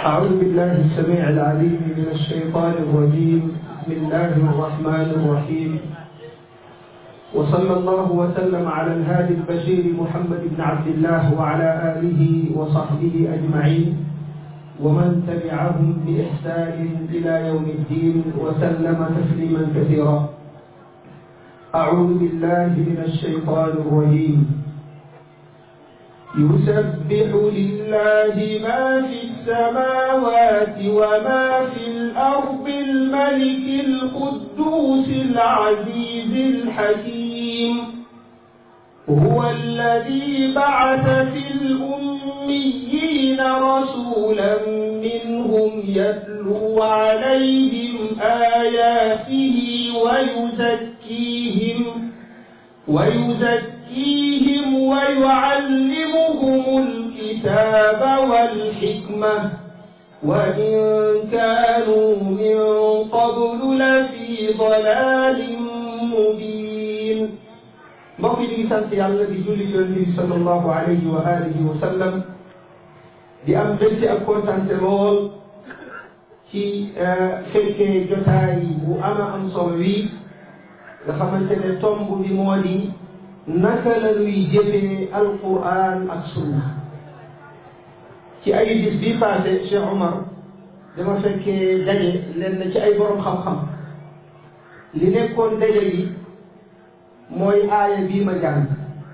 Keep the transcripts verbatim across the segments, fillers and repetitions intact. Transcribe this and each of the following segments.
أعوذ بالله السميع العليم من الشيطان الرجيم. بسم الله الرحمن الرحيم. وصلى الله وسلم على الهادي البشير محمد بن عبد الله وعلى آله وصحبه أجمعين ومن تبعهم بإحسان إلى يوم الدين وسلم تسليما كثيرا. أعوذ بالله من الشيطان الرجيم. يسبح لله ما في السماوات وما في الأرض الملك القدوس العزيز الحكيم. هو الذي بعث في الأميين رسولا منهم يتلو عليهم آياته ويزكيهم ويزكيهم ويعلمهم الكتاب والحكمة وإن كانوا من قبل لفي ضلال مبين. mbokk yi di sant yàlla di julli yonent bi sallallahu alayhi wa alihi wa sallam di am mbégte ak kontante lool ci fekkee jotaay bu ama am solo wi nga xamante ne tomb bi moo di naka la ñuy jëfee alquran ak sunna. ci ay bis bii passé Cheikh Omar dama fekkee daje leen ci ay borom xam-xam li nekkoon daje yi mooy aaya bii ma jàng.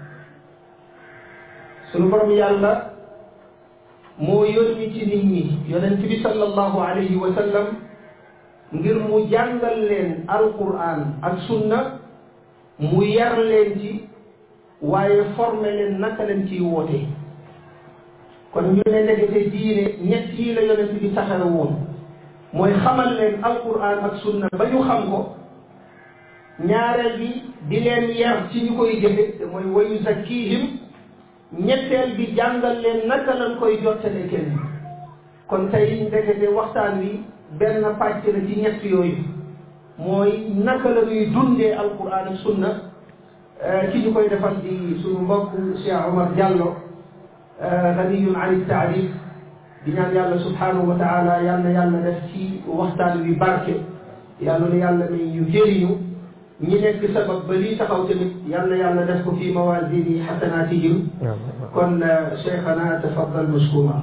sunu borom yàlla moo yónni ci nit ñi yonent bi sallallahu alayhi wa sallam ngir mu jàngal leen alquran ak sunna, mu yar leen ci waaye formé leen naka leen ciy woote. kon ñu ne ndekete diine ñett yi la yonent bi taxawe woon, mooy xamal leen alquran ak sunna ba ñu xam ko, ñaareel bi di leen yar ci ñu koy jëfe te mooy wa yuzakkihim, ñetteel bi jàngal leen naka lañ koy jottale kenn. kon tey ndekete waxtaan wi benn pàcc la ci ñett yooyu, mooy naka la ñuy dundee alquran ak sunna. ki ñu koy defal di suñu mbokk Cheikh Omar Diallo ganiyun an taarif, di ñaan yàlla subhanahu wa taala yal na yàlla def ci waxtaan wi barke, yàlla na yàlla may ñu jëriñu, ñi nekk sabab ba lii taxaw tamit yal na yàlla def ko fi mawazini xasanaatihim. kon cheikhana tafaddal mashkura.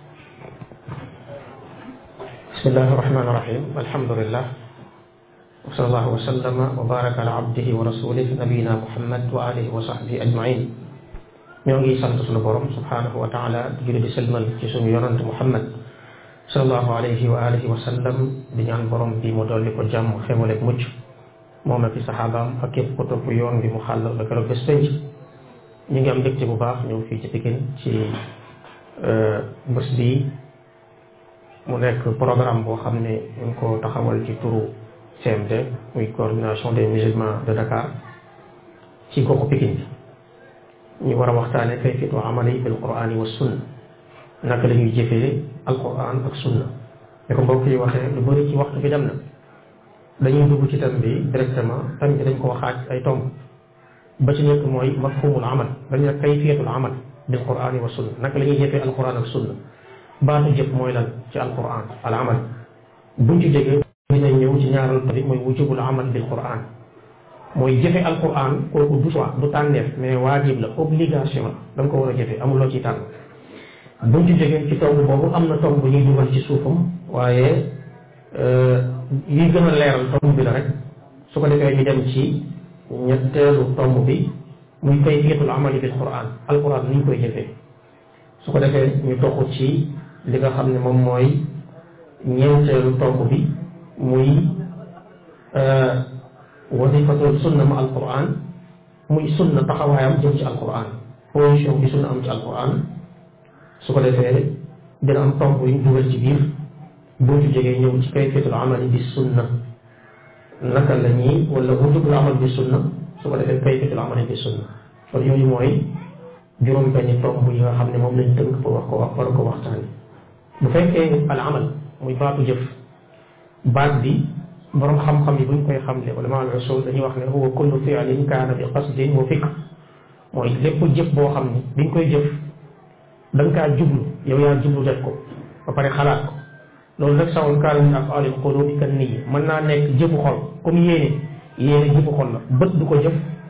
bismillahi rahmani rahim. alhamdulillah wa sallallahu wa sallama wa baraka ala abdihi wa rasulih nabiyina muhammad wa alihi wa sahbihi ajmain. ñoo ngi sant sunu borom subhanahu wa taala di julli di selmal ci sunu yonant muhammad sallallahu alayhi wa alihi wa sallam, di ñaan borom bi mu dolli ko jàmm xéwal ak mucc moom ak i saxaabaam ak képp ko topp yoon bi mu xàllal ba keroog bés penc. ñu ngi am mbégte bu baax ñëw fii ci Pikine ci bés bi mu nekk programme boo xam ne ñu ngi ko taxawal ci turu C M D, muy coordination des musulmans de Dakar, ci goxu Pikine bi. ñu war a waxtaane kayfiyatu amali bil qur'ani wa sunna, naka la ñuy jëfee alquran ak sunna. ne ko mbokk yi waxee lu bëri ci waxtu bi dem na, dañuy dugg ci thème bi directement. thème bi dañ koo xaaj ay tomb. ba ci nekk mooy mafhumul amal, dañu ne kayfiyatul amal bil qur'ani wa sunna, naka la ñuy jëfee alquran ak sunna. baatu jëf mooy lan ci alquran al amal. buñ ci jógee dinañ ñëw ci ñaaral bi mooy wujubul amal bil quran, mooy jëfe alquran kooku du choix du tànneef, mais waajib la, obligation la, da nga ko war a jëfe, amuloo ci tànn. buñ ci jógee ci tomb boobu am na tomb bu ñuy dugal ci suufam, waaye yi gën a leeral tomb bi la rek. su ko defee ñu dem ci ñetteelu tomb bi muy kayfiyatul amali bil quran, alquran ni ñu koy jëfee. su ko defee ñu toxu ci li nga xam ne moom mooy ñeenteelu tomb bi muy wasifatul sunna ma alquran, muy sunna taxawaayam jëm ci alquran, position bi sunna am ci alquran. su ko defee dina am tomb yu ñu dugal ci biir. boo ci jógee ñëw ci kayfiyatul amali bi sunna, naka la ñuy wala wujubul amal bi sunna. su ko defee kayfiyatul amali bi sunna. kon yooyu mooy juróom benni tomb yi nga xam ne moom lañ tënk pour wax ko wax war ko waxtaani. bu fekkee al amal muy baatu jëf, baat bi borom xam-xam yi buñ koy xamle ulama al usul dañuy wax ne huwa kullu fi'lin kaana bi qasdin wa fikr, mooy lépp jëf boo xam ni biñ koy jëf da nga kaa jublu, yow yaa jublu def ko, ba pare xalaat ko loolu nag sawul kaal min af'aalil quluubi kan niyya mën naa nekk jëfu xol comme yéene yéene jëfu xol la bët du ko jëf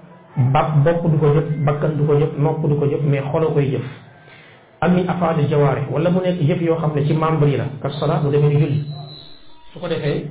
ba bopp du ko jëf bakkan du ko jëf nopp du ko jëf mais xolo koy jëf ak min af'aalil jawaarih wala mu nekk jëf yoo xam ne ci membre yi la ka salaat mu demee ni julli su ko defee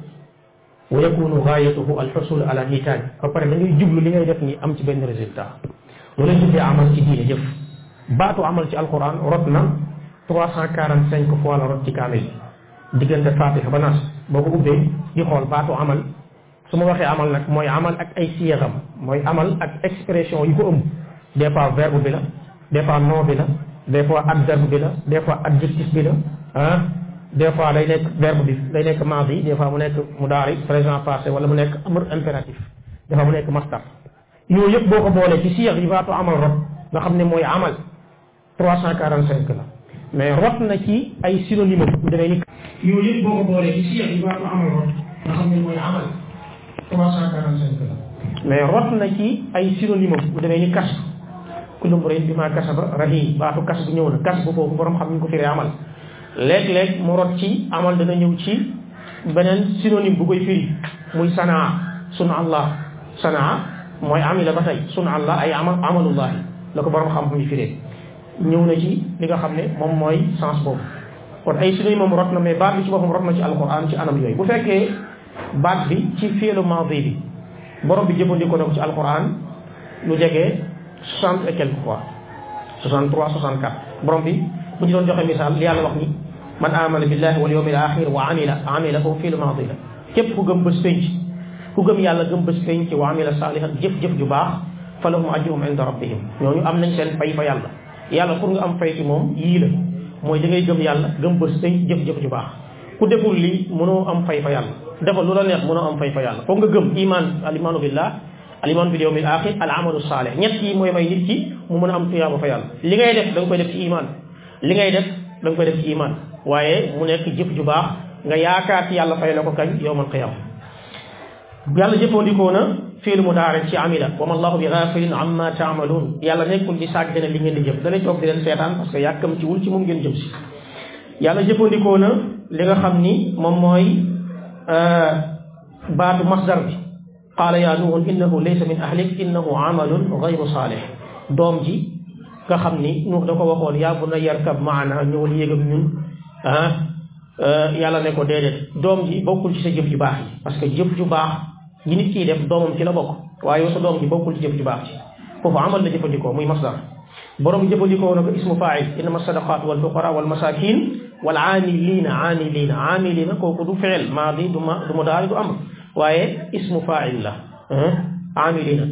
wa yakunu gaayatuhu alxusul ala nitaaj ba pare da ngay jublu li ngay def ni am ci benn résultat loolu lañ tuddee amal ci diine jëf baatu amal ci alquran rot na trois cent quarante cinq fois la rot ci kaamil diggante fatiha ba nas boo ko ubbee di xool baatu amal su ma waxee amal nag mooy amal ak ay siyaxam mooy amal ak expression yu ko ëmb des fois verbe bi la des fois nom bi la des fois adverbe bi la des fois adjectif bi la ah des fois day nekk verbe bi day nekk maadi des fois mu nekk mudaari présent passé wala mu nekk amr impératif des fois mu nekk masdar yooyu yëpp boo ko boolee ci siyax yi baatu amal rot nga xam ne mooy amal trois cent quarante cinq la mais rot na ci ay synonyme bu demee ni yooyu yëpp boo ko boolee ci siyax yi baatu amal rot nga xam ne mooy amal trois cent quarante cinq la mais rot na ci ay synonyme bu demee ni kas kullu mri'in bimaa kasaba rahiin baatu kas bu ñëw na kas bu foofu borom xam ñu ko firee amal léeg-léeg mu rot ci amal dana ñëw ci beneen synonyme bu koy firi muy sanaa suna allah sanaa mooy amila ba tey suna allah ay amal amalullahi la ko borom xam ñu firee ñëw na ci li nga xam ne moom mooy sens boobu kon ay synonyme moom rot na mais baat bi ci boppam rot na ci alquran ci anam yooyu bu fekkee baat bi ci fi'lu maadi bi borom bi jëfandikoo na ko ci alquran lu jege soixante et quelques fois soixante trois soixante quatre borom bi bu ñu doon joxe misaal li yàlla wax ni man amana billahi wal yawmil axir wa amila amila foofu fi'lu maadi la képp ku gëm bés penc ku gëm yàlla gëm bés penc wa amila saalihan jëf-jëf ju baax fa lahum ajruhum inda rabbihim ñooñu am nañ seen fay fa yàlla yàlla pour nga am fay ci moom yii la mooy da ngay gëm yàlla gëm bés penc jëf-jëf ju baax ku deful lii mënoo am fay fa yàlla defal lu la neex mënoo am fay fa yàlla foog nga gëm iman al imaanu billah al iman bil yawmil axir al amalu saalih ñett yi mooy may nit ki mu mën a am tuyaaba fa yàlla li ngay def da nga koy def ci iman li ngay def da nga koy def ci iman waaye mu nekk jëf ju baax nga yaakaar ci yàlla fay la ko kañ yawmal qiyaama yàlla jëfandikoo na fi'l mudaari ci amila wa ma allahu bi ghafilin amma taamaluun yàlla nekkul di sàggane li ngeen di jëf da lay toog di leen seetaan parce que yàkkam ci wul ci moom ngeen jëm si yàlla jëfandikoo na li nga xam ni moom mooy baatu masdar bi qaala yaa nuuh innahu laysa min ahlik innahu amalun ghayru saalih doom ji nga xam ni Nuux da ko waxoon yaa bunayya yarkab maana ñëwal yéegam ñun ah yàlla ne ko déedéet doom ji bokkul ci sa jëf ju baax yi parce que jëf ju baax yi nit kiy def doomam ci la bokk waaye yow sa doom ji bokkul ci jëf ju baax ci foofu amal la jëfandikoo muy masdar borom jëfandikoo na ko ismu faa'il innama sadaqaatu wal fuqaraa wal masaakiin wal aamiliina aamiliina aamiliina kooku du fi'il maadi du ma du mudaari du amr waaye ismu faa'il la aamiliina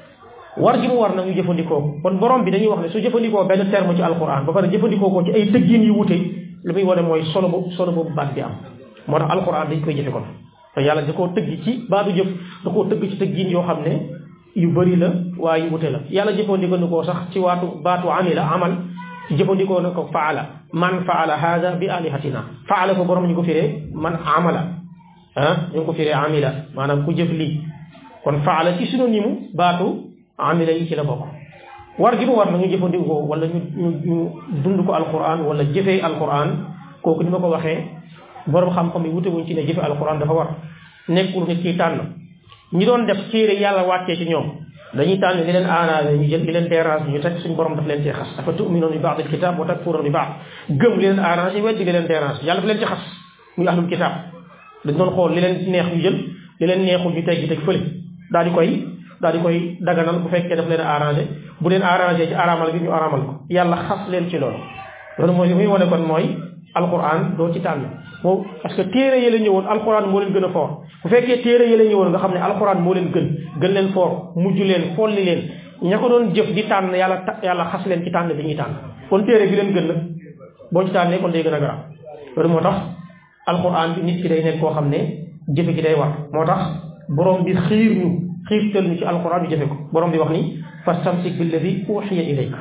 war ji mu war nag ñu jëfandikoo kon borom bi dañuy wax ne su jëfandikoo benn terme ci alquran ba pare jëfandikoo ko ci ay tëggin yu wute li muy wane mooy solo boobu solo boobu baat bi am moo tax alquran dañ koy jëfe kon te yàlla da koo tëgg ci baatu jëf da koo tëgg ci tëggin yoo xam ne yu bëri la waaye yu wute la yàlla jëfandikoo ko sax ci waatu baatu amila amal jëfandikoo na ko faala man faala hada bi alihatina faala ko borom ñu ko firee man amala ah ñu ko firee amila maanaam ku jëf lii kon faala ci synonyme baatu amila yi ci la bokk war gi mu war na ñu jëfandikoo wala ñu ñu ñu dund ko alquran wala jëfee alquran kooku ni ma ko waxee borom xam-xam yi wute wuñ ci ne jëfe alquran dafa war nekkul nit ki tànn ñi doon def téere yàlla wàccee ci ñoom dañuy tànn li leen arrangé ñu jël li leen dérange ñu teg suñu borom daf leen cee xas dafa tu'minuuna bi ba'dil kitaab wa takfuruuna bi ba'd gëm li leen arrangé weddi li leen dérange yàlla daf leen ci xas muy ahlul kitaab dañ doon xool li leen neex ñu jël li leen neexul ñu teggi teg fële daal di koy daal di koy daganal bu fekkee daf leen arrangé bu leen arrangé ci aramal bi ñu aramal ko yàlla xas leen ci loolu loolu mooy li muy wane kon mooy alquran doo ci tànn moo parce que téere yi la ñëwoon alquran moo leen gën a fort bu fekkee téere yi la ñëwoon nga xam ne alquran moo leen gën gën leen fort mujj leen folli leen ña ko doon jëf di tànn yàlla yàlla xas leen ci tànn bi ñuy tànn kon téere bi leen gën la boo ci tànnee kon day gën a garaaw loolu moo tax alquran bi nit ki day nekk koo xam ne jëfe gi day war moo tax borom bi xiir ñu xiirtal ñu ci alquran ñu jëfe ko borom bi wax ni fastamsik billadi uxiya ilayka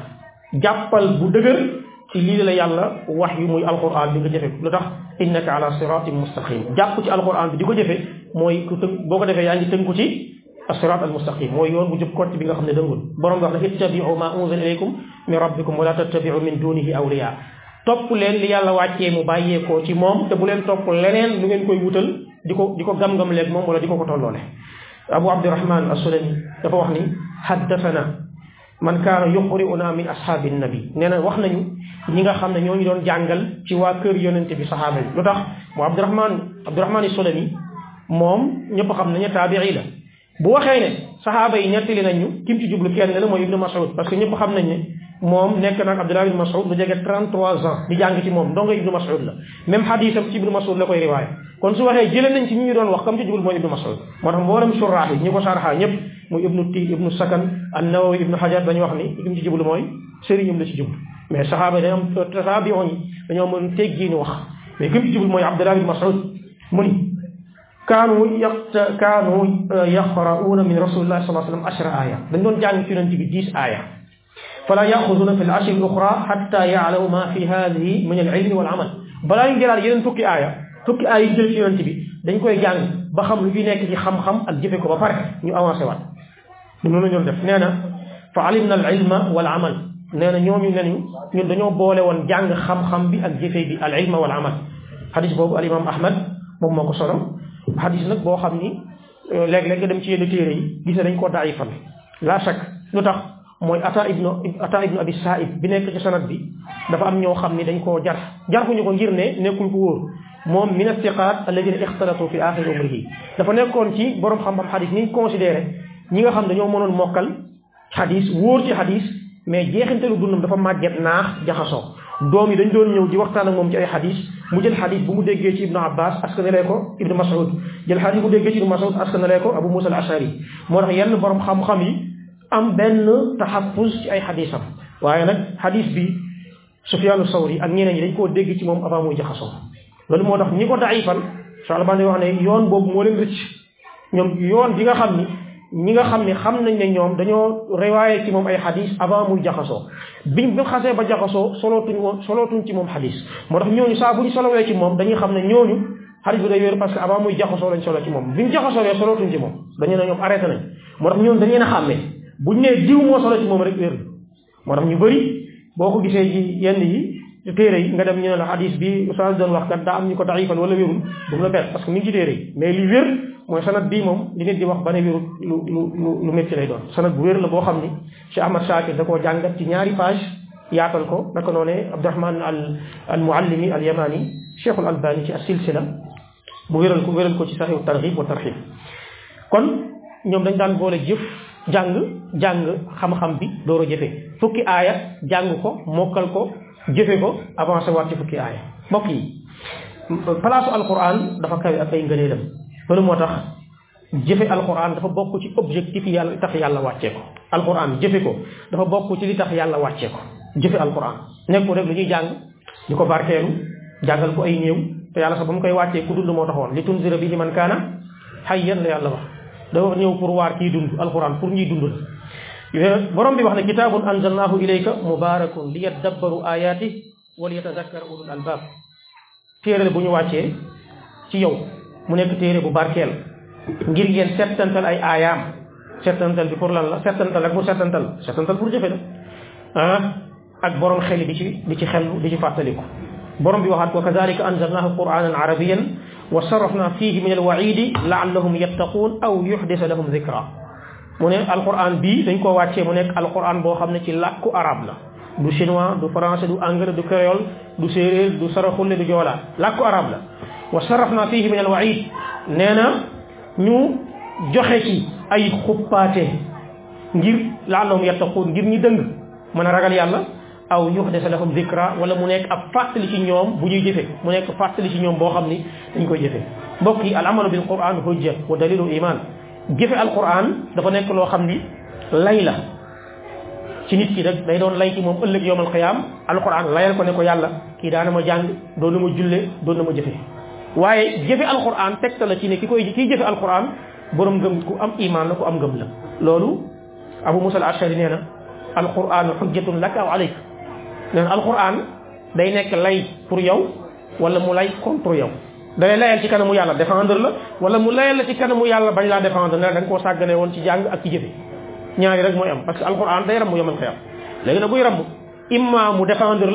jàppal bu dëgër ci lii la yàlla wax yu muy alquran bi nga jëfe ko lu tax innaka ala siratin mustaqim jàpp ci alquran bi di ko jëfe mooy ku tënk boo ko defee yaa ngi tënku ci asirat al mustaqim mooy yoon bu jub kott bi nga xam ne dëngul borom bi wax ne ittabiu ma unzila ilaykum min rabbikum wala tattabiu min dunihi awliya topp leen li yàlla wàccee mu bàyyeekoo ci moom te bu leen topp leneen lu ngeen koy wutal di ko di ko gam-gam leeg moom wala di ko ko tolloole abu abdurahman as-sulami dafa wax ni haddathana man kaana yuqri'una min ashaabi nabi nee na wax nañu ñi nga xam ne ñoo ñu doon jàngal ci waa kër yonente bi saxaaba yi lu tax mu abdurahman abdurahman as-sulami moom ñëpp xam nañu taabi'i la bu waxee ne saxaaba yi nettali nañ ñu kim ci jublu kenn la mooy ibnu mas'ud parce que ñëpp xam nañ ne moom nekk nag Abdullah ibn Mas'ud lu jege trente-trois ans di jàng ci moom ndongo ibnu Mas'ud la même xadisam ci ibnu Mas'ud la koy riwaaya kon su waxee jëlee nañ ci ñi ñu doon wax comme ci jubul mooy ibnu Mas'ud moo tax mboolem suraax yi ñi ko sarxa ñëpp muy ibnu Tiil ibnu Sakan an-Nawawi ibnu Hajar dañu wax ni kim ci jublu mooy sëriñam la ci jublu mais saxaaba yi dañoo am tasaabiyoon yi dañoo mën teggiini wax mais kim ci jublu mooy Abdullah ibn Mas'ud mu ni kaanu yaqta kaanu yaqra'uuna min rasulillahi sallallahu alayhi wa sallam ashra aaya dañ doon jàng ci yonent bi dix aaya fala yaxuduna fi al-ashri al-uxra xatta yaalamu ma fi hadihi min al-ilmi wal amal balaa ñu jëlaat yeneen fukki aaya fukki aaya yi jël ci yonent bi dañ koy jàng ba xam lu fi nekk ci xam-xam ak jëfe ko ba pare ñu avancé waat noonu la ñu def nee na fa alimna al-ilma wal amal nee na ñooñu ne ñu ñun dañoo boole woon jàng xam-xam bi ak jëfe bi al-ilma wal amal xadis boobu al imam ahmad moom moo ko solo xadis nag boo xam ni léeg-léeg nga dem ci yenn téere yi gis ne dañ koo daayifal la shak lu tax mooy ata ibnu ata ibnu abi saib bi nekk ci sanad bi dafa am ñoo xam ni dañ koo jar jarxuñu ko ngir ne nekkul ko wóor moom min athiqat alladina ixtalatu fi axiri umrihi dafa nekkoon ci borom xam-xam xadis ni considéré ñi nga xam dañoo mënoon mokkal xadis wóor ci xadis mais jeexintalu dundam dafa màgget naax jaxasoo doom yi dañ doon ñëw di waxtaan ak moom ci ay xadis mu jël xadis bu mu déggee ci ibnu abbas askanalee ko ibnu mas'ud jël xadis bu mu déggee ci ibnu mas'ud askanalee ko abu musa al ashari moo tax yenn borom xam-xam yi am benn taxaffuz ci ay xadisam waaye nag xadis bi Sufyaanu Sawri ak ñeneen ñi dañ koo dégg ci moom avant muy jaxasoo loolu moo tax ñi ko daifal Cheikh Albani wax ne yoon boobu moo leen rëcc ñoom yoon bi nga xam ni ñi nga xam ne xam nañ ne ñoom dañoo riwaaye ci moom ay xadis avant muy jaxasoo biñ bi xasee ba jaxasoo solootuñ woon solootuñ ci moom xadis moo tax ñooñu saa bu ñu solowee ci moom dañuy xam ne ñooñu xadis bi day wér parce que avant muy jaxasoo lañ solo ci moom biñ jaxasoo solootuñ ci moom dañu ne ñoom arrêté nañ moo tax ñooñu dañ leen a xàmmee buñ nee diw moo solo ci moom rek wér moo tax ñu bëri boo ko gisee ci yenn yi ci téere yi nga dem ñu ne la hadis bi oustaz doon wax kat daa am ñu ko daifal wala wérul bu mu la bett parce que mi ngi ci téere yi mais li wér mooy sanad bii moom li nit di wax ba ne wérul lu lu lu métti lay doon sanad bu wér la boo xam ni Cheikh Ahmad Shakir da koo jàngat ci ñaari page yaatal ko naka noonee Abdurahman al al muallimi al yamani Cheikhul Albani ci as-silsila bu wéral ko wéral ko ci sahih targhib wa tarhib kon ñoom dañ daan boole jëf jàng jàng xam-xam bi door a jëfe fukki aaya jàng ko mokkal ko jëfe ko avancé waat ci fukki aaya mbokk yi palaasu alquran dafa kawe ak ay ngëneelam loolu moo tax jëfe alquran dafa bokk ci objectif yi yàlla tax yàlla wàccee ko alquran jëfe ko dafa bokk ci li tax yàlla wàccee ko jëfe alquran nekkul rek lu ñuy jàng di ko barkeelu jàngal ko ay néew te yàlla sax ba mu koy wàccee ku dund moo taxoon li tunzira bihi man kaana hayyan la yàlla wax dafa ñëw pour waar kii dund alquran pour ñuy dund la borom bi wax ne kitaabun anzalnaahu ilayka mubaarakun li yaddabbaru ayaati wa li yatadakkara ulul albaab téere bu ñu wàccee ci yow mu nekk téere bu barkeel ngir ngeen settantal ay aayaam settantal bi pour lan la settantal ak pour settantal settantal pour jëfe la ah ak borom xel bi ci di ci xel di ci fàttaliku borom bi waxaat ko kazalika anzalnaahu qur'aanan arabiyyan wa sarrafna fihi min alwaidi laallahum yattaquun aw yuhdisa lahum zikra mu ne alquran bii dañ koo wàccee mu nekk alquran boo xam ne ci làkku arab la du chinois du français du anglais du créole du séeréer du saraxulle du joolaa làkku arab la wa sarrafna fihi min alwaid nee na ñu joxe ci ay xuppaate ngir laallahum yattaquun ngir ñi dëng mën a ragal yàlla aw yuhdisa lahum zikra wala mu nekk ab fàttali ci ñoom bu ñuy jëfe mu nekk fàttali ci ñoom boo xam ni dañ koy jëfe mbokk yi al amalu bil quran hujja wa dalilu iman jëfe al quran dafa nekk loo xam ni lay la ci nit ki rek day doon lay ci moom ëllëg yowmal qiyaam al quran layal ko ne ko yàlla kii daana ma jàng doon na ma julle doon na ma jëfe waaye jëfe al quran tegta la ci ne ki koy kiy jëfe al quran borom ngëm ku am iman la ku am ngëm la loolu abu musa al ashari nee na al quran hujjatun laka aw alayk nee na alquran day nekk lay pour yow wala mu lay contre yow dalay layal ci kanamu yàlla défendre la wala mu layal la ci kanamu yàlla bañ laa défendre ne da nga koo sàggane woon ci jàng ak ci jëfe ñaari rek mooy am parce que alquran day ramb yomal xiyam léegi nag buy ramb imma mu défendre la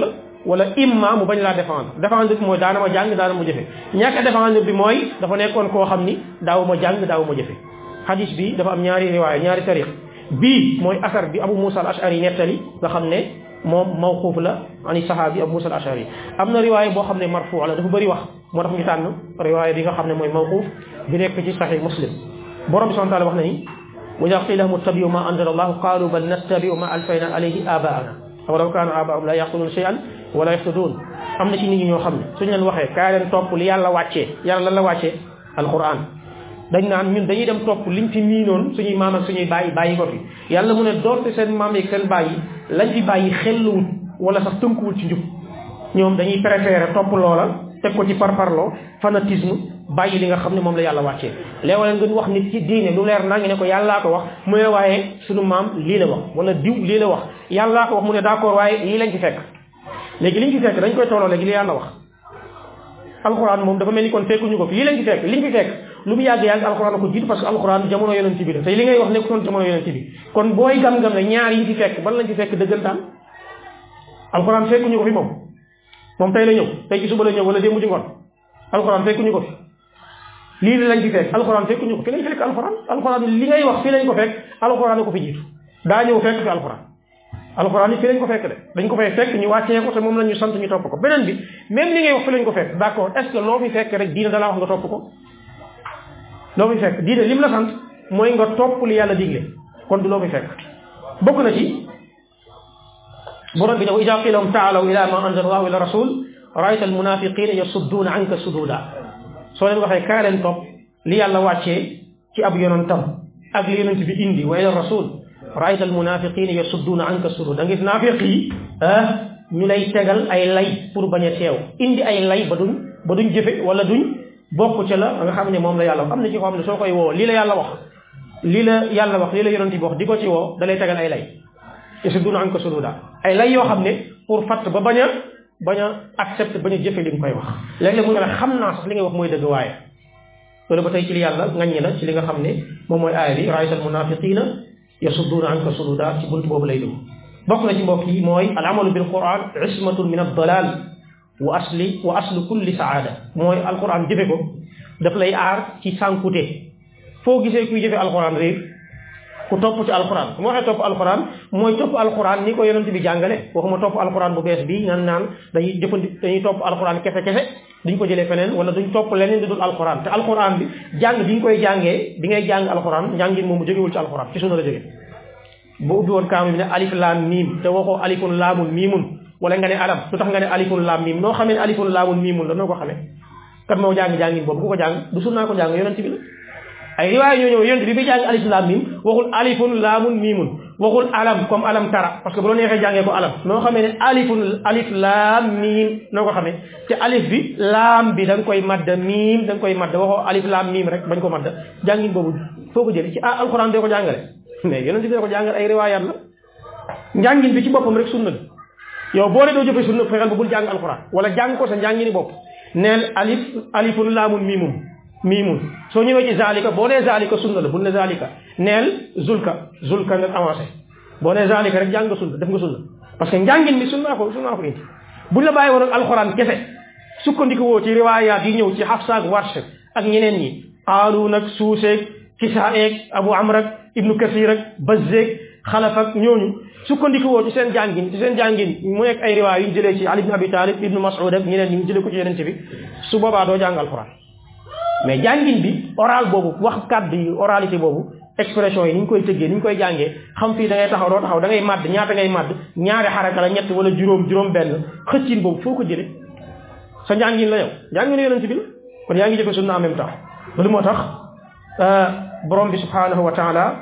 wala imma mu bañ laa défendre défendre bi mooy daana ma jàng daana ma jëfe ñàkk a défendre bi mooy dafa nekkoon koo xam ni daaw ma jàng daaw ma jëfe hadis bi dafa am ñaari riwaaya ñaari tariq bii mooy asar bi Abu Musa al Ashari nettali nga xam ne moom mawquuf la ani sahabi Abu Musa al Ashari am na riwaaya boo xam ne marfu la dafa bëri wax moo tax ñu tànn riwaaya bi nga xam ne mooy mawquuf bi nekk ci sahih Muslim borom bi subhanahu wa ta'ala wax na ni wa idha qila lahum ittabi'u ma anzala Allah qalu bal nattabi'u ma alfayna alayhi aba'ana awalaw kaana abaahum la yaqiluna shay'an wala yahtadun am na ci nit ñi ñoo xam ne suñu leen waxee kaay leen topp li yàlla wàccee yàlla lan la wàccee alquran dañ naan ñun dañuy dem topp liñ fi miinoon suñuy maam ak suñuy bàyyi bàyyi ko fi yàlla mu ne doonte seen maam yi seen bàyyi lañ fi bàyyi xelluwut wala sax tënkuwul ci njub ñoom dañuy préférer topp loola teg ko ci parparloo fanatisme bàyyi li nga xam ne moom la yàlla wàccee léeg-léeg nga wax nit ci diine lu leer naa ngi ne ko yàllaa ko wax mu ne waaye suñu maam lii la wax wala diw lii la wax yàllaa ko wax mu ne d'accord waaye lii lañ ci fekk léegi liñ ci fekk dañ koy tolloo léegi li yàlla wax alxuraan moom dafa mel ni kon fekkuñu ko fi lii lañ ci fekk liñ fi fekk lu mu yàgg yàgg alxuraan ko jiitu parce que alxuraan jamono yonent bi la tey li ngay wax nekkutoon jamono yonent bi kon booy gam-gam ne ñaar yi ci fekk ban lañ ci fekk dëggantaan alxuraan fekkuñu ko fi moom moom tey la ñëw tey ci suba la ñëw wala démb ci ngoon alxuraan fekkuñu ko fi lii lañ ci fekk alxuraan fekkuñu ko fi lañ fekk alxuraan alxuraan li ngay wax fii lañ ko fekk alxuraan ko fi jiitu daa ñëw fekk fi alxuraan alxuraan yi fii lañ ko fekk de dañ ko fay fekk ñu wàccee ko te moom la ñu sant ñu topp ko beneen bi même li ngay wax fi lañ ko fekk d'accord est-ce que loo fi fekk rek diine dalaa wax nga topp ko loo fi fekk diine lim la sant mooy nga topp li yàlla digle kon du loo fi fekk bokk na ci borom bi ne wa idaa qiila lahum ta'aalaw ilaa maa anzala Allahu ila rasul ra'ayta al-munaafiqiina yasudduuna anka suduuda soo leen waxee kaa leen topp li yàlla wàccee ci ab yonentam ak li yonent bi indi wa ila rasul ra'ayta al-munaafiqiina yasudduuna anka suduuda da nga gis naafiq yi ah ñu lay tegal ay lay pour bañ a teew indi ay lay ba duñ ba duñ jëfe wala duñ bokk ca la nga xam ne moom la yàlla wax am na ci ko xam ne soo koy woo lii la yàlla wax lii la yàlla wax lii la yonent bi wax di ko ci woo da lay tegal ay lay yasudduuna anka suduuda ay lay yoo xam ne pour fatt ba bañ a bañ a accepté bañ a jëfe li nga koy wax léeg-léeg mu ne la xam naa sax li ngay wax mooy dëgg waaye loolu ba tey ci li yàlla ngaññi la ci li nga xam ne moom mooy aaya bi ra'ayta al-munaafiqiina yasudduuna anka suduuda ci bunt boobu lay dugg bokk na ci mbokk yi mooy al amalu bil quran ismatun min ad-dalal wa asli wa aslu kulli saada mooy alquran jëfe ko daf lay aar ci sànkute foo gisee kuy jëfe alquran réer ku topp ci alquran su ma waxee topp alquran mooy topp alquran ni ko yonent bi jàngale waxuma topp alquran bu bees bi naan naan dañuy jëfandi dañuy topp alquran kese kese duñ ko jëlee feneen wala duñ topp leneen di dul alquran te alquran bi jàng bi nga koy jàngee bi ngay jàng alquran njàngin moomu jógewul ci alquran ci sunna la jóge boo ubbi woon kaam bi ne alif laam miim te waxoo alifun laamun miimun wala nga ne alam lu tax nga ne alifun laam miim noo xamee ne alifun laamun miimun la noo ko xamee kat moo jàng jàngin boobu ku ko jàng du sunnaa ko jàng yonent bi la ay riwaay ñoo ñëw yonent bi bi jàng alif laam miim waxul alifun laamun miimun waxul alam comme alam tara parce que bu la neexee jàngee ko alam noo xamee ne alifun alif laam miim noo ko xamee te alif bi laam bi da nga koy madda miim da nga koy madda waxoo alif laam miim rek bañ ko madda jàngin boobu foo ko jëlee ci ah alxuraan dee ko jàngale mais yonent bi ko jàngal ay riwaayaat la njàngin bi ci boppam rek sunna la yow boo dee doo jëfee sunna fexeel ba bul jàng alxuraan wala jàng ko sa njàngini bopp neel alif alifun laamun miimun miimun soo ñëwee ci zalika boo nee zalika sunna la bul ne zalika neel zulka zulka nga avancé boo nee zalika rek jàng nga sunna def nga sunna parce que njàngin bi sunnaa ko sunnaa ko indi buñ la bàyyi woon ak alxuraan kese sukkandiku woo ci riwaayaat yi ñëw ci Hafsa ak Warsh ak ñeneen ñi Qaaluun ak Suuseeg Kisaa eeg Abu Amr ak Ibnu Kasiir ak Bazzeeg Xalaf ak ñooñu sukkandiku woo ci seen jàngin ci seen jàngin mu nekk ay riwaay yu ñu jëlee ci Ali ibn Abi Talib Ibnu Mas'ud ak ñeneen ñi ñu jëlee ko ci Yonent bi su boobaa doo jàng alxuraan mais jàngin bi oral boobu wax kàddu yi oralité boobu expression yi ni ñu koy tëggee ni ñu koy jàngee xam fii da ngay taxaw doo taxaw da ngay màdd ñaata ngay màdd ñaari xaraka la ñett wala juróom juróom benn xëccin boobu foo ko jëlee sa njàngin la yow njàngin Yonent bi la kon yaa ngi jëfe sunna en même temps loolu moo tax borom bi subhanahu wa taala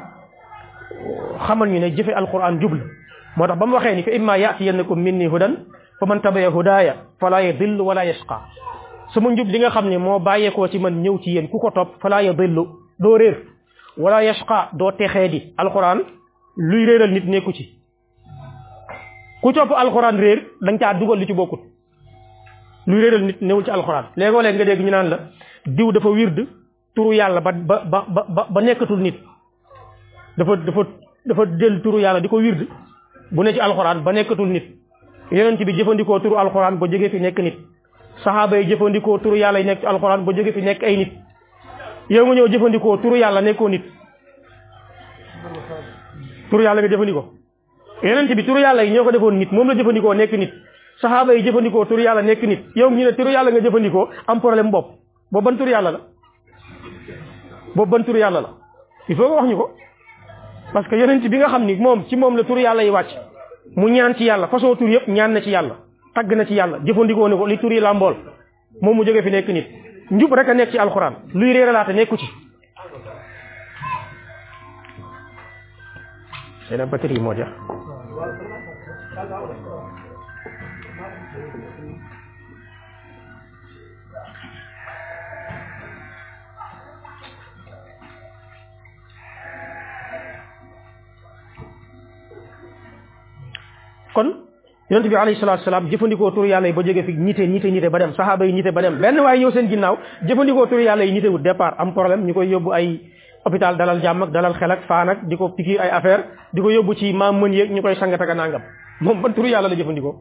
xamal ñu ne jëfe alquran jubla moo tax ba mu waxee ni fa imma yatiyannakum minni hudan fa man tabaya hudaaya fala yadillu wala yashqa sama njub li nga xam ne moo bàyyeekoo ci man ñëw ci yéen ku ko topp fala yadillu doo réer wala yashqa doo texee di alquran luy réeral nit nekku ci ku topp alquran réer da nga caa dugal li ci bokkut luy réeral nit newul ci alquran léegoo léeg nga dégg ñu naan la diw dafa wird turu yàlla ba ba ba ba ba nekkatul nit dafa dafa dafa del turu yàlla di ko wird bu ne ci alxuraan ba nekkatul nit yonent bi jëfandikoo turu alquran ba jóge fi nekk nit saxaaba yi jëfandikoo turu yàlla yi nekk ci alquran ba jóge fi nekk ay nit yow nga ñëw jëfandikoo turu yàlla nekkoo nit turu yàlla nga jëfandikoo yonent bi turu yàlla yi ñoo ko defoon nit moom la jëfandikoo nekk nit saxaaba yi jëfandikoo turu yàlla nekk nit yow ñu ne turu yàlla nga jëfandikoo am problème bopp boobu ban turu yàlla la boobu ban turu yàlla la il faut nga wax ñu ko parce que yonent bi nga xam ni moom ci moom la turu yàlla yi wàcc mu ñaan ci yàlla façon tur yëpp ñaan na ci yàlla tagg na ci yàlla jëfandikoo ne ko li tur yi làmbool moom mu jóge fi nekk nit njub rek a nekk ci alxuraan luy réeralaate nekku ci seen batterie moo jeex kon yonent bi alayhi salaatu salaam jëfandikoo turu yàlla yi ba jóge fi ñite ñite ñite ba dem saxaaba yi ñite ba dem benn waaye ñëw seen ginnaaw jëfandikoo turu yàlla yi ñite wut départ am problème ñu koy yóbbu ay hôpital dalal jàmm ak dalal xel ak faan ak di ko pikiir ay affaire di ko yóbbu ci maam mën yeeg ñu koy sangat ak nangam moom ban turu yàlla la jëfandikoo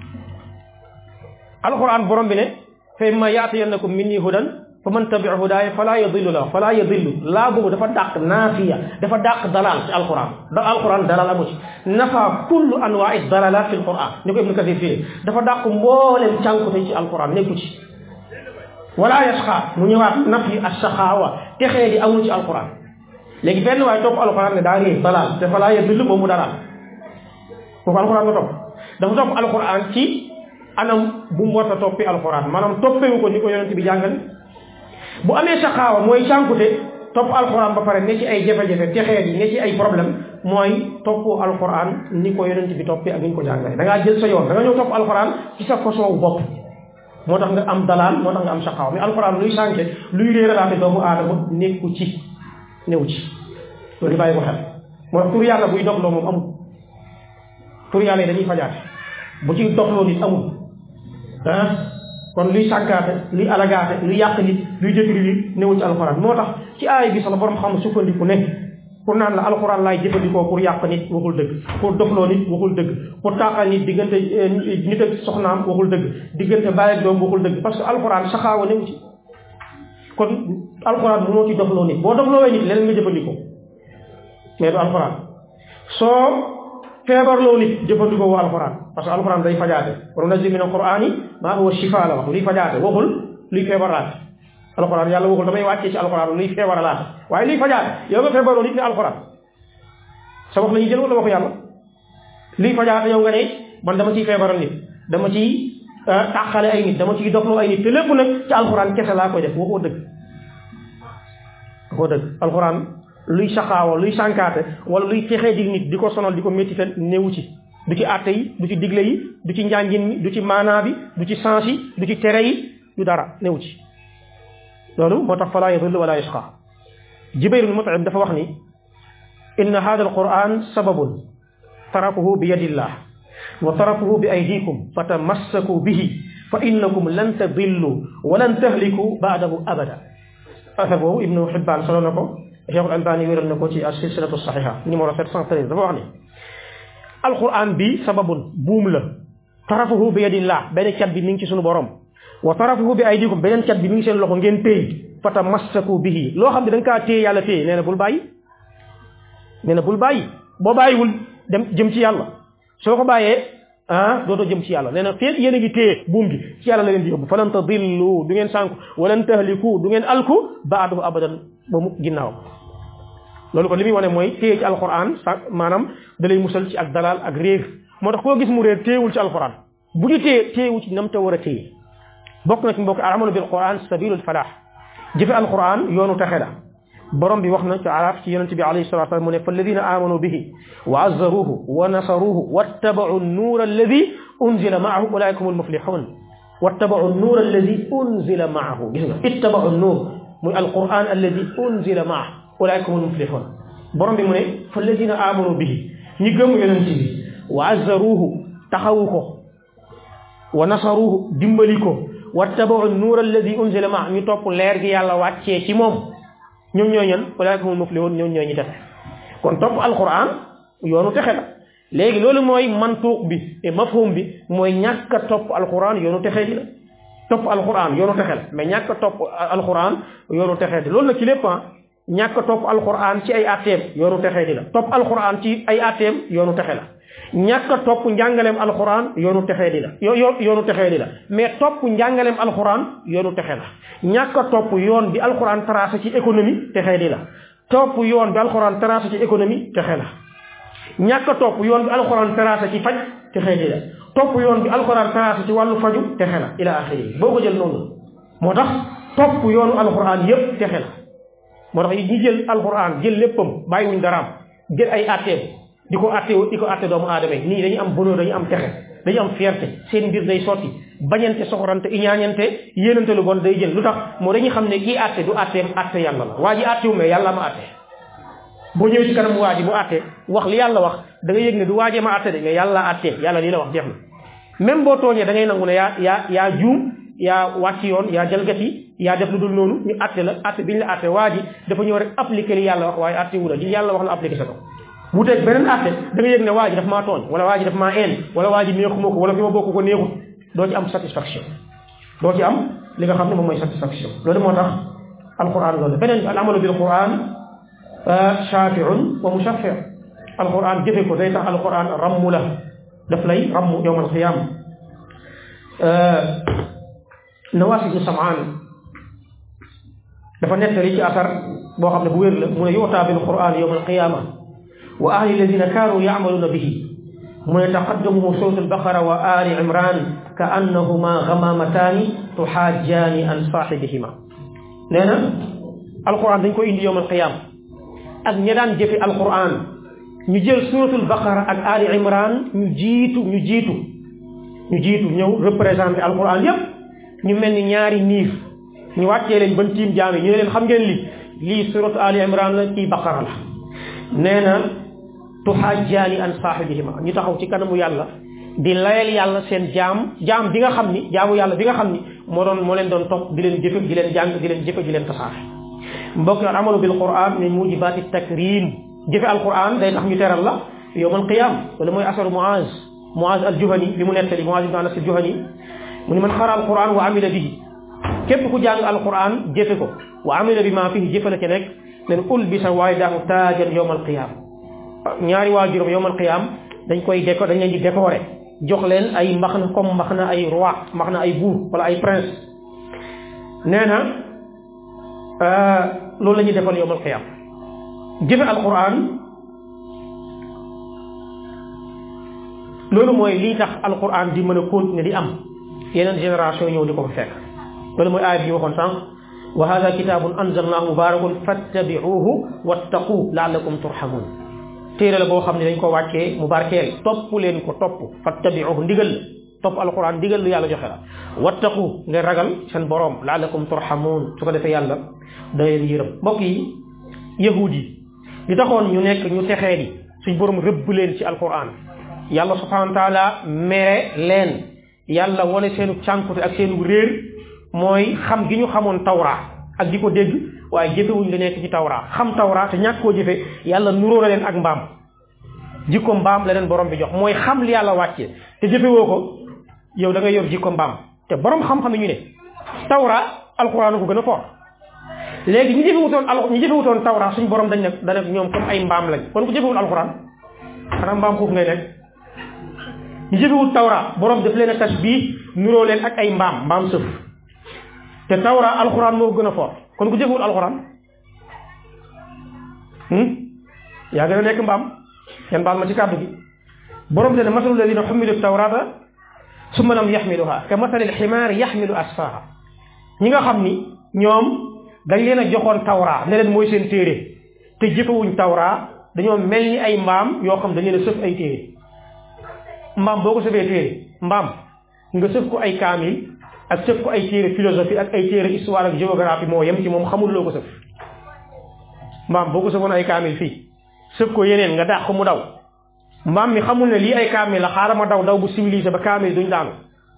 alquran borom bi ne fa imma yaatiyannakum minni hudan fa man tabi hudaaya fala yadillu la fala yadillu laa boobu dafa dàq naafiya dafa dàq dalal ci alquran da alquran dalal amu ci nafa kullu anwaai dalalat fi alquran ni ko ibnu kasir fii dafa dàq mbooleem cànkute ci alquran nekku ci wala yasqa mu ñëwaat nafi assaxaawa texee di amul ci alquran léegi benn waaye topp alquran ne daa réer dalal te fala yadillu moom mu dalal foofu alquran nga topp dafa topp alquran ci anam bu mu war a toppi alquran maanaam toppewu ko ni ko yonent bi jàngal bu amee saxaawa mooy cànkute topp alquran ba pare ne ci ay jafe-jafe texeet yi ne ci ay problème mooy topp alquran ni ko yonent bi toppee ak ni ñu ko jàngale da ngaa jël sa yoon da nga ñëw topp alquran ci sa façon bopp moo tax nga am dalaal moo tax nga am saxaawa mais alquran luy sànke luy réeralaate doomu aadama nekku ci néew ci loolu di bàyyi ko xel moo tax tur yàlla buy doxloo moom amul tur yàlla yi dañuy fajaate bu ci doxloo nit amul ah kon luy sànkaate luy alagaate luy yàq nit luy détruire newul ci alxuraan moo tax ci aay bi sax la borom xam sukkandiku ne pour naan la alxuraan laay jëfandikoo pour yàq nit waxul dëgg pour dofloo nit waxul dëgg pour taaxal nit diggante nit ak soxnaam waxul dëgg diggante baay ak doom waxul dëgg parce que alxuraan saxaawa newu ci kon alxuraan bu moo ci dofloo nit boo dofloowee nit leneen nga jëfandikoo mais du alxuraan soo feebarloo nit jëfandikoo woo alxuraan parce que alxuraan day fajaate wa nunazzilu mina alqur'ani maa huwa shifaa la wax luy fajaate waxul luy feebarlaate alxuraan yàlla waxul damay wàccee ci alxuraan luy feebarlaate waaye luy fajaate yow nga feebarloo nit ne alxuraan sa wax la ñuy jël wala waxu yàlla luy fajaate yow nga ne man dama ciy feebaral nit dama ciy tàqale ay nit dama ciy dofloo ay nit te lépp nag ci alxuraan kese laa koy def waxoo dëgg waxoo dëgg alxuraan luy saxaawa luy sànkaate wala luy texee di nit di ko sonal di ko méttital néewu ci du ci àtte yi du ci digle yi du ci njàngin mi du ci maanaa bi du ci sens yi du ci tere yi du dara néewu ci loolu moo tax falaa yadillu wala yasqa Jubayr ibn Mut'im dafa wax ni inna hada alquran sababun tarakuhu bi yadillah wa tarakuhu bi aydikum fa tamassaku bihi fa innakum lan tadillu wa lan tahliku ba'dahu abada affaire boobu Ibnu Hibbaan solo na ko Cheikhul Albani wéral na ko ci as-silsilatu saxiha numéro sept cent treize dafa wax ni alquran bi sababun buum la tarafuhu bi yadillah benn cat bi mi ngi ci sunu borom wa tarafuhu bi aydikum beneen cat bi mi ngi seen loxo ngeen téye fa tamassaku bihi loo xam ne da nga kaa téye yàlla téye nee na bul bàyyi nee na bul bàyyi boo bàyyiwul dem jëm ci yàlla soo ko bàyyee ah dootoo jëm ci yàlla nee na feeg yéen a ngi téye buum gi ci yàlla la leen di yóbbu falan tadillu du ngeen sànku walan tahliku du ngeen alku baadahu abadan ba mu ginnaaw loolu kon li muy wane mooy téye ci alquran sa maanaam da lay musal ci ak dalal ak réer moo tax koo gis mu réer téyewul ci alquran bu ñu téye téyewu ci nam te war a téye bokk na ci mbokk al-amalu bil quran sabilul falah jëfe alquran yoonu texe la borom bi wax na ci araf ci yonente bi alayhi salatu wasallam mu ne fa alladina amanu bihi wa azzaruhu wa nasaruhu wattabau nuura alladi unzila maahu ulaika humul muflihun wattabau nuura alladi unzila maahu gis nga ittabau nuur muy alquran alladi unzila maahu ulaika humul muflihun borom bi mu ne fa alladina amanu bihi ñi gëm yonente bi wa azzaruhu taxawu ko wa nasaruhu dimbali ko wattabau nuura alladi unzila maahu ñu topp leer gi yàlla wàccee ci moom ñoom ñooy ñan ulaika humul muflihun ñoom ñooy ñi texe kon topp alquran yoonu texe la léegi loolu mooy mantuq bi et mafhum bi mooy ñàkk a topp alquran yoonu texee di la topp alquran yoonu texe la mais ñàkk a topp alquran yoonu texee di loolu nag ci lépp ñàkk a topp alquran ci ay atteem yoonu texee di la topp alquran ci ay atteem yoonu texe la ñàkk a topp njàngaleem alquran yoonu texee di la yo yoonu texee di la mais topp njàngaleem alquran yoonu texe la ñàkk a topp yoon bi alquran tracé ci économie texee di la topp yoon bi alquran tracé ci économie texe la ñàkk a topp yoon bi alquran tracé ci faj texee di la topp yoon bi alquran tracé ci wàllu faju texe la ila axiri boo ko jël noonu moo tax topp yoonu alquran yépp texe la moo tax ñi jël alquran jël léppam bàyyiwuñ daraam jël ay atteem di ko atte di ko atte doomu aadama yi nii dañu am bonheur dañu am texe dañu am fierté seen mbir day sotti bañante soxorante iñaañante yéenante lu bon day jël lu tax moo dañuy xam ne kii atte du atteem atte yàlla la waa ji attewu mais yàlla ma atte boo ñëwee ci kanam waa ji mu atte wax li yàlla wax da nga yëg ne du waajee ma atte de mais yàlla atte yàlla lii la wax jeex na même boo tooñee da ngay nangu ne yaa yaa yaa juum yaa wàcc yoon yaa jalgati yaa def lu dul noonu ñu atte la atte bi ñu la atte waa ji dafa ñëw rek appliqué li yàlla wax waaye atte wu la li yàlla wax la appliqué sa ko wuteeg beneen atte da nga yëg ne waa ji daf maa tooñ wala waa ji daf maa een wala waa ji neexuma ko wala fi ma bokk ko neexut doo ci am satisfaction doo ci am li nga xam ne moom mooy satisfaction loolu moo tax alquran loolu beneen bi al amalu bil quran shafiun wa mushaffi alquran jëfe ko day tax alquran rammu la daf lay rammu yowm alqiyam nawaas ibnu samaan dafa nettali ci asar boo xam ne bu wér la mu ne yuutaa bil quran yowm alqiyama wa ahli alladina kaanu yacmaluuna bihi mu ne taqaddamu surat albaqara wa ali imran ka annahuma gamamataani tuxaajjaani an saaxibihima nee na alquran dañ ko indi yowm alqiyama ak ña daan jëfe alquran ñu jël suratul baqara ak ali imran ñu jiitu ñu jiitu ñu jiitu ñëw représenté alquran yépp ñu mel ni ñaari niif ñu wàccee leen ban tiim jaam yi ñu ne leen xam ngeen li lii suratu ali imran la kii baqara la nee na tuhajjaani an saahibihima ñu taxaw ci kanamu yàlla di layal yàlla seen jaam jaam bi nga xam ni jaamu yàlla bi nga xam ni moo doon moo leen doon topp di leen jëfe di leen jàng di leen jëfe di leen tasaare mbokk al amalu bil quran min mujibaati takrim jëfe alquran day tax ñu teral la yowmal qiyam wala mooy asaru muaz muaz al juhani bi mu nettali muaz ibn anas al juhani mu ni man xara alquran wa amila bihi képp ku jàng alquran jëfe ko wa amila bi ma fihi jëfe la ca nekk nen ulbisa walidahu taajan yowmal qiyam ñaari waajuram yowmal qiyam dañ koy déco dañ leen di décorer jox leen ay mbaxna comme mbaxna ay roi mbaxna ay buur wala ay prince nee na loolu la ñuy defal yowmal qiyam jëfe alquran loolu mooy lii tax alquran di mën a continuer di am yeneen génération ñëw di ko fa fekk loolu mooy aaya bi ñu waxoon sànq wa hada kitabun anzalnahu mubarakun fattabi'uhu wattaqu la'allakum turhamun téere la boo xam ne dañ ko wàccee mu barkeel topp leen ko topp fattabi'uhu ndigal la topp alquran ndigal lu yàlla joxe la wattaqu ngeen ragal seen boroom la'allakum turhamun su ko defee yàlla da leen yërëm mbokk yi yahud yi li taxoon ñu nekk ñu texee di suñ boroom rëbb leen ci alquran yàlla subhanahu wa taala mere leen yàlla wane seenu cànkute ak seenu réer mooy xam gi ñu xamoon tawra ak di ko dégg waaye jëfewuñ li nekk ci tawra xam tawra te ñàkk koo jëfe yàlla nuróo la leen ak mbaam jikko mbaam la leen borom bi jox mooy xam li yàlla wàcce te jëfewoo ko yow da ngay yor jikko mbaam te borom xam-xam ñu ne tawra alquran ko gën a fort léegi ñu jëfewutoon al ñu jëfewutoon tawra suñ borom dañ ne dana ñoom comme ay mbaam lañ kon ku jëfewul alquran xanaa mbaam foofu ngay nekk ñu jëfewul tawra borom daf leen a tasbih nuróo leen ak ay mbaam mbaam sëf te tawra alquran moo gën a fort kon ku jëfewul alquran yaa gën a nekk mbaam yan baal ma ci kàddu gi borom te ne masalu ladina xumilu tawrata summa lam yaxmiluha ka masalil ximaar yaxmilu asfaha ñi nga xam ni ñoom dañ leen a joxoon tawra ne leen mooy seen téere te jëfewuñ tawra dañoo mel ni ay mbaam yoo xam dañ leen a sëf ay téere mbaam boo ko sëfee téere mbaam nga sëf ko ay kaamil ak sëf ko ay téere philosophie ak ay téere histoire ak géographie moo yem ci moom xamul loo ko sëf mbaam boo ko sëfoon ay kaamil fii sëf ko yeneen nga daax ko mu daw mbaam mi xamul ne lii ay kaamil la xaaral ma daw daw bu civilisé ba kaamil duñ daanu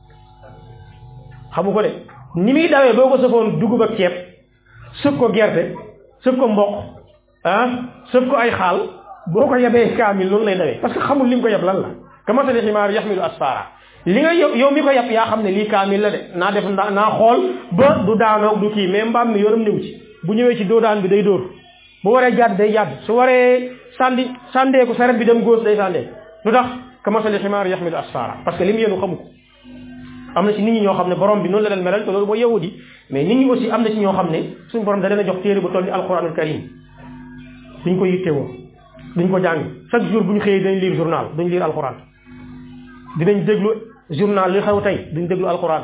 xamu ko de ni muy dawee boo ko sëfoon dugub ak ceeb sëf ko gerte sëf ko mboq ah sëf ko ay xaal boo ko yebee kaamil noonu lay dawee parce que xamul li mu ko yeb lan la kamasali ximaar yaxmilu asfara li nga yow mi ko yeb yaa xam ne lii kaamil la de naa def naa xool ba du daanoog du kii mais mbaam mi yoonam néew ci bu ñëwee ci doodaan bi day dóor bu waree jàdd day jàdd su waree sàndi sàndeeku saret bi dem góos day sàndeeku lu tax kamasali ximaar yaxmilu asfara parce que li mu yenu xamu ko am na ci nit ñi ñoo xam ne borom bi noonu la leen melal te loolu mooy yahudi mais nit ñi aussi am na ci ñoo xam ne suñu borom da leen a jox téere bu toll ni alquranul karim duñ ko yittewoo duñ ko jàng chaque jour bu ñu xëyee dañ lire journal duñ lire alquran dinañ déglu journal li xew tey duñ déglu alquran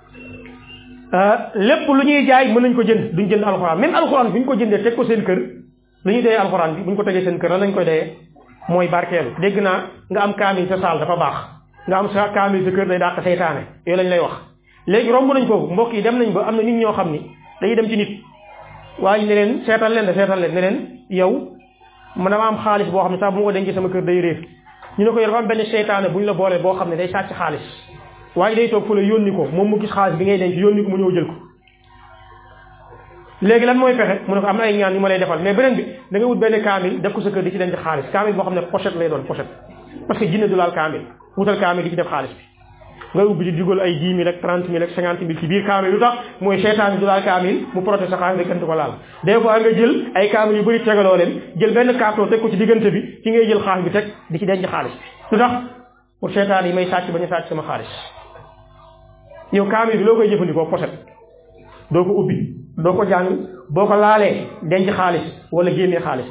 lépp lu ñuy jaay mën nañ ko jënd duñ jënd alquran même alquran bu ñu ko jëndee teg ko seen kër lu ñuy dayee alquran bi bu ñu ko tegee seen kër lan lañ koy dayee mooy barkeelu dégg naa nga am kaamil sa saal dafa baax nga am sa kaamil sa kër day dàq seytaane yooyu lañ lay wax léegi romb nañ foofu mbokk yi dem nañ ba am na nit ñoo xam ni dañuy dem ci nit waaye ne leen seetal leen de seetal leen ne leen yow man dama am xaalis boo xam ne sax bu ma ko dencee sama kër day réer ñu ne ko yow dafa am benn seytaane bu ñu la boolee boo xam ne day sàcc xaalis waaye day toog fu la yónni ko moom mu gis xaalis bi ngay denc yónni ko mu ñëw jël ko léegi lan mooy fexe mu ne ko am na ay ñaan yu ma lay defal mais beneen bi da nga wut benn kaamil def ko sa kër di ci denc xaalis kaamil boo xam ne pochette lay doon pochette parce que jinne du laal kaamil wutal kaamil di ci def xaalis bi nga ubbi di dugal ay dix mille ak trente mille ak cinquante mille ci biir kaamil lu tax mooy seytaan du laal kaamil mu protéger sa xaalis kenn du ko laal des fois nga jël ay kaamil yu bëri tegaloo leen jël benn carton teg ko ci diggante bi ci ngay jël xaalis bi teg di ci denc xaalis bi lu tax pour seytaan yi may sàcc ba ñu sàcc sama xaalis yow kaamil bi loo koy jëfandikoo pochette doo ko ubbi doo ko jàng boo ko laalee denc xaalis wala génnee xaalis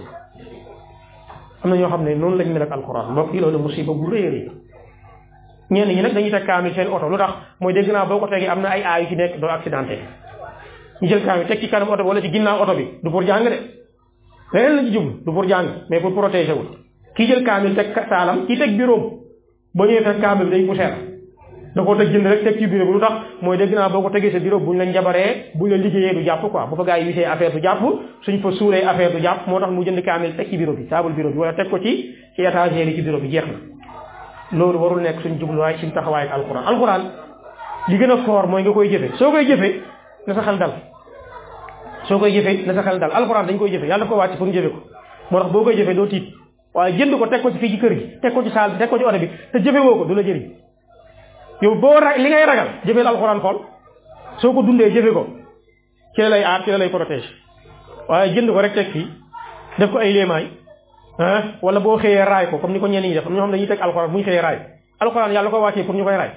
am na ñoo xam ne noonu lañ mel ak alxuraan mbokk yi loolu musiba bu rëy a rëy ñenn ñi nag dañuy teg kaamil seen oto lu tax mooy dégg naa boo ko tegee am na ay aay yu ci nekk doo accidenté ñu jël kaamil teg ci kanam oto bi wala ci ginnaaw oto bi du pour jàng de leneen la ci jublu du pour jàng mais pour protéger wul kii jël kaamil teg saalam kii teg bureau boo ñëwee fekk kaamil bi day poussière da koo teg jënd rek teg ci bureau bi lu tax mooy dégg naa boo ko tegee sa bureau buñ la njabaree buñ la liggéeyee du jàpp quoi bu fa gaa yi wisee affaire du jàpp suñ fa suuree affaire du jàpp moo tax mu jënd kaamil teg ci bureau bi table bureau bi wala teg ko ci ci étagère yi ci bureau bi jeex na loolu warul nekk suñ jubluwaay suñ taxawaay ak alquran alquran li gën a fort mooy nga koy jëfe soo koy jëfe na sa xel dal soo koy jëfe na sa xel dal alquran dañ koy jëfe yàlla ko wàcc pour ñu jëfe ko moo tax boo koy jëfe doo tiit waaye jënd ko teg ko ci fii ci kër gi teg ko ci saal bi teg ko ci oto bi te jëfe woo ko du la jëriñ yow boo ra li ngay ragal jëfeel alxuraan xool soo ko dundee jëfe ko ci la lay aar ci la lay protéger waaye jënd ko rek teg fii def ko ay léemaay ah wala boo xëyee raay ko comme ni ko ñenn ñi def am ñoo xam dañuy teg alxuraan bu ñu xëyee raay alxuraan yàlla ko wàccee pour ñu koy raay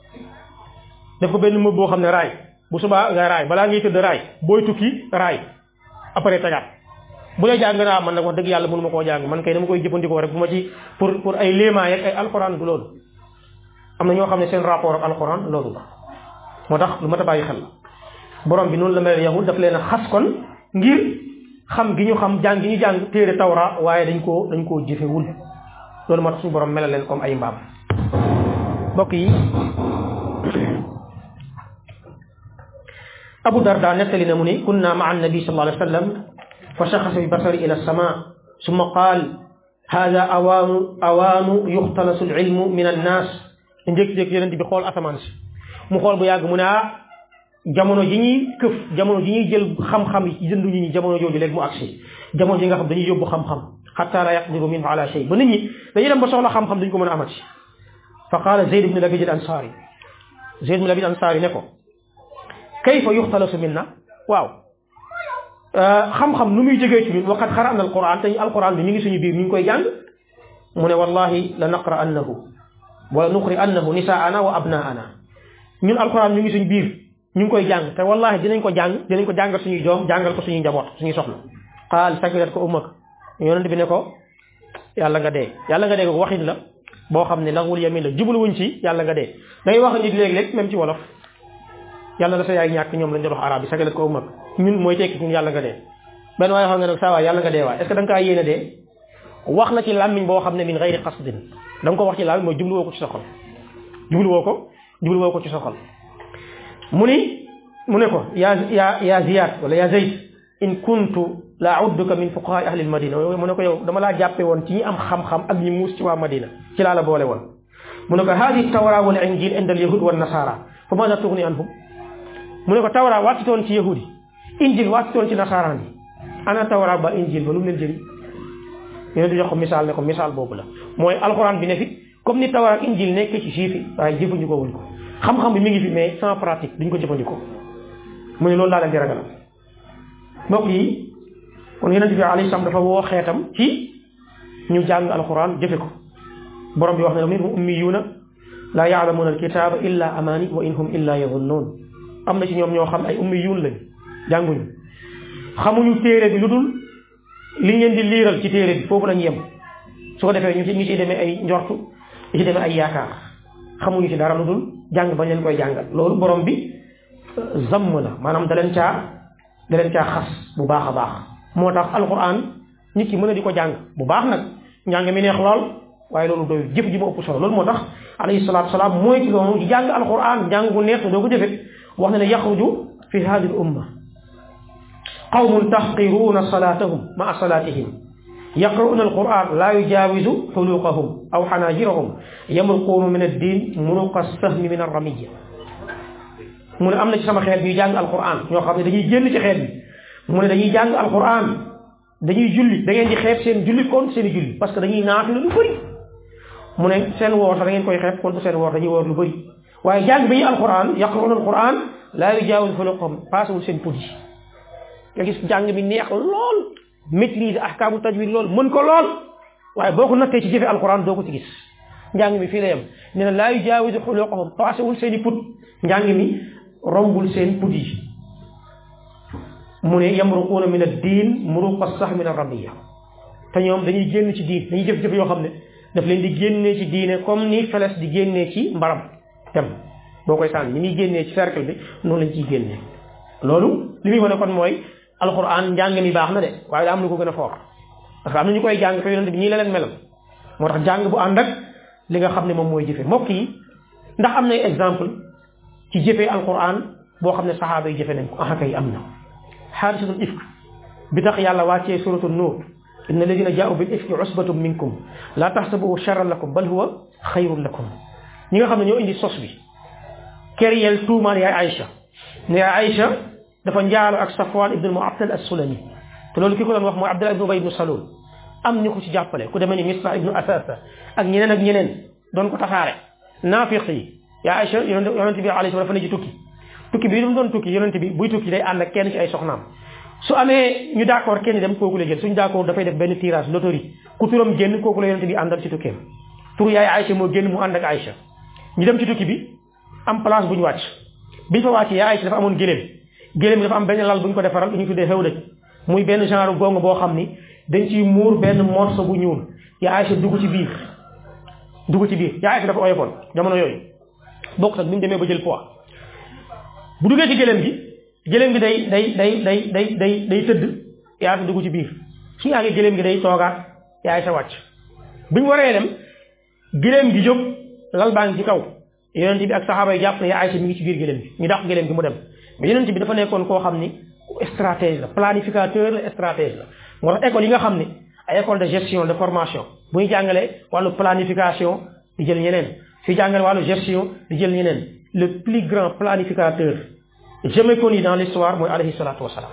def ko benn mëb boo xam ne raay bu subaa nga raay balaa ngay tëdd raay booy tukki raay après tegaat bu dee jàng naa man nag wax dëgg yàlla mënu ma koo jàng man kay dama koy jëfandikoo rek bu ma ci pour pour ay léemaay ak ay alxuraan du loolu am na ñoo xam ne seen rapport ak alxuraan loolu la moo tax lu mat a bàyyi xel borom bi noonu la mel yahud daf leen a xas kon ngir xam gi ñu xam jàng gi ñu jàng téere tawra waaye dañ koo dañ koo jëfewul loolu moo tax suñu borom melal leen comme ay mbaam mbokk yi Abu Darda nettali na mu ni kunna maa annabi sallallahu alayhi wa sallam fa shaxasa bi basari ila sama summa qaal hada awaanu awaanu yuxtalasu alilmu min annaas njëkk-njëkk yonent bi xool asamaan si mu xool bu yàgg mu ne ah jamono ji ñuy këf jamono ji ñuy jël xam-xam yi jëndu ñi ñi jamono jooju léegi mu agsi jamono ji nga xam dañuy yóbbu xam-xam xatta la yaqdiru minhu ala shay ba nit ñi dañuy dem ba soxla xam-xam duñ ko mën a amati fa qaala Zayd ibn Labid al Ansari Zayd ibn Labid al Ansari ne ko kayfa yuxtalasu minna waaw xam-xam nu muy jógee ci ñun waqad qara'na alquran te alquran bi mi ngi suñu biir ñu ngi koy jàng mu ne wallahi la naqra annahu wala nuqri annahu nisaana wa abnaana ñun alquran ñu ngi suñu biir ñu ngi koy jàng te wallahi dinañ ko jàng dinañ ko jàngal suñuy doom jàngal ko suñuy njaboot suñuy soxla qaal sakilat ko ummak yonent bi ne ko yàlla nga dee yàlla nga dee ko waxin la boo xam ne lagwul yamin la jubluwuñ ci yàlla nga dee day wax nit léeg-léeg même ci wolof yàlla da sa yaay ñàkk ñoom lañ doon wax arab yi sakilat ko ummak ñun mooy tekki ñun yàlla nga dee benn waaye xam nga nag saa waay yàlla nga dee waay est ce que da nga kaa yéene dee wax na ci làmmiñ boo xam ne min gayri qasdin da nga ko wax ci làmmiñ mooy jubluwoo ko ci sa xol jubluwoo ko jubluwoo ko ci sa xol mu ni mu ne ko ya ya ya Ziyad wala ya Zayd in kuntu la udduka min fuqaha ahli al madina mu ne ko yow dama laa jàppe woon ci ñi am xam-xam ak ñi muus ci waa Madina ci laa la boole woon mu ne ko hadi tawra wal injil inda al yahud wan nasara fa maada tughni anhum mu ne ko tawra wàccitoon ci yahudi injil wàccitoon ci nasaraan yi ana tawra ba injil ba lu mu leen jëriñ yonent bi jox ko misaal ne ko misaal boobu la mooy alxuraan bi ne fi comme ni Tawraat ak Injiil nekk ci juif yi waaye jëfandikoo wuñ ko xam-xam bi mi ngi fi mais sans pratique duñ ko jëfandikoo mu ne loolu laa leen di ragal mbokk yi kon yonent bi alayhi salaam dafa woo xeetam ci ñu jàng alxuraan jëfe ko borom bi wax ne minhum ummiyuuna laa yaalamuuna alkitaaba illa amaani wa in hum illa yadunnuun am na ci ñoom ñoo xam ay ummiyuun lañ jànguñu xamuñu téere bi lu dul liñ leen di liiral ci téere bi foofu lañ yem su ko defee ñu ci ñu ciy demee ay njortu ñu ci demee ay yaakaar xamuñu ci dara lu dul jàng bañ leen koy jàngal loolu borom bi zamm la maanaam da leen caa da leen caa xas bu baax a baax moo tax alquran nit ki mën a di ko jàng bu baax nag njàng mi neex lool waaye loolu doy jëf ji ma ëpp solo loolu moo tax alayhi salaatu salaam mooy ci loolu di jàng alquran jàng bu neex te doo ko jëfe wax na ne yaxruju fi hadihi al umma qawmun tahqiruuna salaatahum maa salaatihim yaqra'uuna alquran laa yujaawizu xuluqahum aw xanaajirahum yamruquuna min addin muruqa sahmi min arramiya mu ne am na ci sama xeet ñuy jàng alquran ñoo xam ne dañuy génn ci xeet bi mu ne dañuy jàng alquran dañuy julli da ngeen di xeeb seen julli kon seen i julli parce que dañuy naafila lu bëri mu ne seen woor sax da ngeen koy xeeb kon seen woor dañuy woor lu bëri waaye jàng bi ñu alquran yaqra'uuna alquran laa yujaawizu xuluqahum paasewul seen put yi nga gis jàng bi neex lool maîtriser ahkaamu tajwid lool mën ko lool waaye boo ko nattee ci jëfe alquran doo ko ci gis njàng mi fii la yem nee na laa yujaawizu xuluqahum paasewul seen i put njàng mi rombul seen put yi mu ne yamruquuna min ad-diin muruqa sax min ar-ramiya te ñoom dañuy génn ci diin dañuy jëf-jëf yoo xam ne daf leen di génnee ci diine comme ni feles di génnee ci mbaram tem boo koy sànni ni muy génnee ci cercle bi noonu lañ ciy génnee loolu li muy wane kon mooy alquran njàng mi baax na de waaye daa am lu ko gën a foor parce que am na ñu koy jàng te yonent bi ñii la leen melal moo tax jàng bu ànd ak li nga xam ne moom mooy jëfe mbokk yi ndax am nay exemple ci jëfee alquran boo xam ne saxaaba yi jëfe nañ ko ah kay am na xaadisatul ifk bi tax yàlla wàccee suratul nuur inna alladina jaau bil ifki usbatum minkum laa taxsabuhu charran lakum bal huwa xayrun lakum ñi nga xam ne ñoo indi sos bi kéryel tuumaal yaay Aïcha ne yaay Aïcha dafa njaalo ak Safwan ibn al-Mu'attal as-Sulami te loolu ki ko doon wax mooy Abdullah ibn Ubay ibn Salul am ñu ko ci jàppale ku demee ni Misbah ibn Asasa ak ñeneen ak ñeneen doon ko tasaare naafiq yi yaa Aïcha yonente bi alayhi dafa ne ci tukki tukki bi lu mu doon tukki yonente bi buy tukki day ànd ak kenn ci ay soxnaam su amee ñu d'accord kenn dem kooku la jël suñu d'accord dafay def benn tirage loterie ku turam génn kooku la yonente bi àndal ci tukkeem tur yaay Aïcha moo génn mu ànd ak Aïcha ñu dem ci tukki bi am place bu ñu wàcc biñ fa wàcc yaa Aïcha dafa amoon géléem géléem bi dafa am benn lal bu ñu ko defaral bu ñu tuddee xew dëj muy benn genre gongo boo xam ni dañ ciy muur benn morceau bu ñuul yaa Aïcha dugg ci biir dugg ci biir yaa Aïcha dafa oyofoon jamono yooyu bokk ak bi mu demee ba jël poids bu duggee ci géléem gi géléem gi day day day day day day day tëdd yaa Aïcha dugg ci biir su yàggee géléem gi day toogaat yaa Aïcha wàcc bi ñu waree dem géléem gi jóg lal baa ngi ci kaw yonent bi ak saxaaba yi jàpp ne yaa Aïcha mi ngi ci biir géléem gi ñu dàq géléem gi mu dem mais yonent bi dafa nekkoon koo xam ni stratège la planificateur la stratège la moo tax école yi nga xam ne ay école de gestion de formation bu ñu jàngalee wàllu planification di jël ñeneen fi jàngale wàllu gestion di jël ñeneen le plus grand planificateur jamais connu dans l'histoire mooy alayhi salaatu wasalaam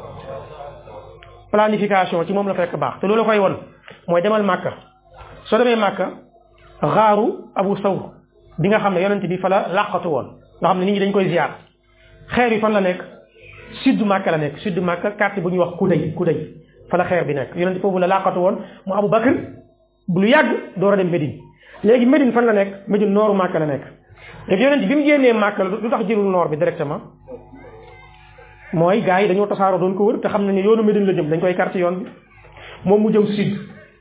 planification ci moom la fekk baax te loolu la koy won mooy demal Màkka soo demee Màkka xaaru Abu Sawr bi nga xam ne yonent bi fa la làqatu woon nga xam ne nit ñi dañ koy ziar xeer yi fan la nekk sud Màkka la nekk sud Màkka quartier bu ñuy wax Kuday Kuday fa la xeer bi nekk yonent foofu la làqatu woon mu Abu Bakr bu lu yàgg door a dem Médine léegi Médine fan la nekk Médine nooru Màkka la nekk léegi yonent bi mu génnee Màkka lu tax jëlul noor bi directement mooy gars yi dañoo tasaaroo doon ko wër te xam nañ ne yoonu Médine la jëm dañ koy quartier yoon bi moom mu jëm sud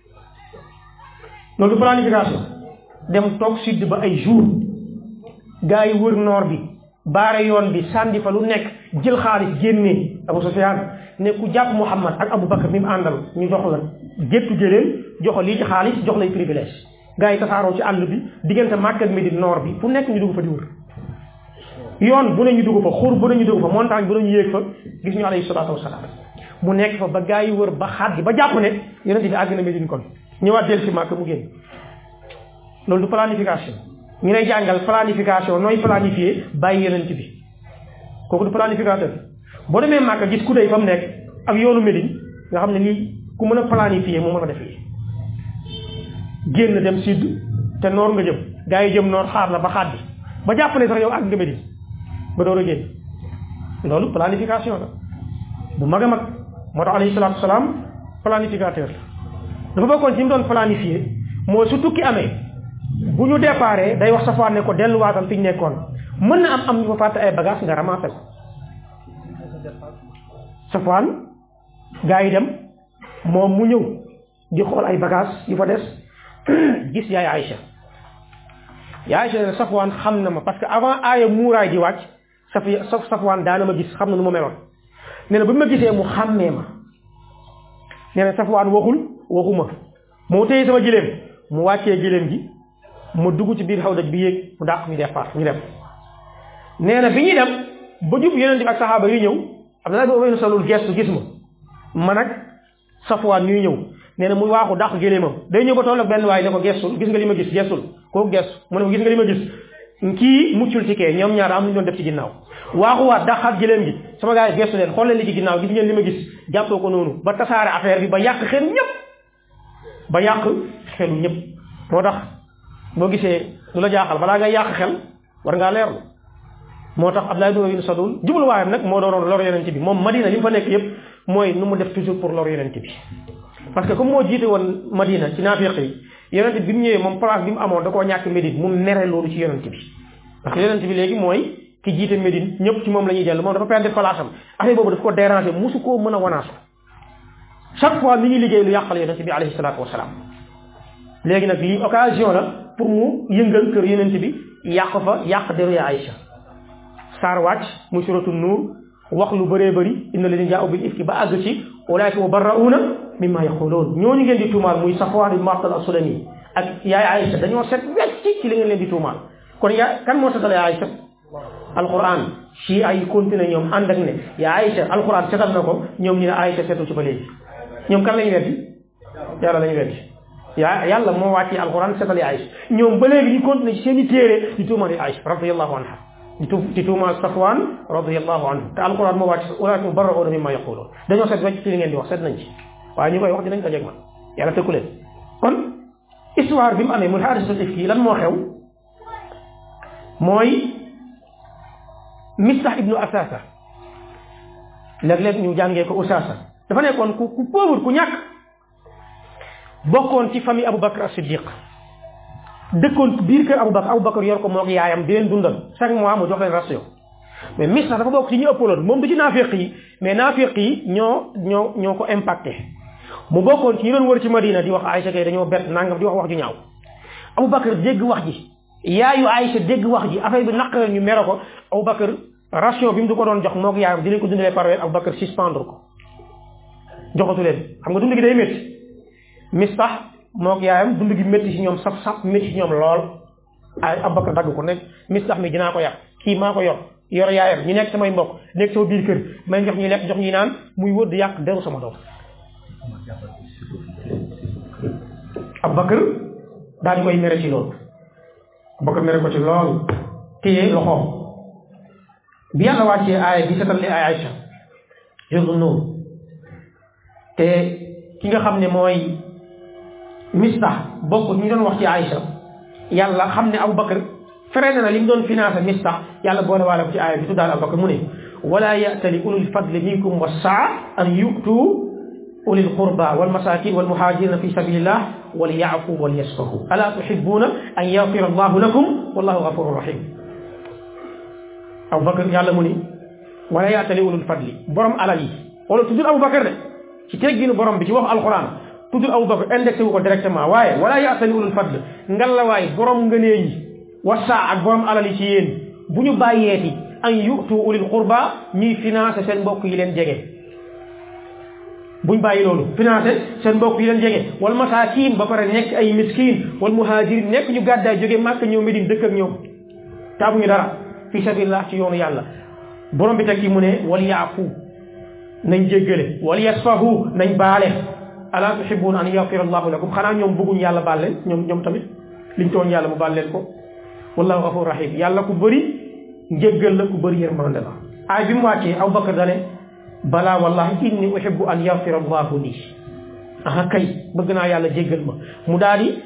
loolu du planification dem toog sud ba ay jour gars yi wër noor bi baare yoon bi sànni fa lu nekk jël xaalis génnee Abu Sufyaan ne ku jàpp Muhammad ak Abu Bakar mi mu àndal ñu jox la géttu jëleen jox lii ci xaalis jox lay privilège gars yi tasaaroo ci àll bi diggante Makka ak Médine nord bi fu nekk ñu dugg fa di wër yoon bu ne ñu dugg fa xur bu ne ñu dugg fa montagne bu ne ñu yéeg fa gis ñu alayhi salaatu wasalaam mu nekk fa ba gars yi wër ba xaat gi ba jàpp ne yonent bi àgg na Médine kon ñëwaat del si Makka mu génn loolu du planification ñu lay jàngal planification nooy planifier bàyyi yonent bi kooku du planificateur boo demee Màkka gis ku dey fa mu nekk ak yoonu Médine nga xam ne lii ku mën a planifier moo mën a def lii génn dem sud te noor nga jëm gaa yi jëm noor xaar la ba xaat bi ba jàpp ne sax yow ak nga Medine ba door a génn loolu planification la bu mag a mag moo tax alayhi salaatu wasalaam planificateur la dafa bokkoon ci mu doon planifié moo su tukki amee bu ñu déparé day wax Safwaan ne ko delluwaatal fi ñu nekkoon mën na am am ñu fa fàtte ay bagage nga ramassé ko Safwaan gaa yi dem moom mu ñëw di xool ay bagage yu fa des gis yaay Aïcha yaay Aïcha ne Safwaan xam na ma parce que avant aaya muuraay di wàcc saf saf Safwaan daana ma gis xam na nu ma meloon nee na bu ma gisee mu xàmmee ma nee na Safwaan waxul waxuma moo téye sama giléem mu wàccee giléem gi ma dugg ci biir xawdaj bi yéeg mu dàq ñu départ ñu dem nee na bi ñuy dem ba jub yeneen bi ak saxaaba yi ñëw Abdullah ibn Ubay salul gestu gis ma man ak Safwaan ñuy ñëw nee na muy waaxu dàq géléemam day ñëw ba toll ak benn waaye ne ko gestul gis nga li ma gis gestul kooku gestu mu ne ko gis nga li ma gis kii muccul ci kee ñoom ñaar am nañu doon def ci ginnaaw waaxuwaat dàqaat géléem gi sama gars yi gestu leen xool leen li ci ginnaaw gis ngeen li ma gis jàppoo ko noonu ba tasaare affaire bi ba yàq xel ñëpp ba yàq xelu ñëpp moo tax boo gisee lu la jaaxal balaa ngay yàq xel war ngaa leerlu moo tax Abdullah ibn Ubay salul jubluwaayam nag moo doonoon lor yonent bi moom Madina li mu fa nekk yëpp mooy nu mu def toujours pour lor yonent bi parce que comme moo jiite woon Madina ci naafiq yi yonent bi mu ñëwee moom place bi mu amoon da koo ñàkk Médine mu mere loolu ci yonent bi parce que yonent bi léegi mooy ki jiite Médine ñëpp ci moom la ñuy dellu moom dafa perdre place am affaire boobu daf ko déranger musu koo mën a wanaasu chaque fois mi ngi liggéey lu yàqal yonent bi alayhi salaatu wasalaam léegi nag lii occasion la pour mu yëngal kër yonent bi yàq fa yàq deru ya Aïcha saar wàcc muy suratu nuur wax lu bëree bëri inna ladina jaa'u bil ifki ba àgg ci ulaa'ika mubarra'uuna mimma yaquluun ñooñu ngeen di tuumaal muy Safwaan ibn Mu'attal as-Sulami ak yaay Aïcha dañoo set wecc ci li ngeen leen di tuumaal kon yaa kan moo setal yaay Aïcha alquran ci ay continué ñoom ànd ak ne yaa Aïcha alquran setal na ko ñoom ñu ne Aïcha setu ci ba léegi ñoom kan lañu weddi yàlla lañu weddi yaa yàlla moo wàccee alquran setal ya Aïcha ñoom ba léegi ñu continué ci seen i téere di tuumaal ya Aïcha radiyallahu anha di tu di tuumaal Safwaan radiyallahu anhu te alquran moo wàcc ulaa'ika mubarra'uuna mimmaa yaquuluun dañoo set wecc ci li ngeen di wax set nañ ci waaye ñu koy wax dinañ dajeeg man yàlla tëkku leen kon histoire bi mu amee muy haadisatul ifki lan moo xew mooy Mistah ibnu Asasa léeg-léeg ñu jàngee ko Usaasa dafa nekkoon ku ku pauvre ku ñàkk bokkoon ci famille Aboubacar as-Siddiq dëkkoon biir kër Aboubacar Aboubacar yor ko moog yaayam di leen dundal chaque mois mu jox leen ration mais Mistah dafa bokk ci ñu ëppaloon moom du ci naafiq yi mais naafiq yi ñoo ñoo ñoo ko impacté mu bokkoon ci ñu doon wër ci Madina di wax Aïcha kay dañoo bett nangam di wax wax ju ñaaw Aboubacar dégg wax ji yaayu Aïcha dégg wax ji affaire bi naq ñu mere ko Aboubacar ration bi mu du ko doon jox moog yaayam di leen ko dundalee par weer Aboubacar suspendre ko joxatu leen xam nga dund gi day métti Mistah moog yaayam dund gi métti ci ñoom saf saf métti ci ñoom lool ay Aboubacar dagg ko nekk Mistah mi dinaa ko yàq kii maa ko yor yor yaayam ñu nekk samay mbokk nekk sama biir kër may jox ñuy lekk jox ñuy naan muy wër di yàq deru sama doom Aboubacar daal di koy mere ci loolu Aboubacar mere ko ci loolu téye loxoom bi yàlla wàccee aaya bi setal li ay Aïcha jurdu nuur te ki nga xam ne mooy Mistah bokk ñu doon wax ci Aïcha yàlla xam ne Aboubacar freiné na li mu doon financé Mistah yàlla boole waale ko ci aaya bi tuddaal Aboubacar mu ne wala ya'tali ulul fadli minkum was-sa'a an yu'tu ulil qurba wal masakin wal muhajirina fi sabilillah wal ya'fu wal yasfahu ala tuhibbuna an yaghfira allahu lakum wallahu ghafurur rahim Aboubacar yàlla mu ni wala ya'tali ulul fadli borom alal yi wala tuddul Aboubacar de ci tegginu borom bi ci wax alquran tuddul Aboubacar indexé wu ko directement waaye wala ya'tali ulul fadli ngalawaay borom ngëneel yi wasaa ak borom alal yi ci yéen bu ñu bàyyeeti an yu'tu ulil qurba ñuy financé seen mbokk yi leen jege buñ bàyyi loolu financé seen mbokk yi leen jege wal masaakin ba pare nekk ay miskin wal muhajirin nekk ñu gàddaay jóge Màkka ñëw Medine dëkk ak ñoom taabuñu dara fi sabilillah ci yoonu yàlla borom bi teg ci mu ne wal yaafu nañ jéggale wal yasfahu nañ baale ala tuhibbuna an yaghfira allahu lakum xanaa ñoom bëgguñ yàlla baal leen ñoom ñoom tamit liñ tooñ yàlla mu baal leen ko wallahu ghafur rahim yàlla ku bëri njéggal la ku bëri yërmande la ay bi mu wàccee Aboubacar dane balaa wallahi inni uhibbu an yaghfira allahu lii aha kay bëgg naa yàlla jéggal ma mu daal di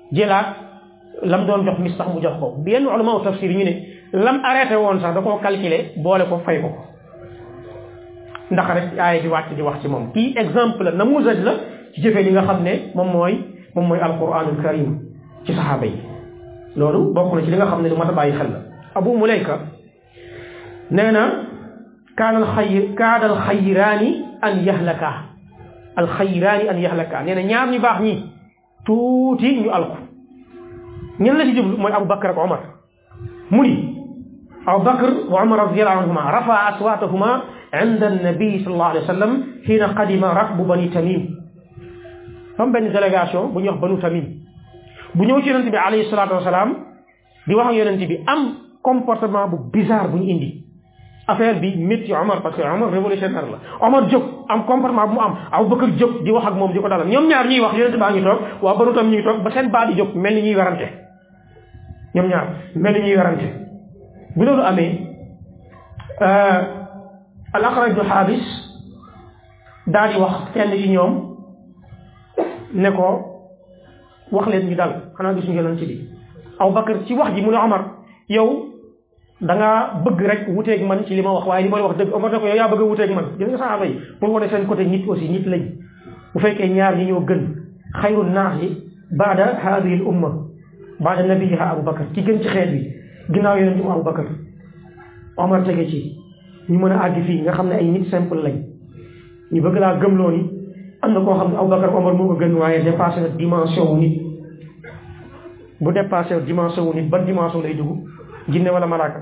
jëlaat lam doon jox mis sax mu jox ko yenn ulama tafsir ñu ne lam arrêté woon sax da koo calculer boole ko fay ko ndax rek aaya di wàcc di wax ci moom kii exemple la namuzaj la ci jëfee li nga xam ne moom mooy moom mooy alquranul karim ci saxaaba yi loolu bokk na ci li nga xam ne lu mat a bàyyi xel la abu mulayka nee na kaana alxayr kaada alxayraani an yahlaka alxayraani an yahlaka nee na ñaar ñu baax ñi tuuti ñu alku ñen la ci jublu mooy abu bakar ak omar mu ni abu bakar wa omar radiallahu anhuma rafa aswatahuma inda annabi sallallahu alayhi wa sallam xiina qadima rakbu bani tamim fam benn délégation bu ñuy wax banu tamim bu ñëw ci yonente bi alayhi salatu wasalaam di wax ak yonente bi am comportement bu bizarre bu ñu indi affaire bi métti Omar parce que Omar révolutionnaire la Omar jóg am comportement bu mu am Abubakar jóg di wax ak moom di ko dalal ñoom ñaar ñuy wax yonente baa ngi toog waa banu tam ñu ngi toog ba seen baa di jóg mel ni ñuy werante ñoom ñaar mel ni ñuy werante bu loolu amee al Aqra ibnu Xaabis daal di wax kenn ci ñoom ne ko wax leen ñu dal xanaa gisuñu yonente bi Abubakar ci wax ji mu ne Omar yow da ngaa bëgg rek wuteeg man ci li ma wax waaye li ma wax dëgg Omar ne ko yow yaa bëgg a wuteeg man gis nga saxaaba yi pour wane seen côté nit aussi nit lañ bu fekkee ñaar ñi ñoo gën xayru naas yi baada haadihi l umma baada nabiyiha Abubakar ki gën ci xeet bi ginnaaw yonent bi Abubakar Omar tege ci ñu mën a àgg fii nga xam ne ay nit simple lañ ñu bëgg laa gëmloo ni am na koo xam ne Abubakar Omar moo ko gën waaye dépassé na dimension wu nit bu dépassé dimension wu nit ban dimension lay dugg jinne wala malaaka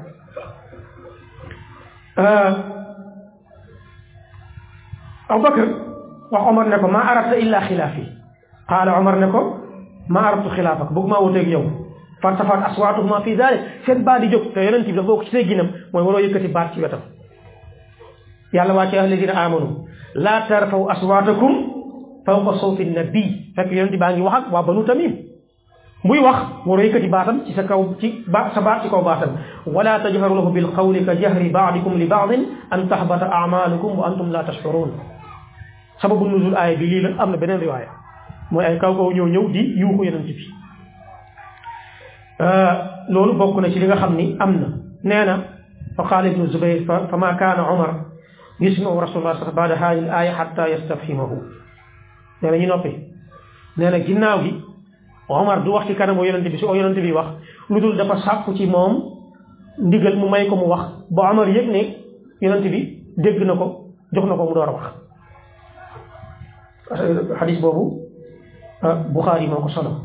Abubakar wax Omar ne ko maa arabta illa xilaafi qaala Omar ne ko maa arabtu xilaafak bëgg maa wuteeg yow fartafaat aswaatuhuma fi dalik seen baat di jóg te yonent bi dafa bokk ci say ginam mooy waroo yëkkati baat ci wetam yàlla waa ci alladina amanu laa tarfaw aswaatakum fawqa sawti nabi fekk yonent baa ngi wax ak waa banu tamim muy wax waroo yëkkati baatam ci sa kaw ci ba sa baat ci kaw baatam wala tajharu lahu bil qawli ka jahri baadikum li baadin an tahbata amalukum wa antum la tashurun sababu nuzul aaya bi lii la am na beneen riwaaya mooy ay kaw kaw ñëw ñëw di yuuxu yonent bi loolu bokk na ci li nga xam ni am na nee na fa qaala ibnu zubayr fa ma kaana omar yusmiu rasulullah sax baada haadihi al aaya xatta yastafhimahu nee na ñu noppi nee na ginnaaw gi Omar du wax ci kanamu yonente bi su o yonente bi wax lu dul dafa sàpp ci moom ndigal mu may ko mu wax ba Omar yëg ne yonente bi dégg na ko jox na ko mu door a wax xadis boobu Buxaari moo ko solo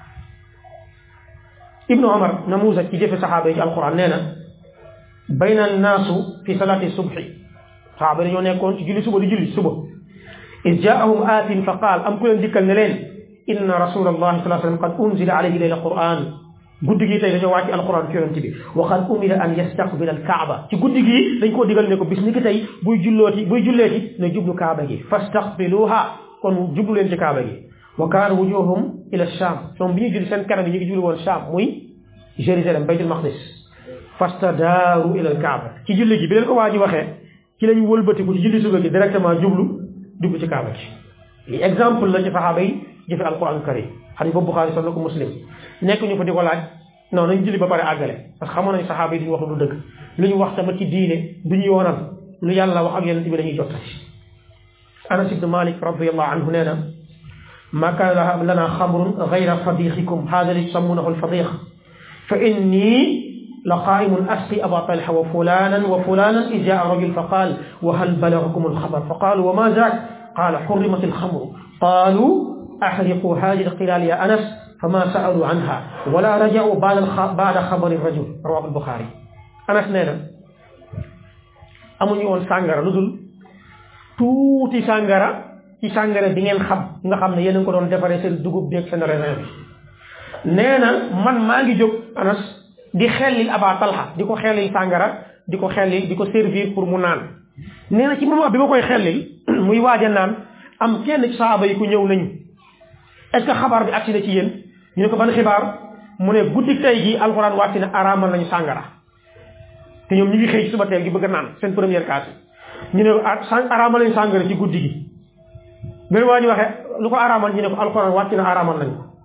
ibnu Omar namuusa ci jëfe saxaaba yi ci alquran nee na bayna annaasu fi salaati subhi saxaaba yi dañoo nekkoon ci julli suba di julli suba is jaahum aatin fa qaal am ku leen dikkal ne leen inna rasulallahi sallallahu alayhi wa sallam qad unzila alayhi layla quran guddi gi tey dañoo wàcc alquran ci yonente bi wa qad umira an yastaqbila alkaaba ci guddi gi dañ koo digal ne ko bis ni ki tey buy jullooti buy julleeti ne jublu kaaba gi fastaqbiluha kon jublu leen ci kaaba gi wa kaana wujuhum ila sham ñoom bi ñuy julli seen kanam yi ñu ngi julli woon sham muy Jérusalem baytul maqdis fastadaaru ila alkaaba ci julli gi bi leen ko waa ji waxee ci lañ wëlbatiku ci julli suba gi directement jublu dugg ci kaaba gi li exemple la ci saxaaba yi jëfe alquran karim xadis boobu Buxaari solo ko Muslim nekk ñu fa di ko laaj non nañ julli ba pare àggale parce que xamoon nañ saxaaba yi duñu wax lu dëgg lu ñu wax tamit ci diine duñu yoonal lu yàlla wax ak yonent bi dañuy jottati Anas ibn Malik radiyallahu anhu nee na ma kaana lana xamrun gayra fadixikum hada li tusammunahu alfadix fa inni la qaimun asqi aba talha wa fulanan wa fulanan id jaa rajul fa qaal wa hal balagakum alxabar fa qaalu wa ma zaak qaala xurrimat alxamru qaalu axriqu hadihi alqilaal ya anas fama saalu anha wala rajau baada xabari rajul rawahu albuxaari anas nee na amuñu woon sàngara lu dul tuuti sàngara ci sàngara bi ngeen xam nga xam ne yéen a ngi ko doon defaree seen dugub bi ak seen raisin bi nee na man maa ngi jóg anas di xellil aba talha di ko xellil sàngara di ko xellil di ko servir pour mu naan nee na ci moment bi ma koy xellil muy waaj a naan am kenn ci saaba yi ku ñëw nañu est-ce que xabaar bi agsi na ci yéen ñu ne ko ban xibaar mu ne guddi tey gi alxuraan wàcc na araamal nañu sàngara te ñoom ñu ngi xëy ci suba teel gi bëgg a naan seen première kaas ñu ne araamal nañu sàngara ci guddi gi benn waa ñu waxee lu ko araamal ñu ne ko alxuraan wàcc na araamal nañu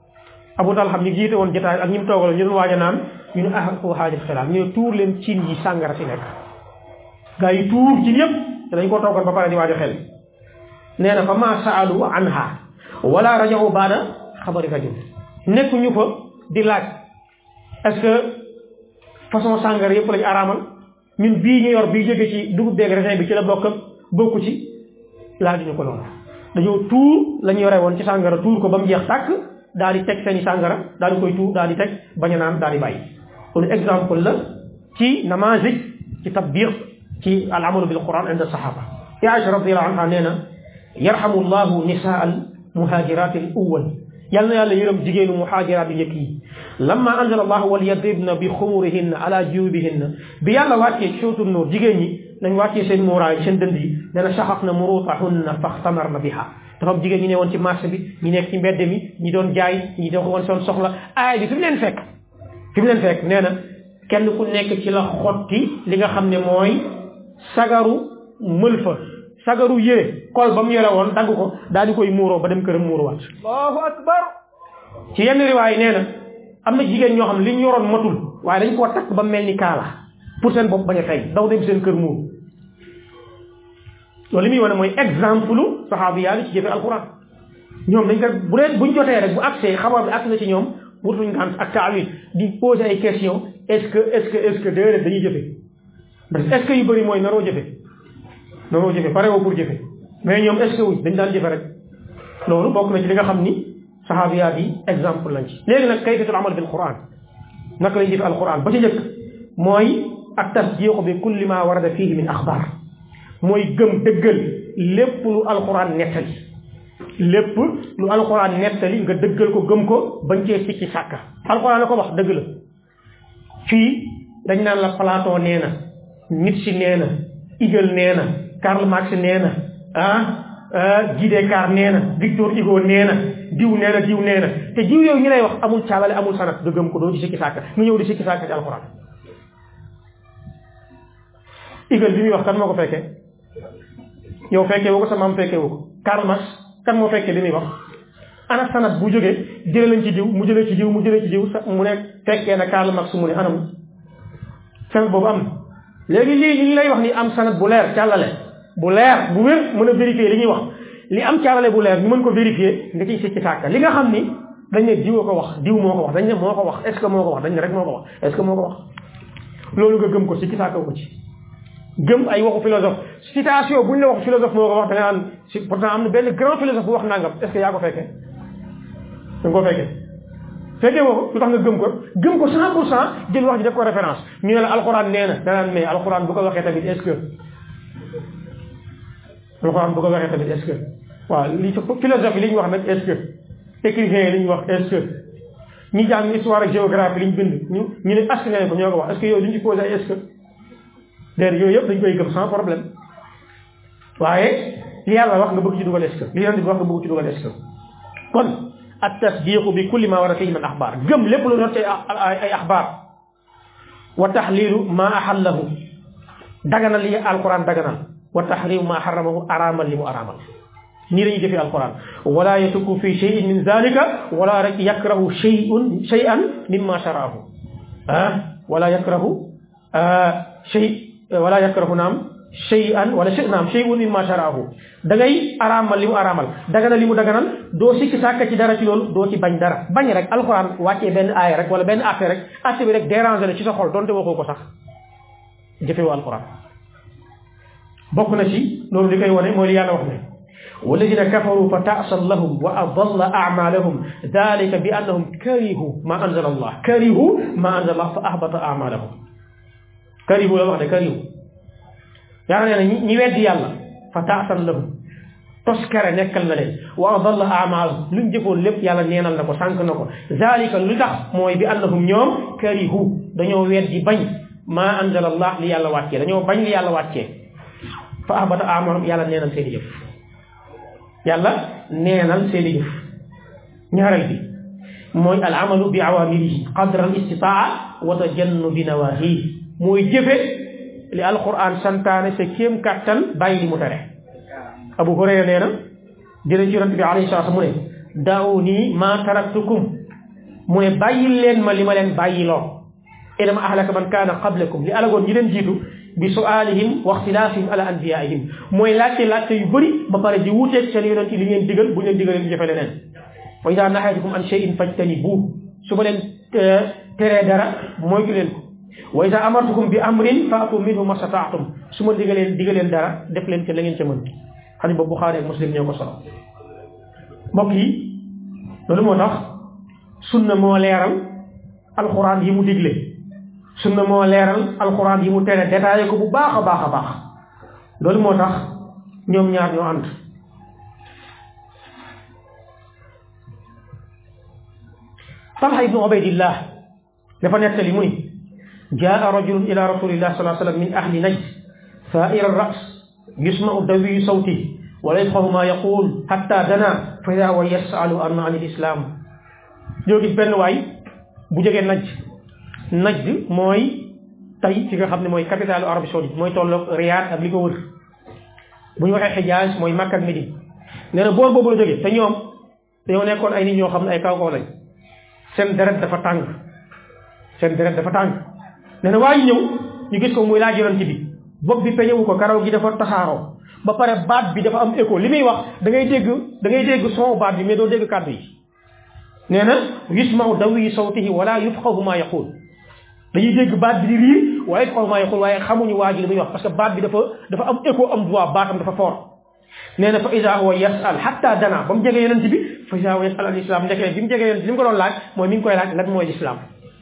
Abu Talha xam ñi jiite woon jotaay ak ñi mu toogal ñu doon waaj a naan ñu ne ah foo xaajal xilaaf ñu ne tuur leen cin yi sàngara si nekk gaa yi tuur cin yëpp te dañ koo toogoon ba pare di waaj a xel nee na fa ma saalu anha wala rajahu baada xabari rajul nekk ñu fa di laaj est-ce que façon sàngara yëpp lañu araamal ñun bii ñu yor bii jóge ci dugub beeg raisin bi ci la bokk bokku ci laaj ñu ko loolu dañoo tuur la ñu yore woon ci sàngara tuur ko ba mu jeex tàkk daal di teg seeni sàngara daal di koy tuur daal di teg bañ a naan daal di bàyyi kon exemple la ci namazij ci tatbiq ci al amalu bil quran inda sahaba ya Aïcha radiyallahu anha nee na yarhamu llahu nisaa al muhajirat al awwal yal na yàlla yërëm jigéenu muhajirat yu njëkk yi lamma anzala allahu wal yadribna bi xumurihinna ala jubihinna bi yàlla wàccee ci sootu nuur jigéen ñi nañ wàccee seen muuraay seen dënd yi dana saxaf na murutahunna faxtamarna biha dafa am jigéen ñi ne woon ci marché bi ñi nekk ci mbedd mi ñi doon jaay ñi doon woon seen soxla aay bi fi mu leen fekk fi mu leen fekk nee na kenn ku nekk ci la xotti li nga xam ne mooy sagaru mëlfa sagaru yére kol ba mu yore woon dagg ko daal di koy muuroo ba dem këram muuruwaat allahu akbar ci yenn riwaay nee na am na jigéen ñoo xam ne li ñu yoroon matul waaye dañ koo takk ba mel ni kaala pour seen bopp bañ a fay daw dem seen kër muur loolu li muy wane mooy exemple saxaabiyaa yi ci jëfe alquran ñoom dañ ko bu dee buñ jotee rek bu accès xabaar bi accès na ci ñoom wutuñ ngant ak taawil di poser ay questions est-ce que est-ce que est-ce que déedéet dañuy jëfe parce que est-ce que yu bëri mooy naroo jëfe naroo jëfe pare woo pour jëfe mais ñoom est-ce que wuñ dañ daan jëfe rek loolu bokk na ci li nga xam ni saxaabiyaa yi exemple lañ ci léegi nag kayfatul amal bil quran naka lay jëfe alquran ba ci njëkk mooy ak tasdiqu bi kulli ma warada fihi min axbaar mooy gëm dëggal lépp lu alquran nettali lépp lu alquran nettali nga dëggal ko gëm ko bañ cee sikki sàkka alquran la ko wax dëgg la fii dañ naan la Platon nee na Nietzsche nee na Hegel nee na Karl Marx nee na ah Guy Descartes nee na Victor Hugo nee na diw nee na diw nee na te diw yooyu ñu lay wax amul caalale amul sanat nga gëm ko doo ci sikki sàkka nga ñëw di sikki sàkka ci alquran Hegel bi muy wax kan moo ko fekkee yow fekkee woo ko sa maam fekkee woo ko Karl Marx kan moo fekkee li muy wax ana sanat bu jógee jëlee lañ ci diw mu jëlee ci diw mu jëlee ci diw mu ne fekkee na Karl Marx mu ne anam sanat boobu am léegi lii li lay wax ni am sanat bu leer càllale bu leer bu wér mën a vérifier li ñuy wax li am càllale bu leer ñu mën ko vérifier nga ciy sikki sàkka li nga xam ni dañ ne diw ko wax diw moo ko wax dañ ne moo ko wax est ce que moo ko wax dañ ne rek moo ko wax est ce que moo ko wax loolu nga gëm ko sikki sàkka ko ci gëm ay waxu philosophe citation buñ la wax philosophe moo ko wax da nga naan si pourtant am na benn grand philosophe bu wax nangam est ce que yaa ko fekkee da nga ko fekkee fekkee woo ko lu tax nga gëm ko gëm ko cent pour cent jël wax ji def ko référence ñu ne la alxuraan nee na danaan mais alxuraan bu ko waxee tamit est ce que alxuraan bu ko waxee tamit est ce que waaw li philosophe yi li ñu wax nag est ce que écrivain yi li ñu wax est ce que ñi jàng histoire ak géographie li ñu bind ñu ñu ne askan ko ñoo ko wax est ce que yooyu duñ ci posé ay est ce que déer yooyu yëpp dañ koy gëm sans problème waaye li yàlla wax nga bëgg ci dugal est ce que li yonent bi wax nga bëgg ci dugal est ce que kon at tasdiqu bi kulli ma war a fihi min axbaar gëm lépp lu doon ci ay axbaar wa taxlilu ma axallahu daganal li alquran daganal wa taxrimu ma xaramahu araamal li mu araamal nii lañuy jëfee alquran wala yatuku fi cheyin min zalika wala rek yakrahu cheyun cheyan mimma sharaahu ah wala yakrahu chey wala yakrahu naam shay'an wala shay naam shay'un mimma sharaahu da ngay araamal li mu araamal daganal li mu daganal doo sikki sàkk ci dara ci loolu doo ci bañ dara bañ rek alxuraan wàccee benn aaya rek wala benn affaire rek affaire bi rek déranger la ci sa xol donte waxoo ko sax jëfewoo alxuraan bokk na ci loolu li koy wane mooy li yàlla wax ne walladina kafaru fa ta'san lahum wa adalla a'malahum dalika bi annahum karihu ma anzala allah karihu ma anzala allah fa ahbata a'malahum karihu la wax de karihu yaa nee na ñi weddi yàlla fa taasan lahum toskare nekkal na leen wa adalla a'malahum luñ jëfoon lépp yàlla neenal na ko sànq na ko zalika lu tax mooy bi annahum ñoom karihu dañoo weddi bañ ma anzala allah li yàlla wàccee dañoo bañ li yàlla wàccee fa ahbata a'malahum yàlla neenal seeni jëf yàlla neenal seeni jëf ñaareel bi mooy al amalu bi awamirihi qadra al istitaa wa tajannubi nawahihi mooy jëfe li alquran santaane sa kéem kàttan bàyyi li mu tere Abu Hurayra nee na jëlee ci yonent bi alayhi salaatu mu ne da'uni ma taraktukum mu ne bàyyil leen ma li ma leen bàyyiloo inama ahlaka man kaana qablakum li alagoon ñi leen jiitu bi su'aalihim wa ixtilaafihim ala anbiyaihim mooy laajte laajte yu bëri ba pare di wuuteeg seen yonent yi li ngeen digal bu leen digalee di jëfe leneen wa idaa nahaytukum an shay'in fajtanibuuhu su ma leen teree dara moytu leen ko wa idaa amartukum bi amrin fa'tu minhu mastata'tum su ma digaleen digaleen dara def leen ca la ngeen ca mën xadis boobu Buxaari ak Muslim ñoo ko solo mbokk yi loolu moo tax sunna moo leeral alxuraan yi mu digle sunna moo leeral alxuraan yi mu tere détaillé ko bu baax a baax a baax loolu moo tax ñoom ñaar ñoo ànd Talha ibnu Ubaydillah dafa nettali mu ni jaa rajulun ila rasulillah sallallahu alayhi wa sallam min ahli najd saa'ir ar-ra's yusma'u dawiyu sawtihi wa la yafqahu ma yaqul hatta dana fa idaa huwa yas'alu an al-islam ñoo gis benn waay bu jógee Najd Najd mooy tey fi nga xam ne mooy capitale Arabie Saoudite mooy tolloog Riyad ak li ko wër bu ñu waxee Hijaz mooy Makka ak Médine nee na boor boobu la jógee te ñoom dañoo nekkoon ay nit ñoo xam ne ay kaw kaw lañ seen deret dafa tàng seen deret dafa tàng nee na waaye ñëw ñu gis ko muy laaj yonent bi bopp bi peñewu ko karaw gi dafa tasaaroo ba pare baat bi dafa am écho li muy wax da ngay dégg da ngay dégg son baat bi mais doo dégg kàddu yi nee na yusma'u dawi sawtihi wala yufqahu ma yaqul dañuy dégg baat bi di riir waaye yufqahu ma yaqul waaye xamuñu waa ji li muy wax parce que baat bi dafa dafa am écho am voix baatam dafa fort nee na fa iza huwa yas'al hatta dana ba mu jege yonent bi fa iza huwa yas'al al islam ndekee bi mu jege yonent bi li mu ko doon laaj mooy mi ngi koy laaj lan mooy l'islam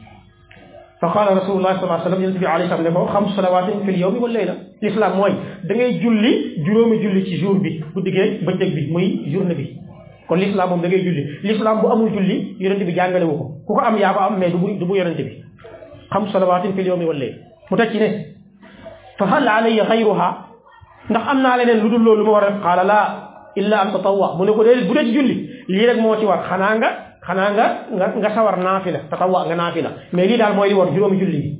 fa qaala rasulullah sallallahu alayhi wa sallam yonent bi alayhi salaam ne ko xamsu salawaatin fil yawmi wal layla l'islam mooy da ngay julli juróomi julli ci jour bi guddi gi bëccëg bi muy journée bi kon l'islam moom da ngay julli l'islam bu amul julli yonent bi jàngale wu ko ku ko am yaa ko am mais du bu du bu yonent bi xamsu salawaatin fil yawmi wal layla mu teg ci ne fa hal alayya xayruha ndax am naa leneen lu dul loolu ma war a def qaala laa illa an tatawwa mu ne ko déedéet bu dee ci julli lii rek moo ci war xanaa nga xanaa nga nga nga sawar naafila tatawwa nga naafila mais lii daal mooy li war juróomi julli yi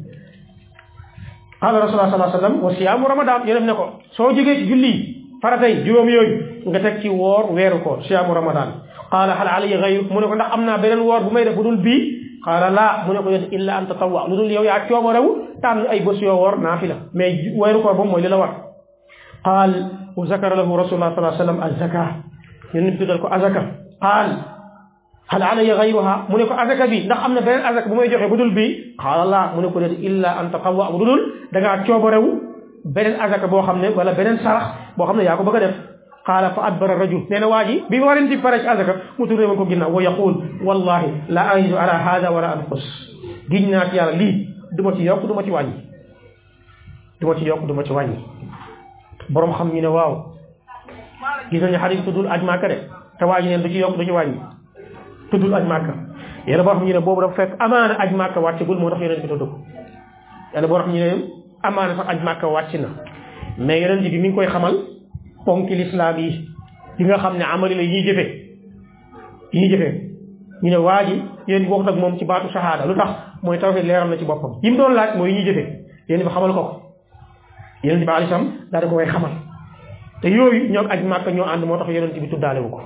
qaala rasulullah sallallahu alayhi wa sallam wa siyaamu ramadan yonent ne ko soo jógee ci julli yi faratay juróom yooyu nga teg ci woor weeru ko siyaamu ramadan qaala hal alayya ghayru mu ne ko ndax am naa beneen woor bu may def bu dul bii qaala laa mu ne ko yonent illa an tatawwa lu dul yow yaa coomo rew tànn ay bés yoo woor naafila mais weeru koor boobu mooy li la war qaal wa zakara lahu rasulullah sallallahu alayhi wa sallam az-zaka yonent bi tuddal ko azaka qaal hal alayya ghayruha mu ne ko azaka bi ndax am na beneen azaka bu may joxe bu dul bii qaala laa mu ne ko déet illa an tatawwa bu dul da ngaa coobo rew beneen azaka boo xam ne wala beneen sarax boo xam ne yaa ko bëgg a def qaala fa adbara rajul nee na waa ji bi warin ci pare ci azaka mu turne woon ko ginnaaw wa yaqul wallahi la ajidu ala hada wala anqus giñ naa ci yàlla lii du ma ci yokk du ma ci wàññi du ma ci yokk du ma ci wàññi borom xam ñu ne waaw gis nañu xadis tuddul aj Màkka de te waa ji neen du ci yokk du ci wàññi tuddul aj Màkka yàlla boo xam ñu ne boobu dafa fekk amaana aj Màkka wàccagul moo tax yonent bi tudd ko yàlla boo xam ñu ne amaana sax aj Màkka wàcc na mais yonent bi mi ngi koy xamal ponki lislaam yi yi nga xam ne amali la yi ñuy jëfe yi ñuy jëfe ñu ne waa ji yéen bi waxut ak moom ci baatu shahada lu tax mooy tawhid leeral na ci boppam yi mu doon laaj mooy yi ñuy jëfe yéen bi xamal ko ko yonent bi alayhi salaam daal di ko koy xamal te yooyu ñoo aj Màkka ñoo ànd moo tax yonent bi tuddaale wu ko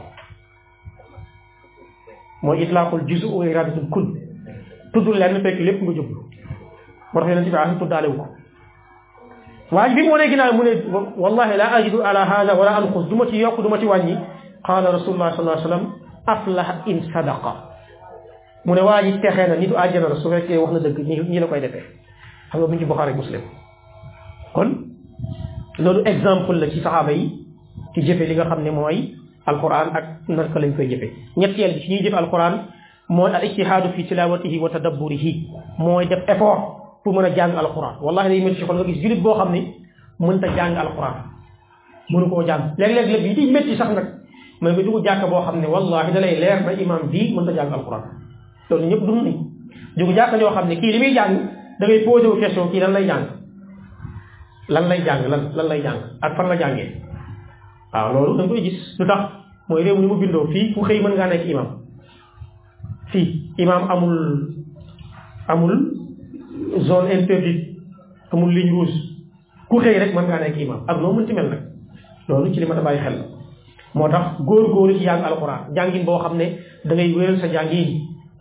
mooy itlaaqul juz'u wa iradatul kull tuddul lenn fekk lépp nga jublu moo tax yonent bi alayhi tuddaale wu ko waaye bi mu wanee ginnaaw mu ne wallahi la ajidu ala hada wala anqus du ma ci yokk du ma ci wàññi qaala rasulullah sallallahu alayhi wa sallam aflaha in sadaqa mu ne waa ji texee na nitu àjjana la su fekkee wax na dëgg ñi ñi la koy defee xam nga mu ngi ci Buxaari Muslim kon loolu exemple la ci saxaaba yi ci jëfe li nga xam ne mooy alquran ak naka lañ koy jëfe ñetteel bi ci ñuy jëfe alquran mooy al ijtihaadu fi tilawatihi wa tadabburihi mooy def effort pour mën a jàng alquran wallahi day métti ci xol nga gis jullit boo xam ne mënta jàng alquran mënu koo jàng léeg-léeg léeg yi di métti sax nag mooy nga dugg jàkka boo xam ne wallahi da lay leer na imam bii mënta jàng alquran loolu ñëpp dund nañ dugg jàkka ñoo xam ne kii li muy jàng da ngay posé wu question kii lan lay jàng lan lay jàng lan lan lay jàng ak fan la jàngee waaw loolu da nga koy gis lu tax mooy réew mi mu bindoo fii ku xëy mën ngaa nekk imam fii imam amul amul zone interdite amul ligne rouge ku xëy rek mën ngaa nekk imam ak noo mënti mel nag loolu ci li ma ta bàyyi xel la moo tax góor-góoru ci jàng alxuraan jàngin boo xam ne da ngay wéral sa jàngin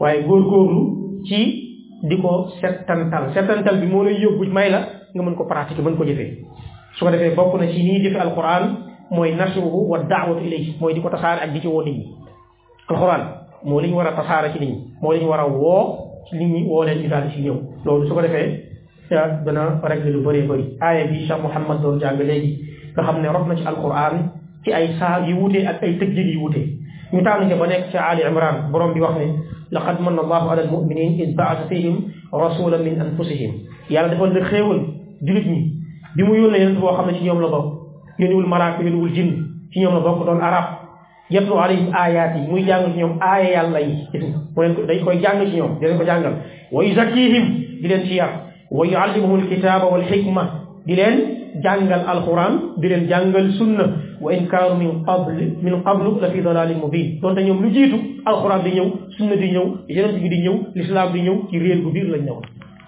waaye góorgóorlu ci di ko settantal settantal bi moo lay yóbbu may la nga mën ko pratiquer mën ko jëfee su ko defee bokk na ci nii jëfe alquran mooy nasruhu wa daawatu ilayhi mooy di ko tasaare ak di ci woo nit ñi alquran moo li ñu war a tasaare ci nit ñi moo li ñu war a woo ci nit ñi woo leen ñu daal di ci ñëw loolu su ko defee dana régler lu bëree bëri aaya bi Cheikh Mouhammad doon jàng léegi nga xam ne rot na ci alquran ci ay saar yu wutee ak ay tëjjit yu wutee ñu tànn ca ba nekk ci Ali Imran borom bi wax ne laqad manna allahu ala almuminin id baasa fihim rasulan min anfusihim yàlla defal na xéewal julit ñi bi mu yónnee yonent boo xam ne ci ñoom la bokk yónniwul malaaka yónniwul jinn ci ñoom la bokk doon arab yatlu alayhim ayaat yi muy jàng ci ñoom aaya yàlla yi mu leen ko dañ koy jàng ci ñoom di leen ko jàngal wa yuzakkihim di leen ci yar wa yuallimuhum alkitaba wal hikma di leen jàngal alquran di leen jàngal sunna wa in kaanu min qabl min qablu la fi dalalin mubin donte ñoom lu jiitu alquran di ñëw sunna di ñëw yonent bi di ñëw l'islam di ñëw ci réer gu biir lañ ñëw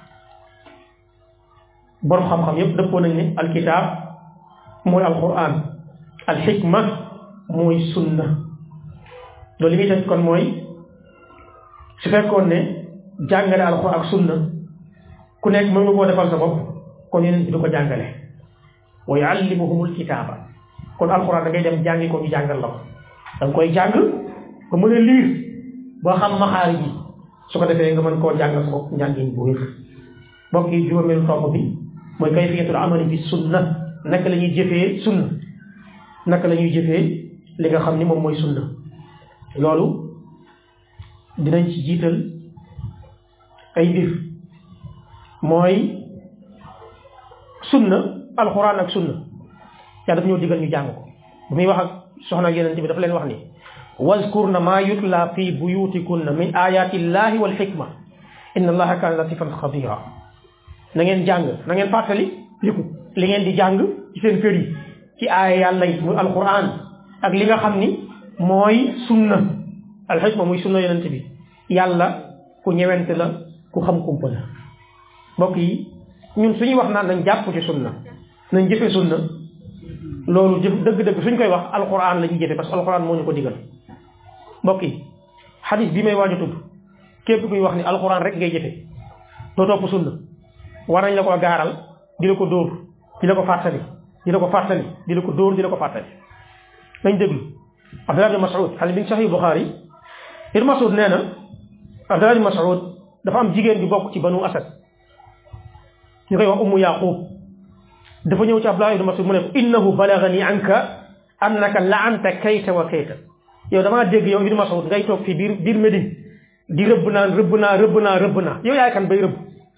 borom xam-xam yépp dëppoo nañ ne alkitab mooy alquran alxikma mooy sunna loolu li muy teg kon mooy su fekkoon ne jàngale alquran ak sunna ku nekk mën nga koo defal sa bopp kon yonent bi du ko jàngale wa yuallimuhumul kitaaba kon alquran da ngay dem jàngi ko ñu jàngal la ko da nga koy jàng ba mën a liir boo xam maxaari ji su ko defee nga mën koo jàngal sa bopp njàngin bu wér mbokk yi juróomeelu tomb bi mooy kayfiyatul amali bi sunna naka la ñuy jëfee sunna naka la ñuy jëfee li nga xam ni moom mooy sunna loolu dinañ ci jiital ay mbir mooy sunna alxuraan ak sunna yaa daf ñoo digal ñu jàng ko bu muy wax ak soxna yeneen bi dafa leen wax ni wazkurna ma yutla fi buyutikunna min ayati llahi wal hikma inna allaha kana latifan xabira na ngeen jàng na ngeen fàttali liku li ngeen di jàng ci seen kër yi ci aaya yàlla yi muy alquran ak li nga xam ni mooy sunna alxikma muy sunna yonent bi yàlla ku ñewente la ku xam kumpa la mbokk yi ñun suñuy wax naan nañ jàpp ci sunna nañ jëfe sunna loolu jëf dëgg-dëgg suñ koy wax alquran la ñuy jëfe parce que alquran moo ñu ko digal mbokk yi xadis bi may waaj a tudd képp kuy wax ni alquran rek ngay jëfe doo topp sunna war nañ la ko gaaral di la ko dóor di la ko fàttali di la ko fàttali di la ko dóor di la ko fàttali nañ déglu Abdullah ibn Mas'ud xale bi ngi Sahih Bukhari ibn Mas'ud nee na Abdullah ibn Mas'ud dafa am jigéen bi bokk ci banu Asad ñu koy wax Ummu Yaqub dafa ñëw ci Abdullah ibn Mas'ud mu ne ko innahu balagani anka annaka la'anta kayta wa kayta yow damaa dégg yow ibn Mas'ud ngay toog fii biir biir Médine di rëbb naan rëbb naa rëbb naa rëbb naa yow yaay kan bay rëbb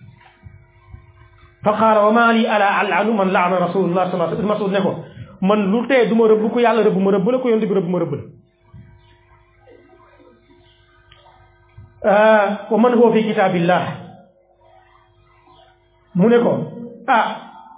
fa qaala wa maa lii alaa al'anu man la'ana rasulullah sallallahu alayhi wa sallam Mas'ud ne ko man lu tee du ma rëbb ko yàlla rëbb ma rëbb la ko yonent bi rëbb ma rëbb la wa man huwa fi kitaabillah mu ne ko ah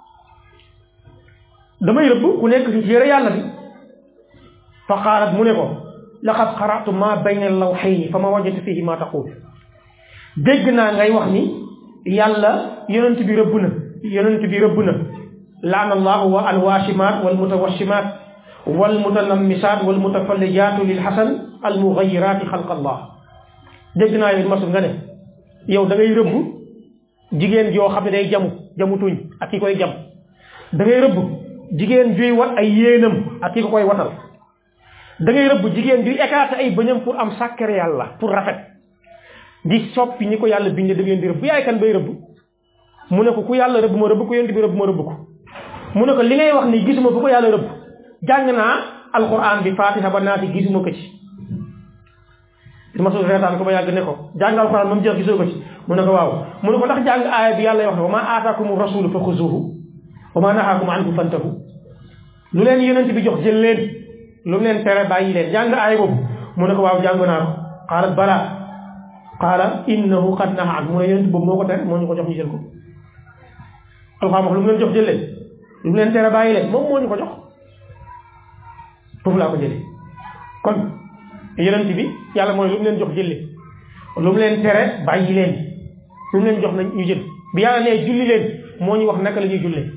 damay rëbb ku nekk ci téere yàlla bi fa qaalat mu ne ko laqad qara'tu ma bayna al-lawhayni fa ma wajadtu fihi ma taqul dégg naa ngay wax ni yàlla yonent bi rëbb na yonent bi rëbb na laana allahu wa alwaashimaat wal mutawashimaat wal mutanammisaat wal mutafallijaatu lil hasan al mughayiraati xalqa allah dégg naa yow masul nga ne yow da ngay rëbb jigéen joo xam ne day jamu jamu tuñ ak ki koy jam da ngay rëbb jigéen juy wat ay yéenam ak ki ko koy watal da ngay rëbb jigéen juy écarté ay bëñam pour am sàkkare yàlla pour rafet di soppi ñi ko yàlla bindee da ngeen di rëbb yaay kan bay rëbb mu ne ko ku yàlla rëbb ma rëbb ko yonent bi rëbb ma rëbb ko mu ne ko li ngay wax ni gisuma bu ko yàlla rëbb jàng naa alquran bi fatiha ba naati gisuma ko ci Mas'ud reetaan ko ba yàgg ne ko jàng alquran moom jeex gisoo ko ci mu ne ko waaw mu ne ko ndax jàng aaya bi yàlla wax ne wa maa aataakumu rasulu fa xuzuuhu wa maa nahaakum anhu fantahu lu leen yonent bi jox jël leen lu mu leen tere bàyyi leen jàng aaya boobu mu ne ko waaw jàng naa ko qaalat balaa qaala innahu qad nahaa anhu mu ne yonent boobu moo ko tere moo ñu ko jox ñu jël ko alxam wax lu mu leen jox jël leen lu mu leen tere bàyyi leen moom moo ñu ko jox foofu laa ko jëlee kon yonent bi yàlla mooy lu mu leen jox jël leen lu mu leen tere bàyyi leen lu mu leen jox nañ ñu jël bi yàlla nee julli leen moo ñu wax naka la ñuy jullee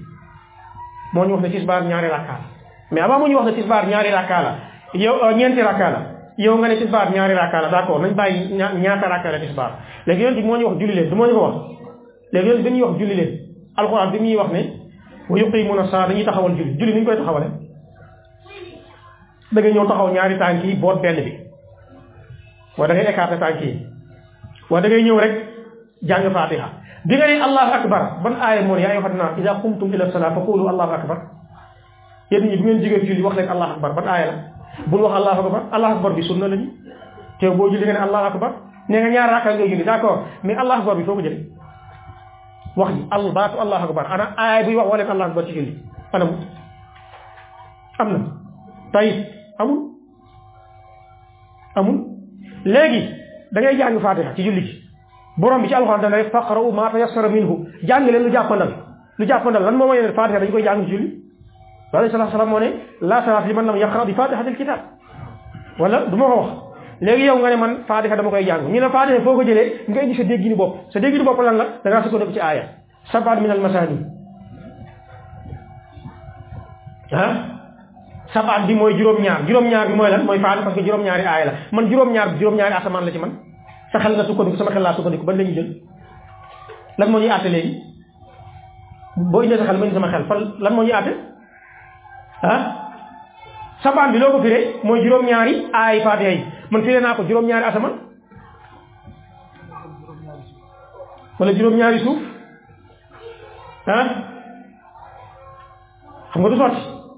moo ñu wax ne tisbaar ñaari rakkaa la mais avant moo ñu wax ne tisbaar ñaari rakkaa la yow ñeenti rakkaa la yow nga ne tisbaar ñaari rakka la d'accord nañ bàyyi ñaata rakka la tisbaar léegi yonent bi moo ñu wax julli leen du moo ñu ko wax léegi yonent bi ñuy wax julli leen alxuraan bi ñuy wax ne wa yuqimuuna salaata dañuy taxawal julli julli ni ñu koy taxawale da ngay ñëw taxaw ñaari tànk yi boot benn bi wala da ngay écarter tànk yi wala da ngay ñëw rek jàng fatiha bi nga ne allahu akbar ban aaya moo ne yaa ayyuhan naas idaa qumtum ila salaat fa qulu allahu akbar yéen ñi bu ngeen jógee julli wax leen allahu akbar ban aaya la bul wax allahu akbar allahu akbar bi sunna la ni te boo julli nga ne allahu akbar nee nga ñaar raaka ngay julli d'accord mais allahu akbar bi foo ko jëlee wax ji al baatu allahu akbar ana aaya buy wax wala allahu akbar ci julli anam am na tayit amul amul léegi da ngay jàng fatiha ci julli gi borom bi ci alxuraan dana faqra'u ma tayassara minhu jàng leen lu jàppandal lu jàppandal lan moo may ne fatiha dañu koy jàng ci julli alayhi salaatu salaam moo ne la salaata liman lam yaqra bi fatihatil kitab wala du ma ko wax léegi yow nga ne man fatiha dama koy jàng ñu ne fatiha foo ko jëlee nga indi sa dégginu bopp sa dégginu bopp lan la da ngaa sukkandiku ci aaya sab'an min al masani ah sab'an bi mooy juróom-ñaar juróom-ñaar bi mooy lan mooy fatiha parce que juróom-ñaari aaya la man juróom-ñaar bi juróom-ñaari asamaan la ci man sa xel nga sukkandiku sama xel laa sukkandiku ban la ñuy jël lan moo ñuy àtte léegi boo indee sa xel ma indi sama xel fan lan moo ñuy àtte ah sabaan bi loo ko firee mooy juróom-ñaari aay fatiha yi man firee naa ko juróom-ñaari asamaan wala juróom-ñaari suuf ah xam nga du sotti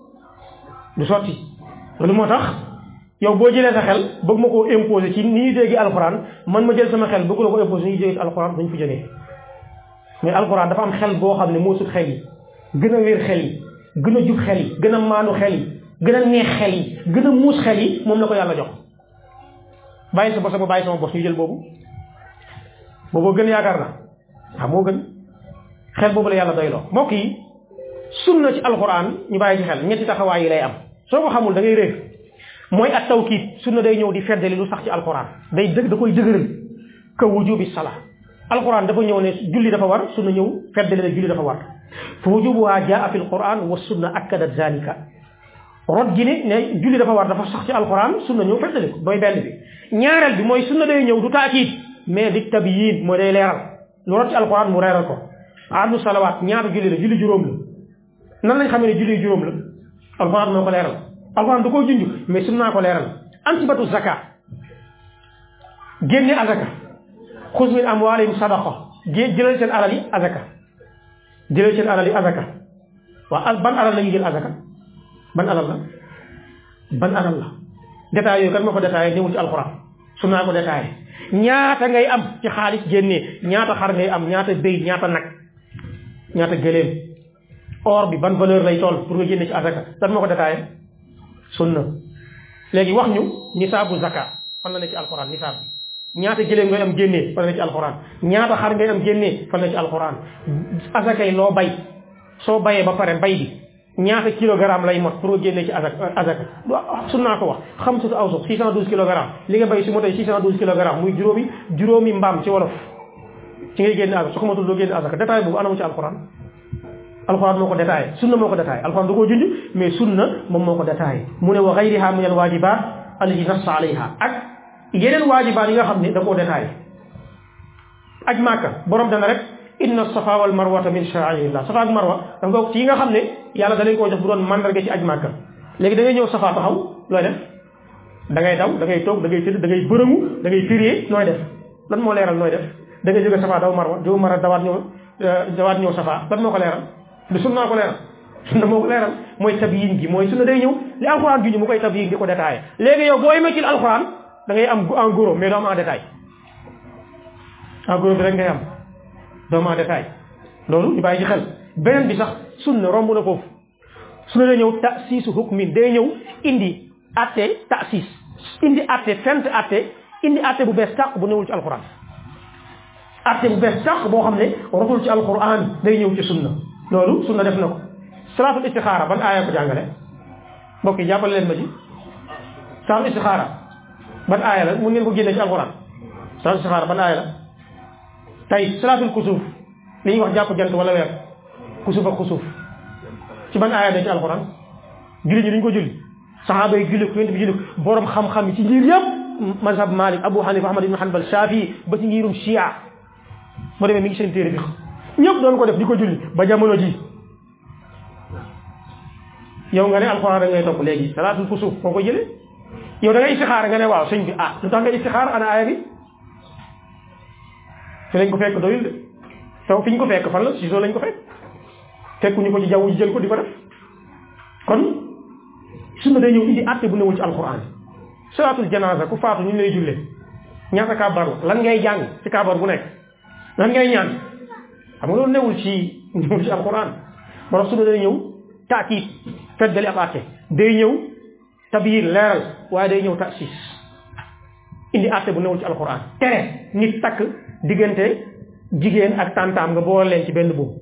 du sotti loolu moo tax yow boo jëlee sa xel bëgg ma koo imposer ci ni ñuy dégg alxuraan man ma jël sama xel bëgg la ko imposer ni ñuy dégg alxuraan dañ fi jógee mais alxuraan dafa am xel boo xam ne moo sut xel yi gën a wér xel yi gën a jub xel yi gën a maanu xel yi gën a neex xel yi gën a muus xel yi moom la ko yàlla jox bàyyi sa bos ba bàyyi sama bos ñu jël boobu booboo gën yaakaar na waaw moo gën xel boobu la yàlla doyloo mbokk yi sunna ci alxuraan ñu bàyyi ci xel ñetti taxawaay yi lay am soo ko xamul da ngay réer mooy at tawkiid sunna day ñëw di feddali lu sax ci alxuraan day dëgg da koy dëgëral ka wujubi sala alxuraan dafa ñëw ne julli dafa war sunna ñëw feddali ne julli dafa war fa wujubuha jaa fi alquran wa sunna akkadat zalika rot gi ne ne julli dafa war dafa sax ci alquran sunna ñëw feddali ko mooy benn bi ñaareel bi mooy sunna day ñëw du taakiid mais di tabiyin mooy day leeral lu rot ci alquran mu leeral ko addu salawaat ñaata julli la julli juróom la nan lañ xamee ne julli juróom la alquran moo ko leeral alquran da koo junj mais sunna ko leeral ansibatu zaka génne azaka xuz min amwaalihim sadaqa jëlal seen alal yi azaka jëlal seen alal yi azaka waaw ban alal la ñuy jël azaka ban alal la ban alal la détails yooyu kan moo ko détaillé ñëwul ci alxuraan sunna ko détaillé ñaata ngay am ci xaalis génnee ñaata xar ngay am ñaata béy ñaata nag ñaata gëléem or bi ban valeur lay toll pour nga génne ci azaka kan moo ko détaillé sunna léegi wax ñu nisaabu zaka fan la ne ci alxuraan nisaab bi ñaata gëléem ngay am génnee fan la ci alxuraan ñaata xar ngay am génnee fan la ci alxuraan azaka yi loo bay soo bayee ba pare bay bi ñaata kilogramme lay mot pour nga génnee ci azaka azaka sunnaa ko wax xam sutu aw suq six cent douze kilogrammes li nga bay su ma tey six cent douze kilogrammes muy juróomi juróomi mbaam ci wolof ci ngay génne azaka su ko matul doo génne azaka détail boobu anamu ci alxuraan alxuraan moo ko détaillé sunna moo ko détaillé alxuraan da koo junj mais sunna moom moo ko détaillé mu ne wa gayriha min al wajibat allati nassa alayha ak yeneen waajibaat yi nga xam ne da koo détaillé aj màkka borom dana rek inna safa wal marwata min sha'airillah safa ak marwa dafa bokk ci yi nga xam ne yàlla da leen koo jox bu doon mandarga ci aj màkka léegi da ngay ñëw safa taxaw looy def da ngay daw da ngay toog da ngay tëdd da ngay bërëmu da ngay firee nooy def lan moo leeral nooy def da ngay jóge safa daw marwa jóge marwa dawaat ñëw dawaat ñëw safa lan moo ko leeral du sunna ko leeral sunna moo ko leeral mooy tabiyin gi mooy sunna day ñëw li alxuraan juñu mu koy tabiyin di ko détaillé léegi yow boo yemee ci alxuraan da ngay am en gros mais doo am en détail en gros bi rek ngay am doo am en détail loolu ñu bàyyi ci xel beneen bi sax sunna romb na foofu sunna day ñëw ta'siisu hukmin day ñëw indi atte ta'siis indi atte fent atte indi atte bu bees tàq bu newul ci alxuraan atte bu bees tàq boo xam ne rotul ci alxuraan day ñëw ci sunna loolu sunna def na ko salaatul istixaara ban aaya ko jàngale mbokk yi jàppale leen ma ci salaatul istixaara ban aaya la mun ngeen ko génne ci alxuraan salaatul istixaara ban aaya la tey salaatul kusuuf li ñuy wax jàpp jant wala weer kusuuf ak kusuuf ci ban aaya da ci alxuraan julli ñi duñ ko julli saxaaba yi julli ko yonent bi julli ko borom xam-xam yi ci ngir yëpp mazhab Malik Abu Hanifa Ahmad ibn Hanbal Shafi ba ci ngirum Shia moo demee mi ngi seen téere bi ñëpp doon ko def di ko julli ba jamono ji yow nga ne alxuraan da ngay topp léegi salaatul kusuuf foo ko jëlee yow da ngay istixaara nga ne waaw sëñ bi ah lu tax nga istixaara ana aaya bi fi lañ ko fekk doyul de taw fi ñu ko fekk fan la si soo lañ ko fekk fekkuñu ko ci jaww ji jël ko di ko def kon sunna day ñëw indi àtte bu newul ci alxuraan salaatul janaasa ku faatu ñu lay jullee ñaata kàbbar la lan ngay jàng ci kàbbar bu nekk lan ngay ñaan xam nga loolu newul ci newul ci alxuraan moo tax sunna day ñëw taakiit feddali ab àtte day ñëw tabiir leeral waaye day ñëw tasis indi àtte bu newul ci alxuraan tere nit takk diggante jigéen ak tantaam nga boole leen ci benn boobu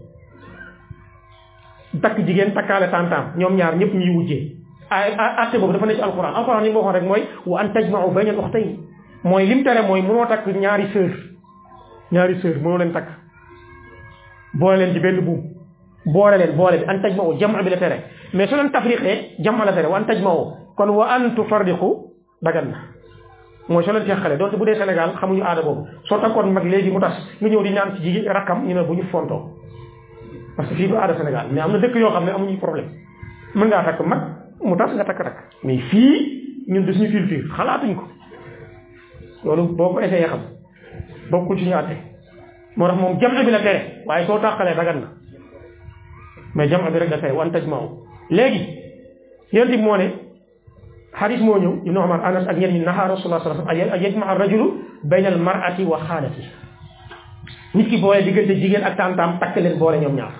takk jigéen takkaale tantaam ñoom ñaar ñëpp ñuy wujjee ay àtte boobu dafa ne ci alxuraan alxuraan li mu waxoon rek mooy wa an tajma'u bayna al-ukhtayn mooy lim tere mooy mënoo takk ñaari sœur ñaari sœur mënoo leen takk boole leen ci benn buum boole leen boole bi an tajma'u jam'a bi la tere mais su leen tafriqee jam'a la tere wa an tajma'u kon wa an tufarriqu dagan na mooy soo leen teqale donte bu dee Sénégal xamuñu aada boobu soo takkoon mag léegi mu tas nga ñëw di ñaan ci jigéen rakkam ñu ne bu ñu fontoo parce que fii du aada Sénégal mais am na dëkk yoo xam ne amuñu problème mën ngaa takk mag mu tas nga takk rakk mais fii ñun de suñu culture xalaatuñ ko loolu boo ko essayé xam bokkul suñu àtte moo tax moom jam bi la tere waaye soo tàqalee dagan na mais jam bi rek la tere wan taj maaw léegi yéen bi moo ne xadis moo ñëw ibnu Umar Anas ak ñenn ñi naha rasulullah sallallahu alayhi wasallam an yajma ar-rajulu bayna al-mar'ati wa xaalati nit ki boole diggante jigéen ak tantaam takk leen boole ñoom ñaar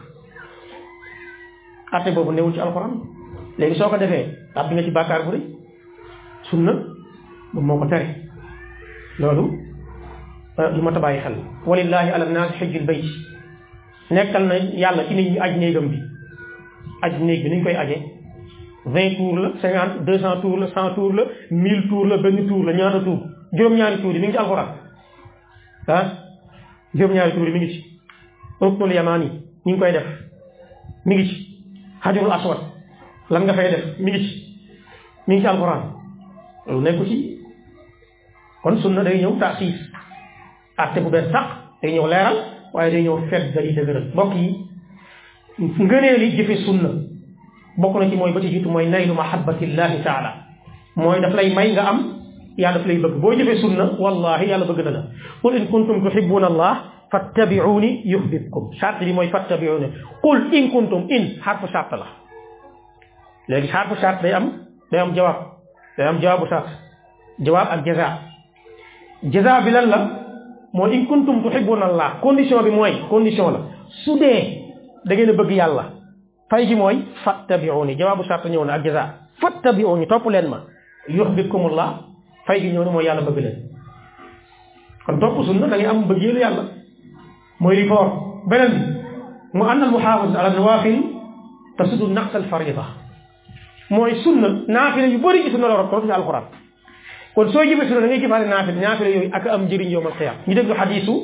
atte boobu newul ci alxuraan léegi soo ko defee tàbbi nga ci bàkkaar bu rëy sunna moom moo ko tere loolu lu ma tabaay xel walillahi ala nnaasi xijjul bayt nekkal na yàlla ci nit ñi aj néegam bi aj néeg bi ni ñu koy aje vingt tours la cinquante deux cent tours la cent tours la mille tours la benn tour la ñaata tour juróom-ñaari tours yi mi ngi ci alxuraan ah juróom-ñaari tours yi mi ngi ci ruknul yamaani ñu ngi koy def mi ngi ci xajarul aswad lan nga fay def mi ngi ci mi ngi ci alxuraan loolu nekku ci kon sunna day ñëw taasiis atte bu bees sax day ñëw leeral waaye day ñëw fet dali dëgëral mbokk yi ngënee li jëfe sunna bokk na ci mooy ba ci jiitu mooy naylu mahabbatillahi taala mooy daf lay may nga am yàlla daf lay bëgg boo jëfee sunna wallahi yàlla bëgg na la qul in kuntum tuhibbuna allah fattabi'uni yuhbibkum charte bi mooy fattabi'uni qul in kuntum in xarfu charte la léegi xarfu charte day am day am jawaab day am jawaabu charte jawaab ak jaza jaza bi lan la mooy in kuntum tuhibbuna allah condition bi mooy condition la su dee da ngeen a bëgg yàlla fay gi mooy fattabi'uni jawaabu charte ñëw na ak jaza fattabi'uni topp leen ma yuhbibkumullah fay gi ñëw na mooy yàlla bëgg leen kon topp sunna da ngay am bëggeelu yàlla mooy li foor beneen bi mu ànd al muhaafaz ala nawaafil tasudu naqs al farida mooy sunna naafila yu bëri ci sunna la rot ci alquran kon soo jëfee sunna da ngay jëfaale naafila naafila yooyu ak am njëriñ yowmal qiyaama ñu déglu xadiisu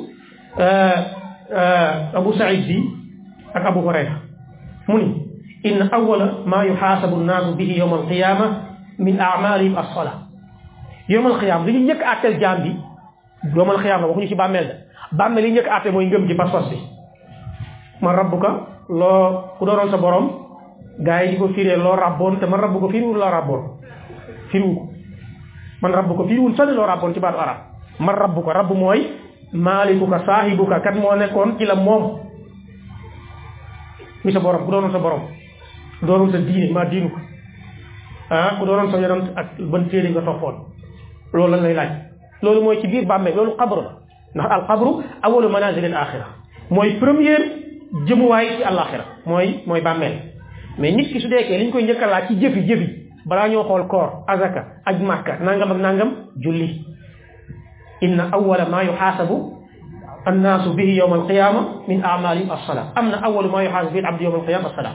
Abu Saïd bi ak Abu Hurayra mu ni inna awwala maa yuxaasabu nnaasu bihi yowmal qiyaama min a'maalihim as-salaa yowmal qiyaama li ñu njëkk a àtteel jaam bi yowmal qiyaama waxuñu ci bàmmeel da bàmmeel li njëkk a àtte mooy ngëm ji pas-pas bi man rabbuka loo ku doonoon sa borom gaa yi di ko firee loo rabboon te man rabbu ko firiwul loo rabboon firiwu ko man rabbu ko firiwul sani loo rabboon ci baatu arab man rabbu ko rabbu mooy maalikuka saahibuka kat moo nekkoon ci la moom mi sa borom ku doonoon sa borom ku doonoon sa diine maa diinu ko ah ku doonoon sa yonent ak ban téere nga toppoon loolu lan lay laaj loolu mooy ci biir bàmmeel loolu xabru la ndax al xabru awalu manazil al axira mooy première jëmuwaay ci àllaaxira mooy mooy bàmmeel mais nit ki su deekee li ñu koy njëkk a laaj ci jëfi jëfi balaa ñoo xool koor azaka aj màkka nangam ak nangam julli inna awala ma yuxaasabu annaasu bihi yowma alqiyama min amalihim alsalaa am na awalu ma yuxaasabu bihi alabdu yowma alqiyama alsalaa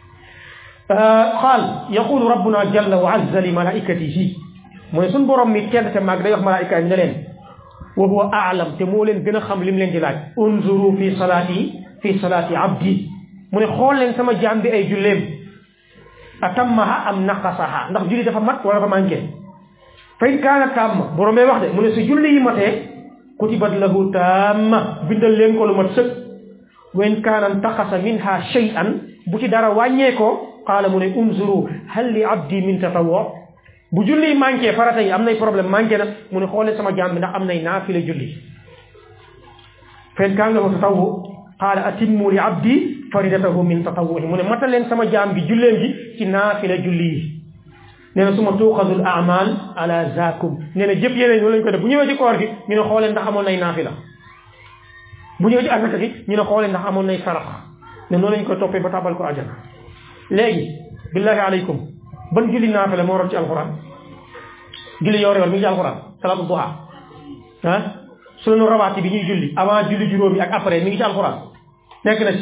qaal yaqulu rabbuna jalla wa azza li malaikatihi mooy suñ borom mi tedd te màgg day wax malaayika yi ne leen wa huwa aalam te moo leen gën a xam li mu leen di laaj unzuru fi salaati fi salaati abdi mu ne xool leen sama jaam bi ay julleem atammaha am naqasaha ndax julli dafa mat wala dafa manqué fa in kaana tamma borom bay wax de mu ne su julli yi matee kutibat lahu tamma bindal leen ko lu mat sëkk wa in kaana intaqasa minha shay'an bu ci dara wàññee ko qaala mu ne unzuru hal li abdi min tatawwu bu julli manqué farata yi am nay problème manqué na mu ne xoolee sama jaam bi ndax am nay naafila julli fa in kaana lahu tatawwu qaala atimmu li abdi faridatahu min tatawwuhi mu ne matal leen sama jaam bi julleem gi ci naafila julli yi nee na suma tuuxadul amal ala zakum nee na jëpp yeneen ñoo lañ ko def bu ñëwee ci koor gi ñu ne xoolee ndax amoon nay naafila bu ñëwee ci asaka gi ñu ne xoolee ndax amoon nay sarax ne noonu lañ ko toppee ba tabal ko ajana léegi billahi aleykum ban julli naafila moo rot ci alquran julli yoor yoor mi ngi ci alquran salaatu duha ah sunu rawaati bi ñuy julli avant julli juróomi ak après mi ngi ci alquran nekk na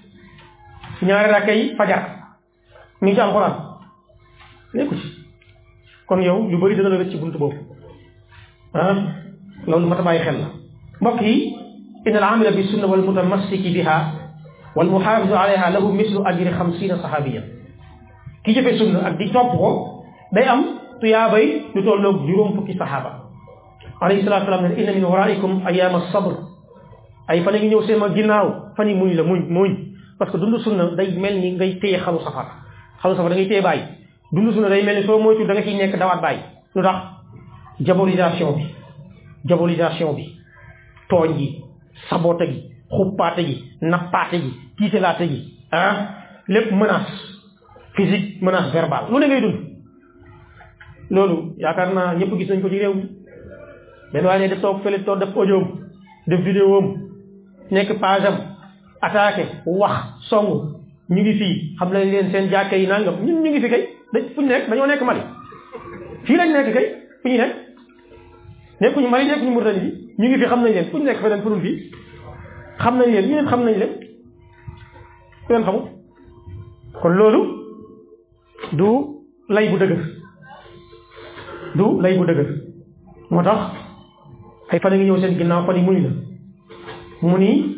ci ñaari rakka yi fajar mi ngi ci alquran nekku ci kon yow lu bëri dana la rëcc ci buntu boobu ah loolu mat a bàyyi xel la mbokk yi inna al amila bi sunna wal mutamassiki biha wal muhafizu alayha lahu mislu ajri xamsina sahabiya ki jëfe sunna ak di topp ko day am tuyaabay lu tolloog juróom fukki sahaaba alayhi salatu salaam ne inna min waraikum ayama sabr ay fan a ngi ñëw seen ma ginnaaw fan yi muñ la muñ muñ parce que dund sunna day mel ni ngay téye xalu safar xalu safar da ngay téye bàyyi dund sunna day mel ni soo moytu da nga ciy nekk dawaat bàyyi lu tax diabolisation bi diabolisation bi tooñ gi sabote gi xuppaate gi nappaate gi tiitalaate gi ah lépp menace physique menace verbale lu ne ngay dund loolu yaakaar naa ñëpp gis nañ ko ci réew mi benn waaye ne def toog fële toog def audio def vidéo am nekk page am attaqué wax song ñu ngi fii xam nañ leen seen jàkke yi nangam ñun ñu ngi fi kay dañ fu ñu nekk dañoo nekk Mali fii lañ nekk kay fu ñu nekk nekkuñu Mali nekkuñu Mauritanie bi ñu ngi fi xam nañ leen fu ñu nekk feneen furul fii xam nañ leen ñu leen xam nañ leen fu leen xamul kon loolu du lay bu dëgër du lay bu dëgër moo tax ay fan a ngi ñëw seen ginnaaw fan yi muñ la mu ni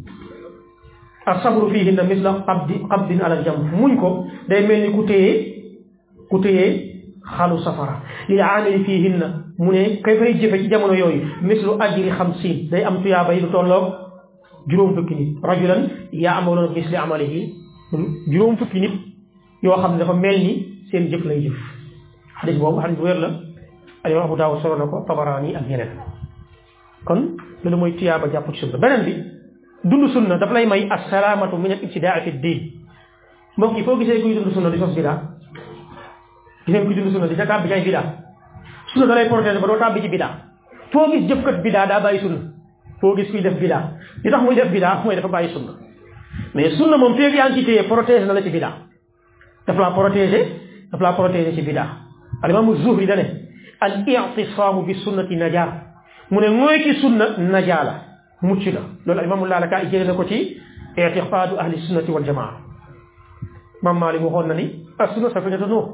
asabru fihinna misla qabdi qabdin ala jam muñ ko day mel ni ku téye ku téye xalu safara li aamili fihinna mu ne kay fay jëfe ci jamono yooyu mislu ajri xamsin day am tuyaaba yi lu tolloog juróom fukki nit rajulan yaamaluuna misli amalihi juróom fukki nit yoo xam ne dafa mel ni seen jëf lay jëf xadis boobu xadis bu wér la alimam Abu Daawud solo na ko Tabaraani ak ñeneen kon loolu mooy tuyaaba jàpp ci sunna beneen bi dund sunna daf lay may assalaamatu min al ibtidaa fi diin mbokk yi foo gisee kuy dund sunna di sos bidaa giseen kuy dund sunna di ca tàbbi ci ay bidaa sunna da lay protéger ba doo tàbbi ci bidaa foo gis jëfkat bidaa daa bàyyi sunna foo gis kuy def bidaa li tax muy def bidaa mooy dafa bàyyi sunna mais sunna moom feeg yaa ngi ci téye protéger na la ci bidaa daf laa protéger daf laa protéger ci bidaa alimaamu Zuhri dane al i'tisaamu bi sunnati najaa mu ne mooy ki sunna najaa la mucc la loolu imaamu Laalakaa'i jëlee na ko ci i'tiqaadu ahli sunnati wal jamaa Maam Maalik waxoon na ni as sunna safinatu Nuux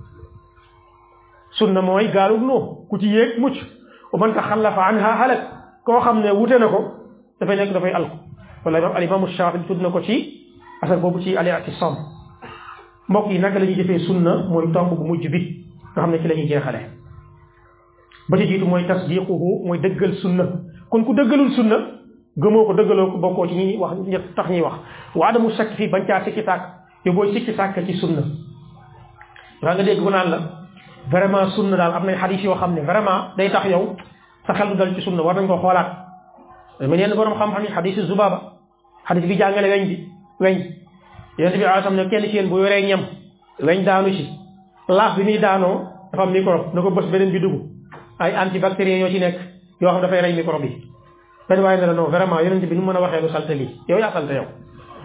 sunna mooy gaalug Nuux ku ci yéeg mucc wa man taxallafa anha halak koo xam ne wute na ko dafay nekk dafay alko wala al imaamu Shaafi'i tudd na ko ci asar boobu ci al i'tisaam mbokk yi naka la ñuy jëfee sunna mooy tomb bu mujj bi nga xam ne ci la ñuy jeexale ba ci jiitu mooy tasdiquhu mooy dëggal sunna kon ku dëggalul sunna gëmoo ko dëggaloo ko bokkoo ci ñi wax ñett tax ñuy wax wa adamu shakk fii bañ caa sikki sàkk yow booy sikki sàkk ci sunna waa nga dégg bu naan la vraiment sunna daal am nay xadis yoo xam ne vraiment day tax yow sa xel du dal ci sunna war nañ ko xoolaat mais yenn borom xam-xam yi xadisu Zubaaba xadis bi jàngale weñ bi weñ yonent bi alayhi salaam ne kenn ci yéen bu yoree ñam weñ daanu ci laaf bi muy daanoo dafa am microbe na ko bës beneen bi dugg ay antibactérien ñoo ci nekk yoo xam dafay rey microbe yi benn waaye ne la non vraiment yonent bi nu mën a waxee lu salte lii yow yaa salte yow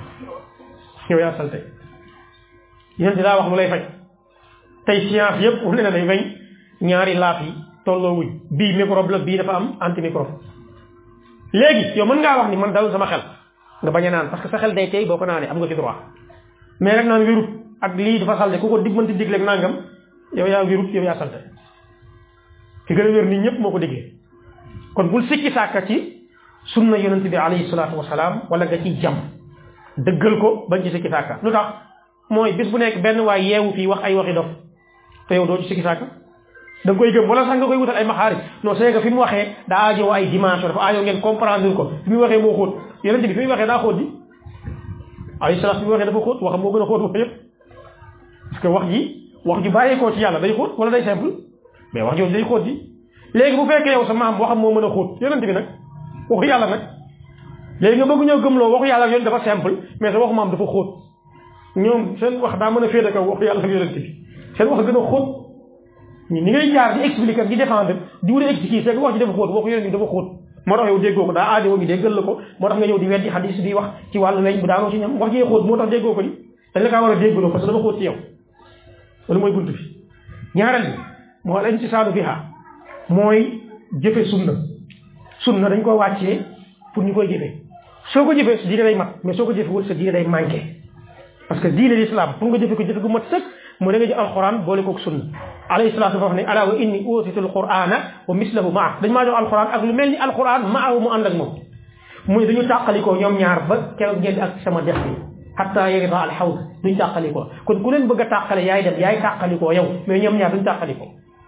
yow yaa salte yonent daa wax lu lay faj tey science yëpp wane na ne weñ ñaari laaf yi tolloo wuñ bii microbe la bii dafa am antimicrobe léegi yow mën ngaa wax ni man dal sama xel nga bañ a naan parce que sa xel day tey boo ko naanee am nga ci droit mais rek naan wérut ak lii dafa salte ku ko digmanti digleeg nangam yow yaa wérut yow yaa salte ki gën a wér nit ñëpp moo ko diggee kon bul sikki sàkka ci sunna yonent bi alayhi salaatu wasalaam wala nga ciy jam dëggal ko bañ ci sikki sàkka lu tax mooy bis bu nekk benn waay yeewu fii wax ay waxi dof te yow doo ci sikki sàkk da nga koy gëm wala sax nga koy wutal ay maxaarij non c'est que fi mu waxee daa aajowoo ay dimension dafa aajoo ngeen comprendre ko fi mu waxee moo xóot yonent bi fi mu waxee daa xóot di alayhi salaam fi mu waxee dafa xóot waxam moo gën a xóot wax yëpp parce que wax ji wax ju bàyyeekoo ci yàlla day xóot wala day simple mais wax jooju day xóot di léegi bu fekkee yow sa maam waxam moo mën a xóot yonent bi nag waxu yàlla nag léegi nga bëgg ñëw gëmloo waxu yàlla ak yonent dafa simple mais sa waxu maam dafa xóot ñoom seen wax daa mën a féete kaw waxu yàlla ak yonent bi seen wax gën a xóot ni ngay jaar di expliquer di défendre di wut a expliquer c'est que wax ji dafa xóot waxu yonent bi dafa xóot moo tax yow déggoo ko daa aajowoo ñu déggal la ko moo tax nga ñëw di weddi xadis di wax ci wàllu weñ bu daanoo ci ñam wax jee xóot moo tax déggoo ko ni dañ la kaa war a déggaloo parce que dafa xóot ci yow loolu mooy bunt bi ñaareel bi moo al intisaadu biha mooy jëfe sunna sunna dañ ko wàccee pour ñu koy jëfee soo ko jëfee sa diine day mat mais soo ko jëfewul sa diine day manqué parce que diine l'islam pour nga jëfe ko jëfe gu mat sëkk mu da nga jël alquran boole koog sunna alayhi salaatu dafa wax ne ala wa inni utitu alqurana wa mislahu maa dañ maa jox alquran ak lu mel ni alquran maahu mu ànd ak moom muy dañu tàqalikoo ñoom ñaar ba keroog ngeen ak sama dex bi hatta yarida al hawd duñ tàqalikoo kon ku leen bëgg a tàqale yaay dem yaay tàqalikoo yow mais ñoom ñaar duñ tàqalikoo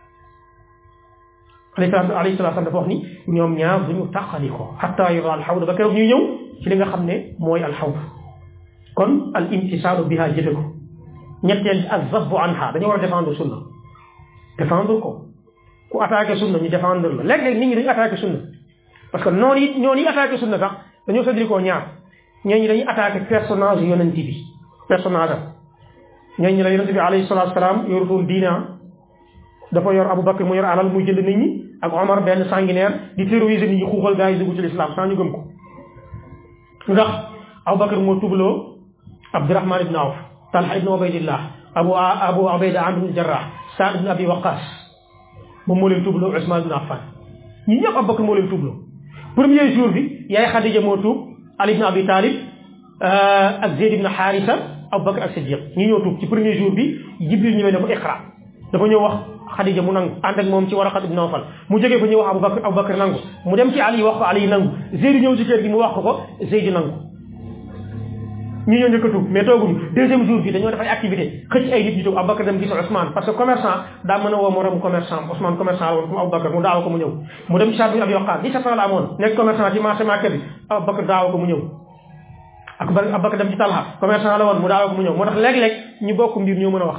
alayhi salaam dafa wax ni ñoom ñaar duñu tàqalikoo hatta yarida al hawd ba keroog ñuy ñëw ci li nga xam ne mooy al hawd kon al imtisaalu biha jëfe ko ñetteel ak zabbu anha dañoo war a défendre sunna défendre ko ku attaqué sunna ñu défendre la léeg-léeg nit ñi dañu attaqué sunna parce que noonu yi noonu yi attaqué sunna sax dañoo séddlikoo ñaar ñeen ñi dañuy attaqué personnage yonent bi personnage am ñeen ñi la yonent bi alayhi salatu salaam yorutoon diina dafa yor Abu Bakr mu yor alal muy jënd nit ñi ak Omar benn sanguinaire di terroriser nit ñi xuuxal gaa yi dugg ci l'islam sans ñu gëm ko ndax Abu Bakr moo tubloo Abdurahman ibn Awf Talha ibn Ubaydillah abu abu Ubayda Amr ibn Jarrah Saad ibn Abi Waqqas moom moo leen tuubloo Usman ibn Affan ñi ñëpp Abu Bakr moo leen tuubloo premier jour bi yaay Xadija moo tuub Ali ibn Abi Talib ak Zayd ibn Harisa Abu Bakr ak Siddiq ñi ñoo tuub ci premier jour bi Jibril ñëwee ne ko iqra dafa ñëw wax Xadija mu nangu ànd ak moom ci Waraqat ibn Nawfal mu jógee fa ñëw wax Abu Bakr Abu Bakr nangu mu dem ci Ali wax ko Ali nangu Zayd ñëw ci kër gi mu wax ko ko Zayd nangu ñi ñoo njëkk a tuub mais tooguñu deuxième jour bi dañoo def ay activité xëcc ay nit ñu tuub Aboubacar dem gis Ousmane parce que commerçant daa mën a woo moroom commerçant Ousmane commerçant la woon comme Aboubacar mu daaw ko mu ñëw mu dem Saad bin Abi Waqqas dix-sept ans la amoon nekk commerçant ci marché Makka bi Aboubacar daaw ko mu ñëw ak Aboubacar dem ci Talha commerçant la woon mu daaw ko mu ñëw moo tax léeg-léeg ñu bokk mbir ñoo mën a wax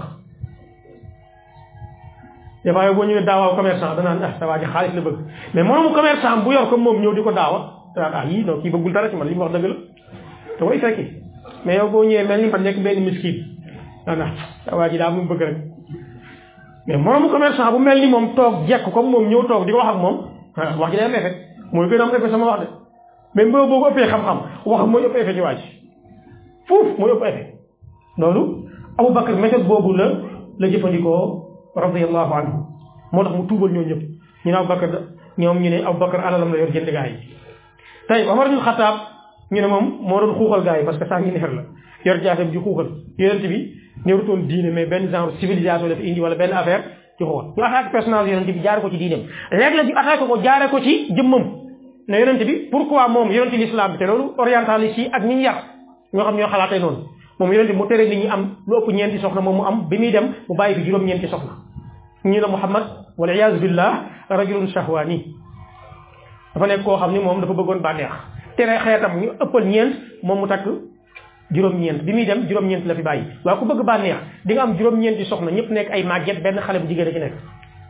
des fois yow boo ñëwee daawaaw commerçant danaan ah sa waa ji xaalis la bëgg mais moroomu commerçant bu yor comme moom ñëw di ko daawa danaan ah yii non kii bëggul dara ci man li mu wax dëgg la te koy fekki mais yow boo ñëwee mel ni man nekk benn miskin daanaka waa ji daa mu bëgg rek mais moomu commerçant bu mel ni moom toog jekk comme moom ñëw toog di ko wax ak moom wax ji day am effet mooy gën a am effet sama wax de mais boo boo ko ëppee xam-xam wax mooy ëpp effet ci waa ji fuuf mooy ëpp effet loolu Aboubacar méthode boobu la la jëfandikoo radiyallahu anhu moo tax mu tuubal ñoo ñëpp ñu ne Aboubacar ñoom ñu ne Aboubacar alalam la yor jënd gaa yi tey Omar ibn Khattab ñu ne moom moo doon xuuxal gars yi parce que sanguinaire la yor jaasam ji xuuxal yonent bi ñëwutoon diine mais benn genre civilisation dafa indi wala benn affaire ci xuuxal ñu attaqué personnage yonent bi jaare ko ci diineem léeg-léeg ñu attaqué ko jaare ko ci jëmmam ne yonent bi pourquoi moom yonent l'islam bi te loolu orientaliste yi ak ñi ñu yar ñoo xam ñoo xalaatee noonu moom yonent bi mu tere nit ñi am lu ëpp ñeenti soxna moom mu am bi muy dem mu bàyyi fi juróom-ñeenti soxna ñu ne Muhammad wal iyaazu billah rajulun shahwani dafa nekk koo xam ni moom dafa bëggoon bànneex tere xeetam ñu ëppal ñeent moom mu takk juróom-ñeent bi muy dem juróom-ñeent la fi bàyyi waaye ku bëgg bànneex di nga am juróom-ñeenti soxna ñëpp nekk ay màgget benn xale bu jigéen a ci nekk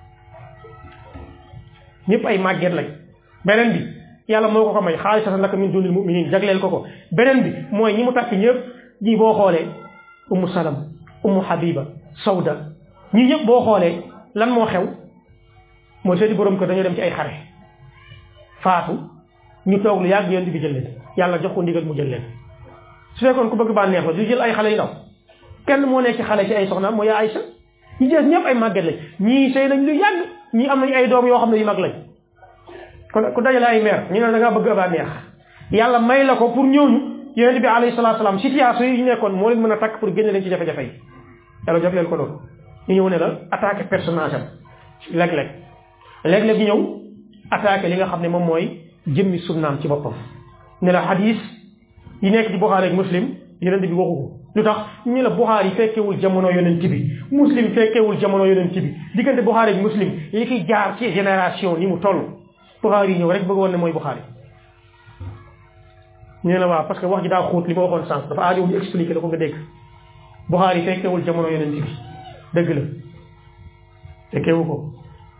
ñëpp ay màgget lañ beneen bi yàlla moo ko ko may xaalisatan laka min dunil mu'minin jagleel ko ko beneen bi mooy ñi mu takk ñëpp ñii boo xoolee ummu salam ummu habiba sawda ñii ñëpp boo xoolee lan moo xew mooy seeni borom kër dañoo dem ci ay xare faatu ñu toog lu yàgg yonent bi jël leen yàlla jox ko ndigal mu jël leen su fekkoon ku bëgg bànneex la du jël ay xale yu ndaw kenn moo nekk ci xale ci ay soxna mooy yaa Aysa ñi jees ñëpp ay màgget lañ ñii sëy nañ lu yàgg ñii am nañ ay doom yoo xam ne yu mag lañ kon ku dajale ay meer ñu ne da ngaa bëgg bànneex yàlla may la ko pour ñooñu yonent bi alayhi salaatu salaam situation yi ñu nekkoon moo leen mën a takk pour génne leen ci jafe-jafe yi yàlla jox leen ko loolu ñu ñëw ne la attaqué personnage am léeg-léeg léeg-léeg ñu ñëw attaqué li nga xam ne moom mooy jëmmi sunnaam ci boppam ne la hadis yi nekk ci Buxaari ak Muslim yonent bi waxu ko lu tax ñu la Buxaari fekkewul jamono yonent bi Muslim fekkewul jamono yonent bi diggante Buxaari ak Muslim li fi jaar ci génération ni mu toll Buxaari ñëw rek bëgg woon ne mooy Buxaari ñu ne la waaw parce que wax ji daa xóot li ma waxoon sànq dafa aajo ñu expliqué la ko nga dégg Buxaari fekkewul jamono yonent bi dëgg la fekkewu ko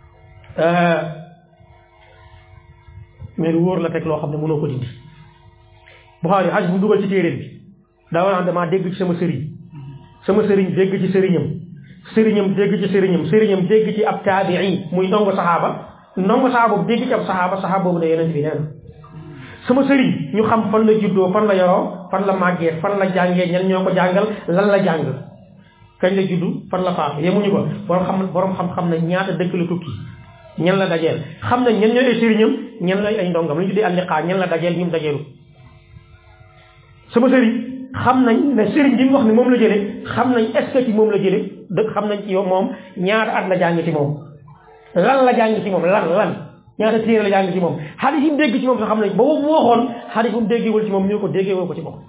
mais lu wóor la teg loo xam ne mënoo ko dindi Buxaari xaj bu dugal ci téere bi daa war a damaa dégg ci sama sëriñ sama sëriñ dégg ci sëriñam sëriñam dégg ci sëriñam sëriñam dégg ci ab taabii muy ndongo saxaaba ndongo saxaaba boobu dégg ci ab saxaaba saxaaba boobu ne yonent bi nee na sama sëriñ ñu xam fan la juddoo fan la yoroo fan la màggee fan la jàngee ñan ñoo ko jàngal lan la jàng kañ la juddu fan la faatu yemuñu ko borom xam borom xam-xam na ñaata dëkk la tukki ñan la dajeel xam nañ ñan ñooy ay sëriñam ñan lay ay ndongam lu ñu tuddee alliqaa ñan la dajeel ñu dajeelu sama sëriñ xam nañ ne sëriñ bi mu wax ne moom la jëlee xam nañ est-ce que ci moom la jëlee dëgg xam nañ ci yow moom ñaata at la jàng ci moom lan la jàng ci moom lan lan ñaata téere la jàng ci moom xadis yi mu dégg ci moom sax xam nañ ba boobu mu waxoon xadis bu mu déggewul ci moom ñu ko déggewul ko ci moom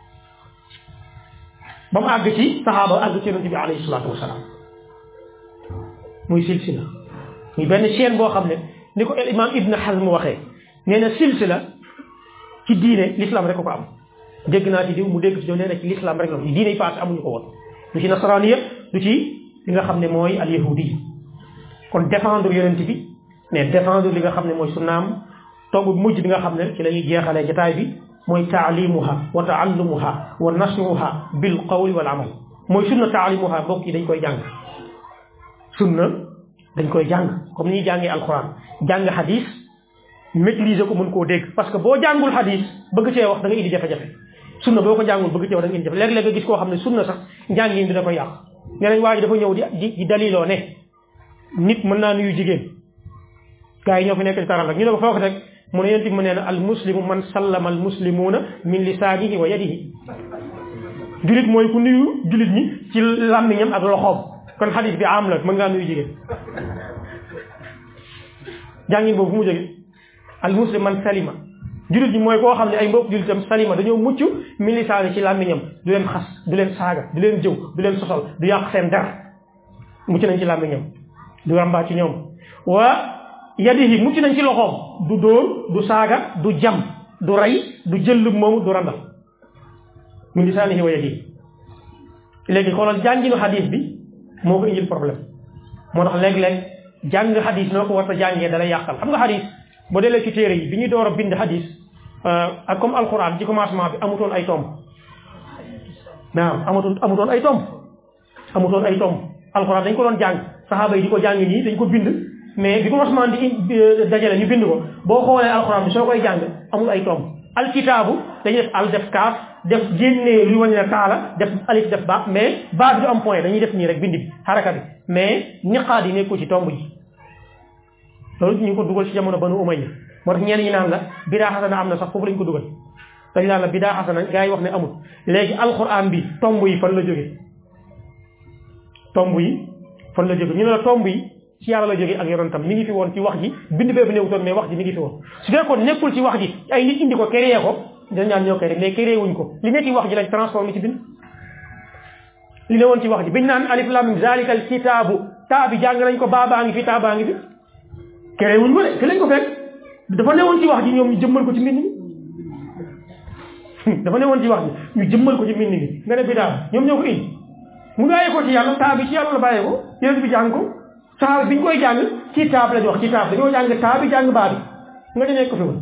ba mu àgg ci saxaaba àgg ci yonent bi alayhi salaatu wasalaam muy silsila muy benn chaîne boo xam ne ni ko el imam Ibn Hazm waxee nee na silsila ci diine l'islam rek ko ko am dégg naa ci diw mu dégg ci diw nee na ci l'islam rek la ci diine yi paase amuñu ko woon du ci nasaraaniya du ci li nga xam ne mooy al yahudi kon défendre yonent bi mais défendre li nga xam ne mooy sunnaam tomb bi mujj bi nga xam ne ci la ñuy jeexalee jotaay bi mooy taalimuha wa taallumuha wa nasruha bil qawli wal amal mooy sunna taalimuha mbokk yi dañ koy jàng sunna dañ koy jàng comme ni ñuy jàngee alquran jàng hadis maîtriser ko mën koo dégg parce que boo jàngul hadis bëgg cee wax da nga indi jafe-jafe sunna boo ko jàngul bëgg cee wax da nga indi jafe léeg-léeg nga gis koo xam ne sunna sax njàngin dina koy yàq ñeneen waa ji dafa ñëw di di daliloo ne nit mën naa nuyu jigéen gars yi ñoo fi nekk ci taral rek ñu ne ko foo ko teg mu ne yonent bi mu nee na al muslimu man sallama al muslimuuna min lisaanihi wa yadihi julit mooy ku nuyu julit ñi ci làmmiñam ak loxoom kon xadis bi am la mën ngaa nuyu jigéen jàngin boobu fu mu jóge al muslim man salima julit ñi mooy koo xam ne ay mbokk julitam salima dañoo mucc min lisaani ci làmmiñam du leen xas du leen saaga du leen jëw du leen sosal du yàq seen der mucc nañ ci làmmiñam du rambaa ci ñoom wa yadihi mucc nañ ci loxoom du dóor du saaga du jam du rey du jëllub moomu du randal min lisaanihi wa yadihi léegi xoolal jànginu xadis bi moo ko indil problème moo tax léeg-léeg jàng xadis noo ko war a jàngee dalay yàqal xam nga xadis boo delee ci téere yi bi ñuy door a bind xadis ak comme alquran ci commencement bi amutoon ay tomb naam amutoon amutoon ay tomb amutoon ay tomb alquran dañ ko doon jàng saxaaba yi di ko jàng nii dañ ko bind mais bi commencement di dajale ñu bind ko boo xoolee alquran bi soo koy jàng amul ay tomb alkitaabu dañuy def al def kaaf def génnee lu wañ ne taala def alif def ba mais ba bi du am point dañuy def nii rek bind bi xaraka bi mais niqaat yi nekkul ci tomb yi loolu ñu ngi ko dugal ci jamono banu umayya moo tax ñenn ñi naan la bidaa xasana am na sax foofu lañ ko dugal dañ naan la bidaa xasana gars yi wax ne amul léegi alquran bi tomb yi fan la jóge tomb yi fan la jóge ñu ne la tomb yi ci yàlla la jóge ak yonentam mi ngi fi woon ci wax ji bind bee fi néewutoon mais wax ji mi ngi fi woon su fekkoon nekkul ci wax ji ay nit indi ko créé ko dañ ñaan ñoo koy rek mais créé wuñ ko li nekk ci wax ji lañ transformé ci bind li ne woon ci wax ji biñ naan alif lam mim zalika al kitaabu taa bi jàng nañ ko baabaa ngi fi taa baa ngi fi créé wuñ ko de fi lañ ko fekk dafa newoon ci wax ji ñoom ñu jëmmal ko ci mbind mi dafa newoon ci wax ji ñu jëmmal ko ci mbind mi nga ne bidaa ñoom ñoo ko indi mu bàyyee ko ci yàlla taa bi ci yàlla la bàyyee ko yéen bi jàng ko saxaaba bi ñu koy jàng ci taab la ñu wax ci taab dañoo jàng taa bi jàng baa bi nga di nekk ko fi woon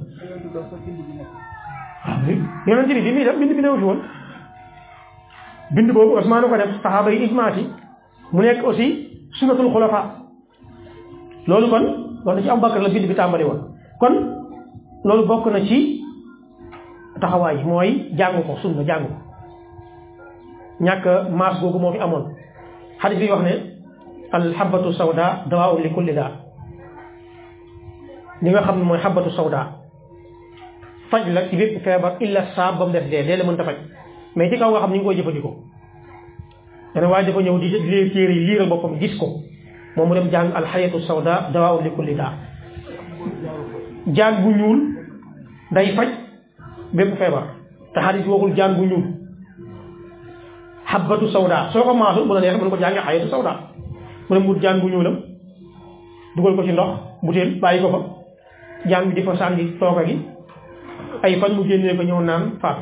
yonent bi bi muy def bind bi newu fi woon bind boobu Usmaan ko def saxaaba yi ijmaati mu nekk aussi sunnatul xulafa loolu kon loolu ci Abubakar la bind bi tàmbali woon kon loolu bokk na ci taxawaay mooy jàng ko sunna jàng ko ñàkk maas googu moo fi amoon xadis bi wax ne al xabatu sawda dawaa'un li kulli daa li nga xam ne mooy xabatu sawda faj la ci bépp feebar illa saab ba mu def dee dee la mën ta faj mais ci kaw nga xam ni nga koy jëfandikoo dana waaye dafa ñëw di lee téere yi liiral boppam gis ko moom mu dem jàng alxayatu sawda dawaa'un li kulli daa jaan bu ñuul day faj bépp feebar te xadis waxul jaan bu ñuul xabbatu sawda soo ko maasul bu la neexee mën ko jàngee xayatu sawda mu ne mu jaan bu ñuulam dugal ko ci ndox butéel bàyyi ko fa jaan bi di fa sànni tooga gi ay fan mu génnee ko ñëw naan faat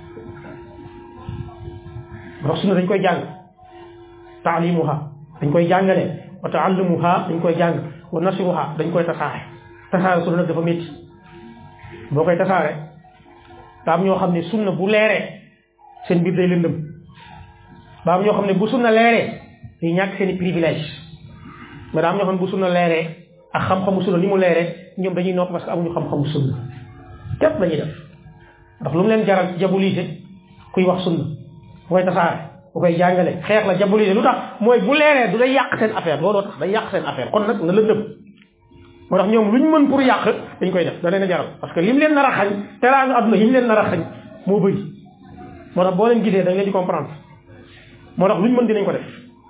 ndax sunna dañ koy jàng taalimuha dañ koy jàngale wa taalumuha dañ koy jàng wa nasiruha dañ koy tasaare tasaare sunna nag dafa métti boo koy tasaare daa am ñoo xam ne sunna bu leeree seen biir day lëndëm daa am ñoo xam ne bu sunna leeree day ñàkk seen i privilège mais daa am ñoo xam ne bu sunna leeree ak xam-xamu sunna ni mu leeree ñoom dañuy nopp parce que amuñu xam-xamu sunna képp lañuy def ndax lu mu leen jaral jabulise kuy wax sunna bu koy tasaare bu koy jàngale xeex la jabulise lu tax mooy bu leeree du day yàq seen affaire looloo tax day yàq seen affaire kon nag na lëndëm moo tax ñoom luñ mën pour yàq dañ koy def da leen a jaral parce que lim leen nar a xañ teraanga adduna yi mu leen nar a xañ moo bëri moo tax boo leen gisee da nga leen di comprendre moo tax luñ mën dinañ ko def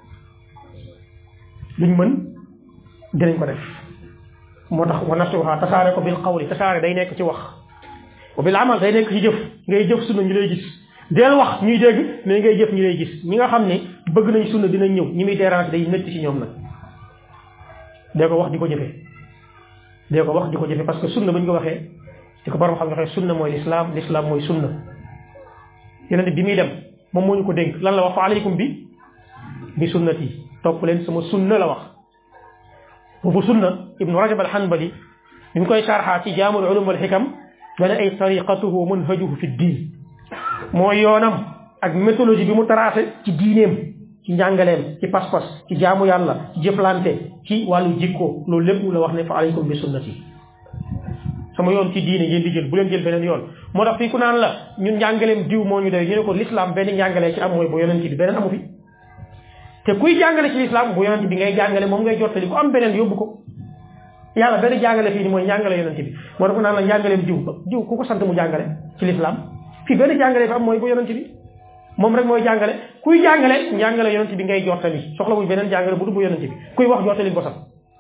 luñ mën dinañ ko def moo tax wa nasuha tasaare ko bil qawli tasaare day nekk ci wax wa bil amal day nekk ci jëf ngay jëf sunna ñu lay gis deel wax ñuy dégg mais ngay jëf ñu lay gis ñi nga xam ne bëgg nañ sunna dinañ ñëw ñi muy dérange day métti ci ñoom nag dee ko wax di ko jëfee dee ko wax di ko jëfe parce que sunna bu ñu ko waxee di ko borom xam ne waxee sunna mooy l'islam l'islam mooy sunna yeneen bi muy dem moom moo ñu ko dénk lan la wax fa aleykum bi bi sunnati topp leen sama sunna la wax boobu sunna ibnu rajab al hanbali bi mu koy sarxaa ci jaamul ulum wal xikam dana ay tariqatuhu manhajuhu fi diin mooy yoonam ak méthodologie bi mu tracé ci diineem ci njàngaleem ci pas-pas ci jaamu yàlla ci jëflante ci wàllu jikko loolu lépp la wax ne fa aleykum bi sunnati sama yoon ci diine ngeen di jël bu leen jël beneen yoon moo tax fii ku naan la ñun njàngaleem diw moo ñu doy ñu ne ko l'islam benn njàngalee ci am mooy bu yonent bi beneen amu fi te kuy jàngale ci l'islam bu yonent bi ngay jàngale moom ngay jottali ku am beneen yóbbu ko yàlla benn jàngale fii ni mooy njàngale yonent bi moo tax ku naan la njàngaleem diw diw ku ko sant mu jàngale ci l'islam fii benn jàngale fi am mooy bu yonent bi moom rek mooy jàngale kuy jàngale njàngale yonent bi ngay jottali soxla wuñ beneen jàngale bu du bu yonent bi kuy wax jottali bosam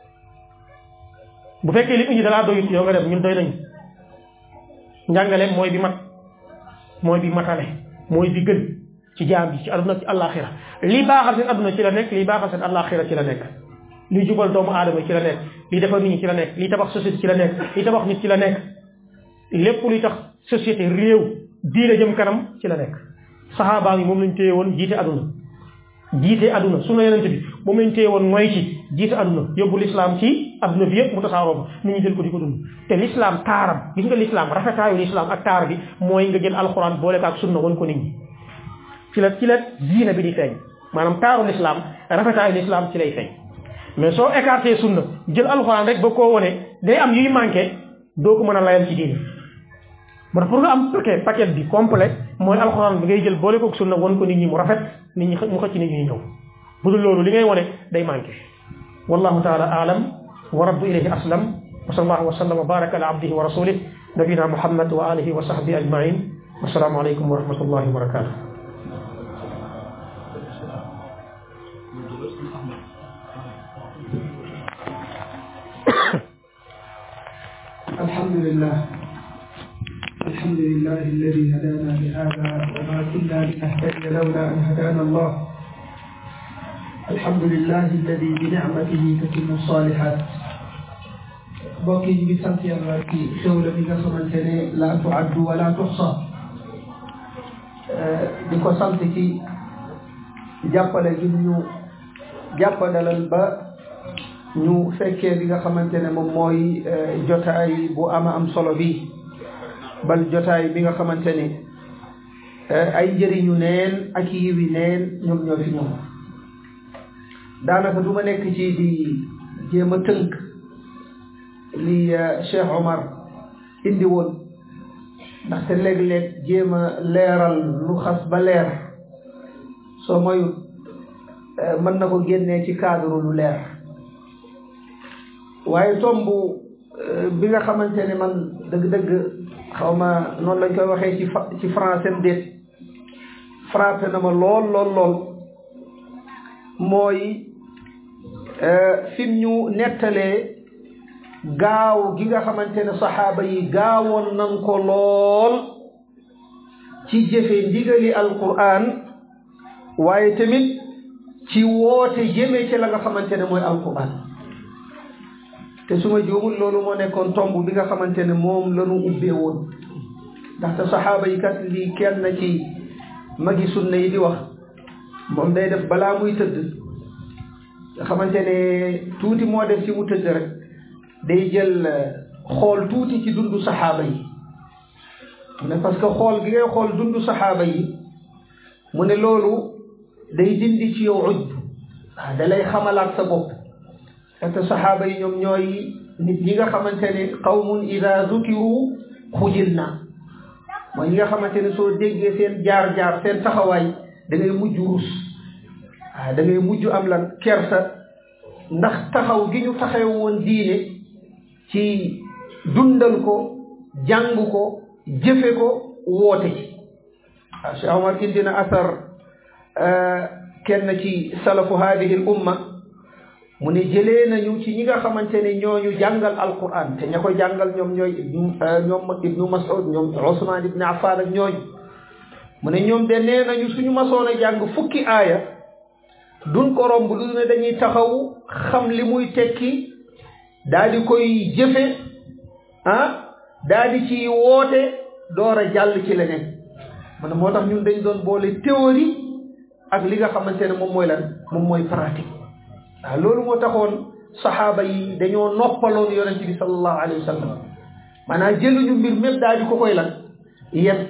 bu fekkee li indi dalaa doyut yow nga dem ñun doy nañu njàngale mooy bi mat mooy bi matale mooy bi gën ci jaam bi ci aduna ci àllaaxira lii baaxal seen aduna ci la nekk lii baaxal seen àllaaxira ci la nekk lii jubal doomu aadama ci la nekk lii defar nit ñi ci la nekk lii tabax société ci la nekk lii tabax nit ci la nekk lépp luy tax société réew diine jëm kanam ci la nekk saxaabaa yi moom lañ téye woon jiite aduna jiite aduna sunna yonent bi moom lañ téye woon mooy ci jiite aduna yóbbu l'islam ci aduna bi yëpp mu tasaaroo ba nit ñi jël ko di ko dund te l'islam taaram gis nga l'islam rafetaayu l'islam ak taar bi mooy nga jël alxuraan boole ko ak sunna won ko nit ñi ci la ci la diine bi di feeñ maanaam taaru l'islam rafetaayu l'islam ci lay feeñ mais soo écarté sunna jël alxuraan rek ba koo wone day am yuy manqué doo ko mën a layal ci diine moo tax pour nga am paquet paquet bi complet mooy alxuraan bi ngay jël boole ko sunna won ko nit ñi mu rafet nit ñi mu xëcc nit ñi ñëw bu dul loolu li ngay wone day manqué wallahu taala aalam wa rabbu ilayhi aslam wa sallallahu wa sallam wa baraka ala abdihi wa rasulih nabina muhammad wa alihi wa sahbihi ajmain wassalaamu alaykum wa rahmatullahi wa barakatuh alhamdulillah الحمد لله الذي هدانا لهذا وما كنا لنهتدي لولا أن هدانا الله الحمد لله الذي بنعمته تتم الصالحات بوكي بسنت يالله في خولة بيغا خمانتني لا تعد ولا تحصى ديكو سنت كي جابال جنو جابال البا ñu fekkee li nga xamante ne moom mooy jotaay bu ama am solo bi bal jotaay bi nga xamante ni ay njëriñu neen ak yiwi neen ñoom ñoo fi ñoom daanaka du ma nekk ci di jéem a tënk li Cheikh Omar indi woon ndaxte léeg-léeg jéem a leeral lu xas ba leer soo moyut mën na ko génnee ci cadre lu leer waaye tomb bi nga xamante ne man dëgg-dëgg xaw ma noonu lañ koy waxee ci ci français am déet frappé na ma lool lool lool mooy fi mu ñu nettalee gaaw gi nga xamante ne saxaaba yi gaawoon nañ ko lool ci jëfe ndigali alquran waaye tamit ci woote jëmee ci la nga xamante ne mooy alquran te su ma juumul loolu moo nekkoon tomb bi nga xamante ne moom la ñu ubbee woon ndaxte saxaaba yi kat lii kenn ci magi sunna yi di wax moom day def balaa muy tëdd nga xamante ne tuuti moo def ci mu tëdd rek day jël xool tuuti ci dundu saxaaba yi mu ne parce que xool gi ngay xool dundu saxaaba yi mu ne loolu day dindi ci yow ujb waaw da lay xamalaat sa bopp te saxaaba yi ñoom ñooy nit ñi nga xamante ne qawmun ida zukiru xujil na mooy ñi nga xamante ne soo déggee seen jaar-jaar seen taxawaay da ngay mujj rus waaw da ngay mujj am lan kersa ndax taxaw gi ñu taxaw woon diine ci dundal ko jàng ko jëfe ko woote ci waaw Cheikh Omar indi na asar kenn ci salafu hadihi l umma mu ne jëlee nañu ci ñi nga xamante ne ñooñu jàngal alquran te ña ko jàngal ñoom ñooy ñoom ibnu Mas'ud ñoom Usman ibn Affan ak ñooñu mu ne ñoom de nee nañu suñu masoon a jàng fukki aaya duñ ko romb lu ne dañuy taxaw xam li muy tekki daal di koy jëfe ah daal di ci woote door a jàll ci leneen mu ne moo tax ñun dañ doon boole théorie ak li nga xamante ne moom mooy lan moom mooy pratique waaw loolu moo taxoon saxaaba yi dañoo noppaloon yonent bi sallallahu alayhi wa sallam maanaam jëluñu mbir mépp daal di ko koy lan yéen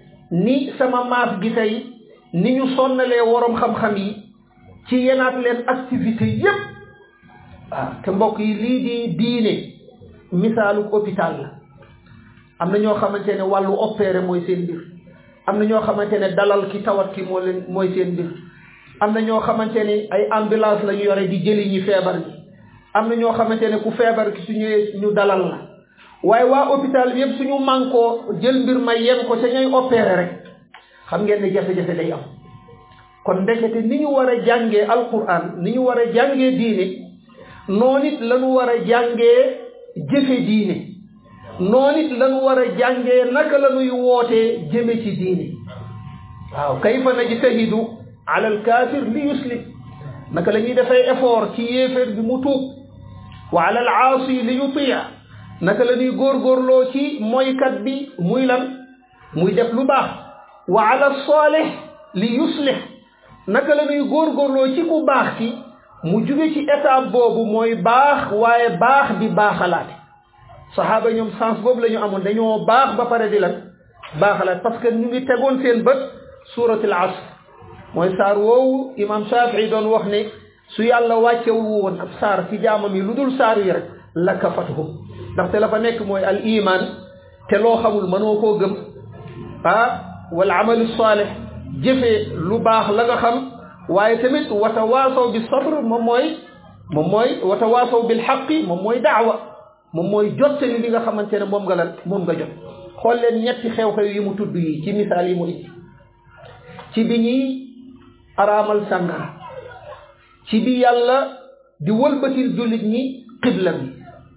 ni sama maas gi tey ni ñu sonnalee worom xam-xam yi ci yenaat leen activité yépp waaw te mbokk yi lii di diine misaalu hôpital la am na ñoo xamante ne wàllu opéré mooy seen mbir am na ñoo xamante ne dalal ki tawat ki moo leen mooy seen mbir am na ñoo xamante ne ay ambulance la ñu yore di jëli ñi feebar ñi am na ñoo xamante ne ku feebar ki su ñëwee ñu dalal la waaye waa hôpital bi yëpp suñu mànkoo jël mbir may yem ko ca ñooy opéré rek xam ngeen ne jafe-jafe day am kon ndekete ni ñu war a jàngee alquran ni ñu war a jàngee diine noonu it la ñu war a jàngee jëfe diine noonu it la ñu war a jàngee naka la ñuy wootee jëme ci diine waaw kayfa najtahidu ala alkaafir li yuslim naka la ñuy defee effort ci yéeféer bi mu tuub wa ala alaasi li yutia naka la ñuy góorgóorloo ci mooykat bi muy lan muy def lu baax wa ala saalih li yuslih naka la ñuy góorgóorloo ci ku baax ki mu jóge ci étape boobu mooy baax waaye baax di baaxalaate saxaaba ñoom sens boobu la ñu amoon dañoo baax ba pare di lan baaxalaat parce que ñu ngi tegoon seen bët suuratul asr mooy saar woowu imam Shafii doon wax ne su yàlla wàccewu woon ab saar ci jaamam yi lu dul saar yi rek la kafatuhum ndaxte la fa nekk mooy al iman te loo xamul mënoo koo gëm ah wal amalu saalih jëfee lu baax la nga xam waaye tamit watawaasaw bi sabr moom mooy moom mooy watawaasaw bil haqqi moom mooy daawa moom mooy jottali li nga xamante ne moom nga lan moom nga jot xool leen ñetti xew-xew yi mu tudd yi ci misaal yi mu indi ci bi ñuy araamal sàngara ci bi yàlla di wëlbatil jullit ñi xibla bi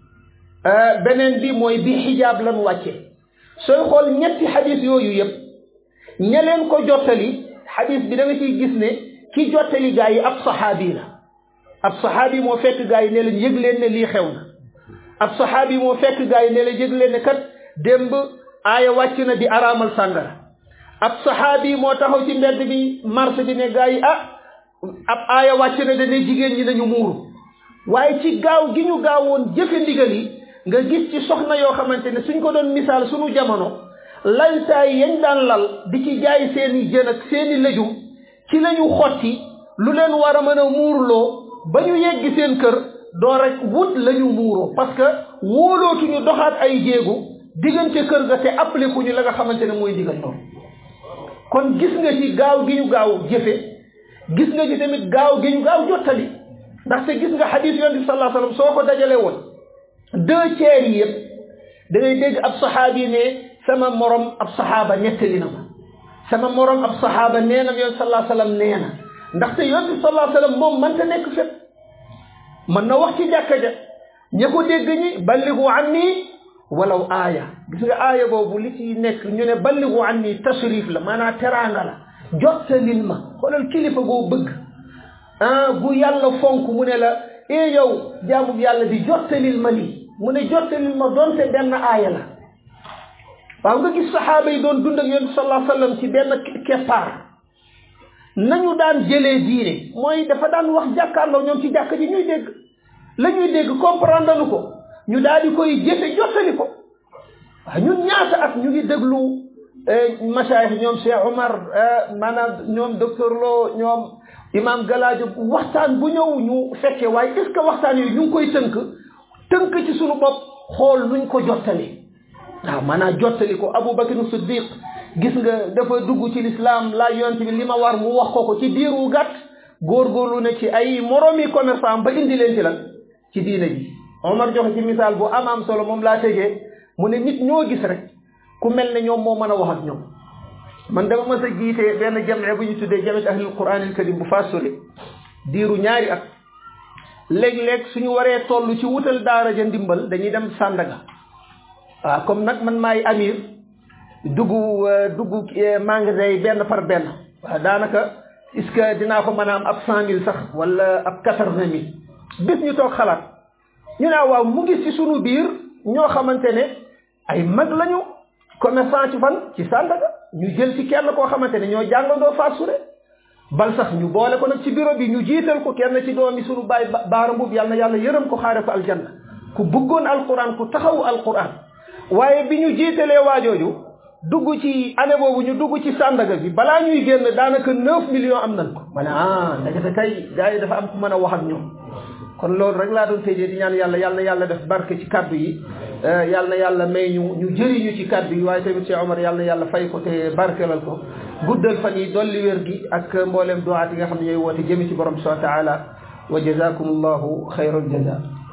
beneen bi mooy bi xijaab lan wàcce sooy xool ñetti xadis yooyu yëpp ña leen ko jottali xadis bi da nga ciy gis ne ki jottali gaa yi ab saxaabi la ab saxaabi moo fekk gaa yi ne leen yëg leen ne lii xew na ab saxaabi moo fekk gaa yi ne leen yëg leen ne kat démb aaya wàcc na di araamal sàngara ab saxaabi moo taxaw ci mbedd bi marché bi ne gaa yi ah ab aaya wàcc na dane jigéen ñi nañu muuru waaye ci gaaw gi ñu gaawoon jëfe ndigal yi nga gis ci soxna yoo xamante ne suñ ko doon misaal suñu jamono laytaay yañ daan lal di ci jaay seeni jën ak seeni lëjum ci lañu xotti lu leen war a mën a muurloo ba ñu yeggi seen kër doo rek wut lañu muuroo parce que wóolootuñu doxaat ay jéegu diggante kër ga te appliqué ñu la nga xamante ne mooy digal noonu kon gis nga ci gaaw gi ñu gaaw jëfe gis nga ci tamit gaaw gi ñu gaaw jottali ndaxte gis nga xadiis yonent bi sallallahu alayhi wasallam soo ko dajale woon deux tiers yi yëpp da ngay dégg ab saxaabi ne sama morom ab saxaaba nettali na ma sama morom ab saxaaba nee na yonent sallallahu alayhi wasallam nee na ndaxte yonent bi sallallahu alayhi wasallam moom mënta nekk fépp mën na wax ci jàkka ja ña ko dégg ñi balligu anni walaw aaya gis nga aaya boobu li ci nekk ñu ne balligu anni tashrif la maanaam teraanga la jottalil ma xoolal kilifa goo bëgg ah bu yàlla fonk mu ne la e yow jaamu yàlla bi jottalil ma lii mu ne jottalil ma donte benn aaya la waaw nga gis saxaaba yi doon dund ak yonent sallallahu alayhi wa sallam ci benn keppaar nañu daan jëlee diine mooy dafa daan wax jàkkaarloo ñoom ci jàkk ji ñuy dégg la ñuy dégg comprendre nu ko ñu daal di koy jëfe jottali ko waaw ñun ñaata at ñu ngi déglu masaayix ñoom Cheikh Omar maanaam ñoom docteur Lo ñoom imam Galaajo waxtaan bu ñëw ñu fekkee waaye est-ce que waxtaan yooyu ñu ngi koy tënk tënk ci suñu bopp xool nuñ ko jottali waaw maanaam jottali ko Abu Bakr Siddiq gis nga dafa dugg ci lislaam laaj yonent bi li ma war mu wax ko ko ci diiru gàtt góorgóorlu ne ci ay moromi commerçant ba indi leen ci lan ci diine ji Omar joxe ci misaal bu am am solo moom laa tegee mu ne nit ñoo gis rek ku mel ne ñoom moo mën a wax ak ñoom man dama mës a jiite benn jamee bu ñu tuddee jamet ahlul quran al karim bu Fass Sori diiru ñaari at léeg-léeg suñu waree toll ci wutal daara ja ndimbal dañuy dem Sandaga waaw comme nag man maay amir dugg dugg magasin yi benn par benn waaw daanaka est-ce que dinaa ko mën a am ab cent mille sax wala ab quatre-vingt mille bis ñu toog xalaat ñu ne waaw mu ngi ci sunu biir ñoo xamante ne ay mag lañu commerçant ci fan ci Sandaga ñu jël ci kenn koo xamante ne ñoo jàngandoo Fass Sori bal sax ñu boole ko nag ci bureau bi ñu jiital ko kenn ci doomi sunu baay baara mbub yàlla na yàlla yërëm ko xaare ko aljanna ku bëggoon alquran ku taxawu alquran waaye bi ñu jiitalee waajooju dugg ci année boobu ñu dugg ci Sandaga bi balaa ñuy génn daanaka neuf millions am nañ ko ma ne ah ndekete kay gars yi dafa am ku mën a wax ak ñoom kon loolu rek laa doon tëjee di ñaan yàlla yàlla na yàlla def barke ci kaddu yi yàlla na yàlla may ñu ñu jëriñu ci kaddu yi waaye tamit Cheikh Omar yàlla na yàlla fay ko te barkelal ko guddal fan yi dolli wér gi ak mbooleem duwaat yi nga xam ne ñooy woote jëmi ci borom subhanahu wa taala wa jazakumullahu xayral jaza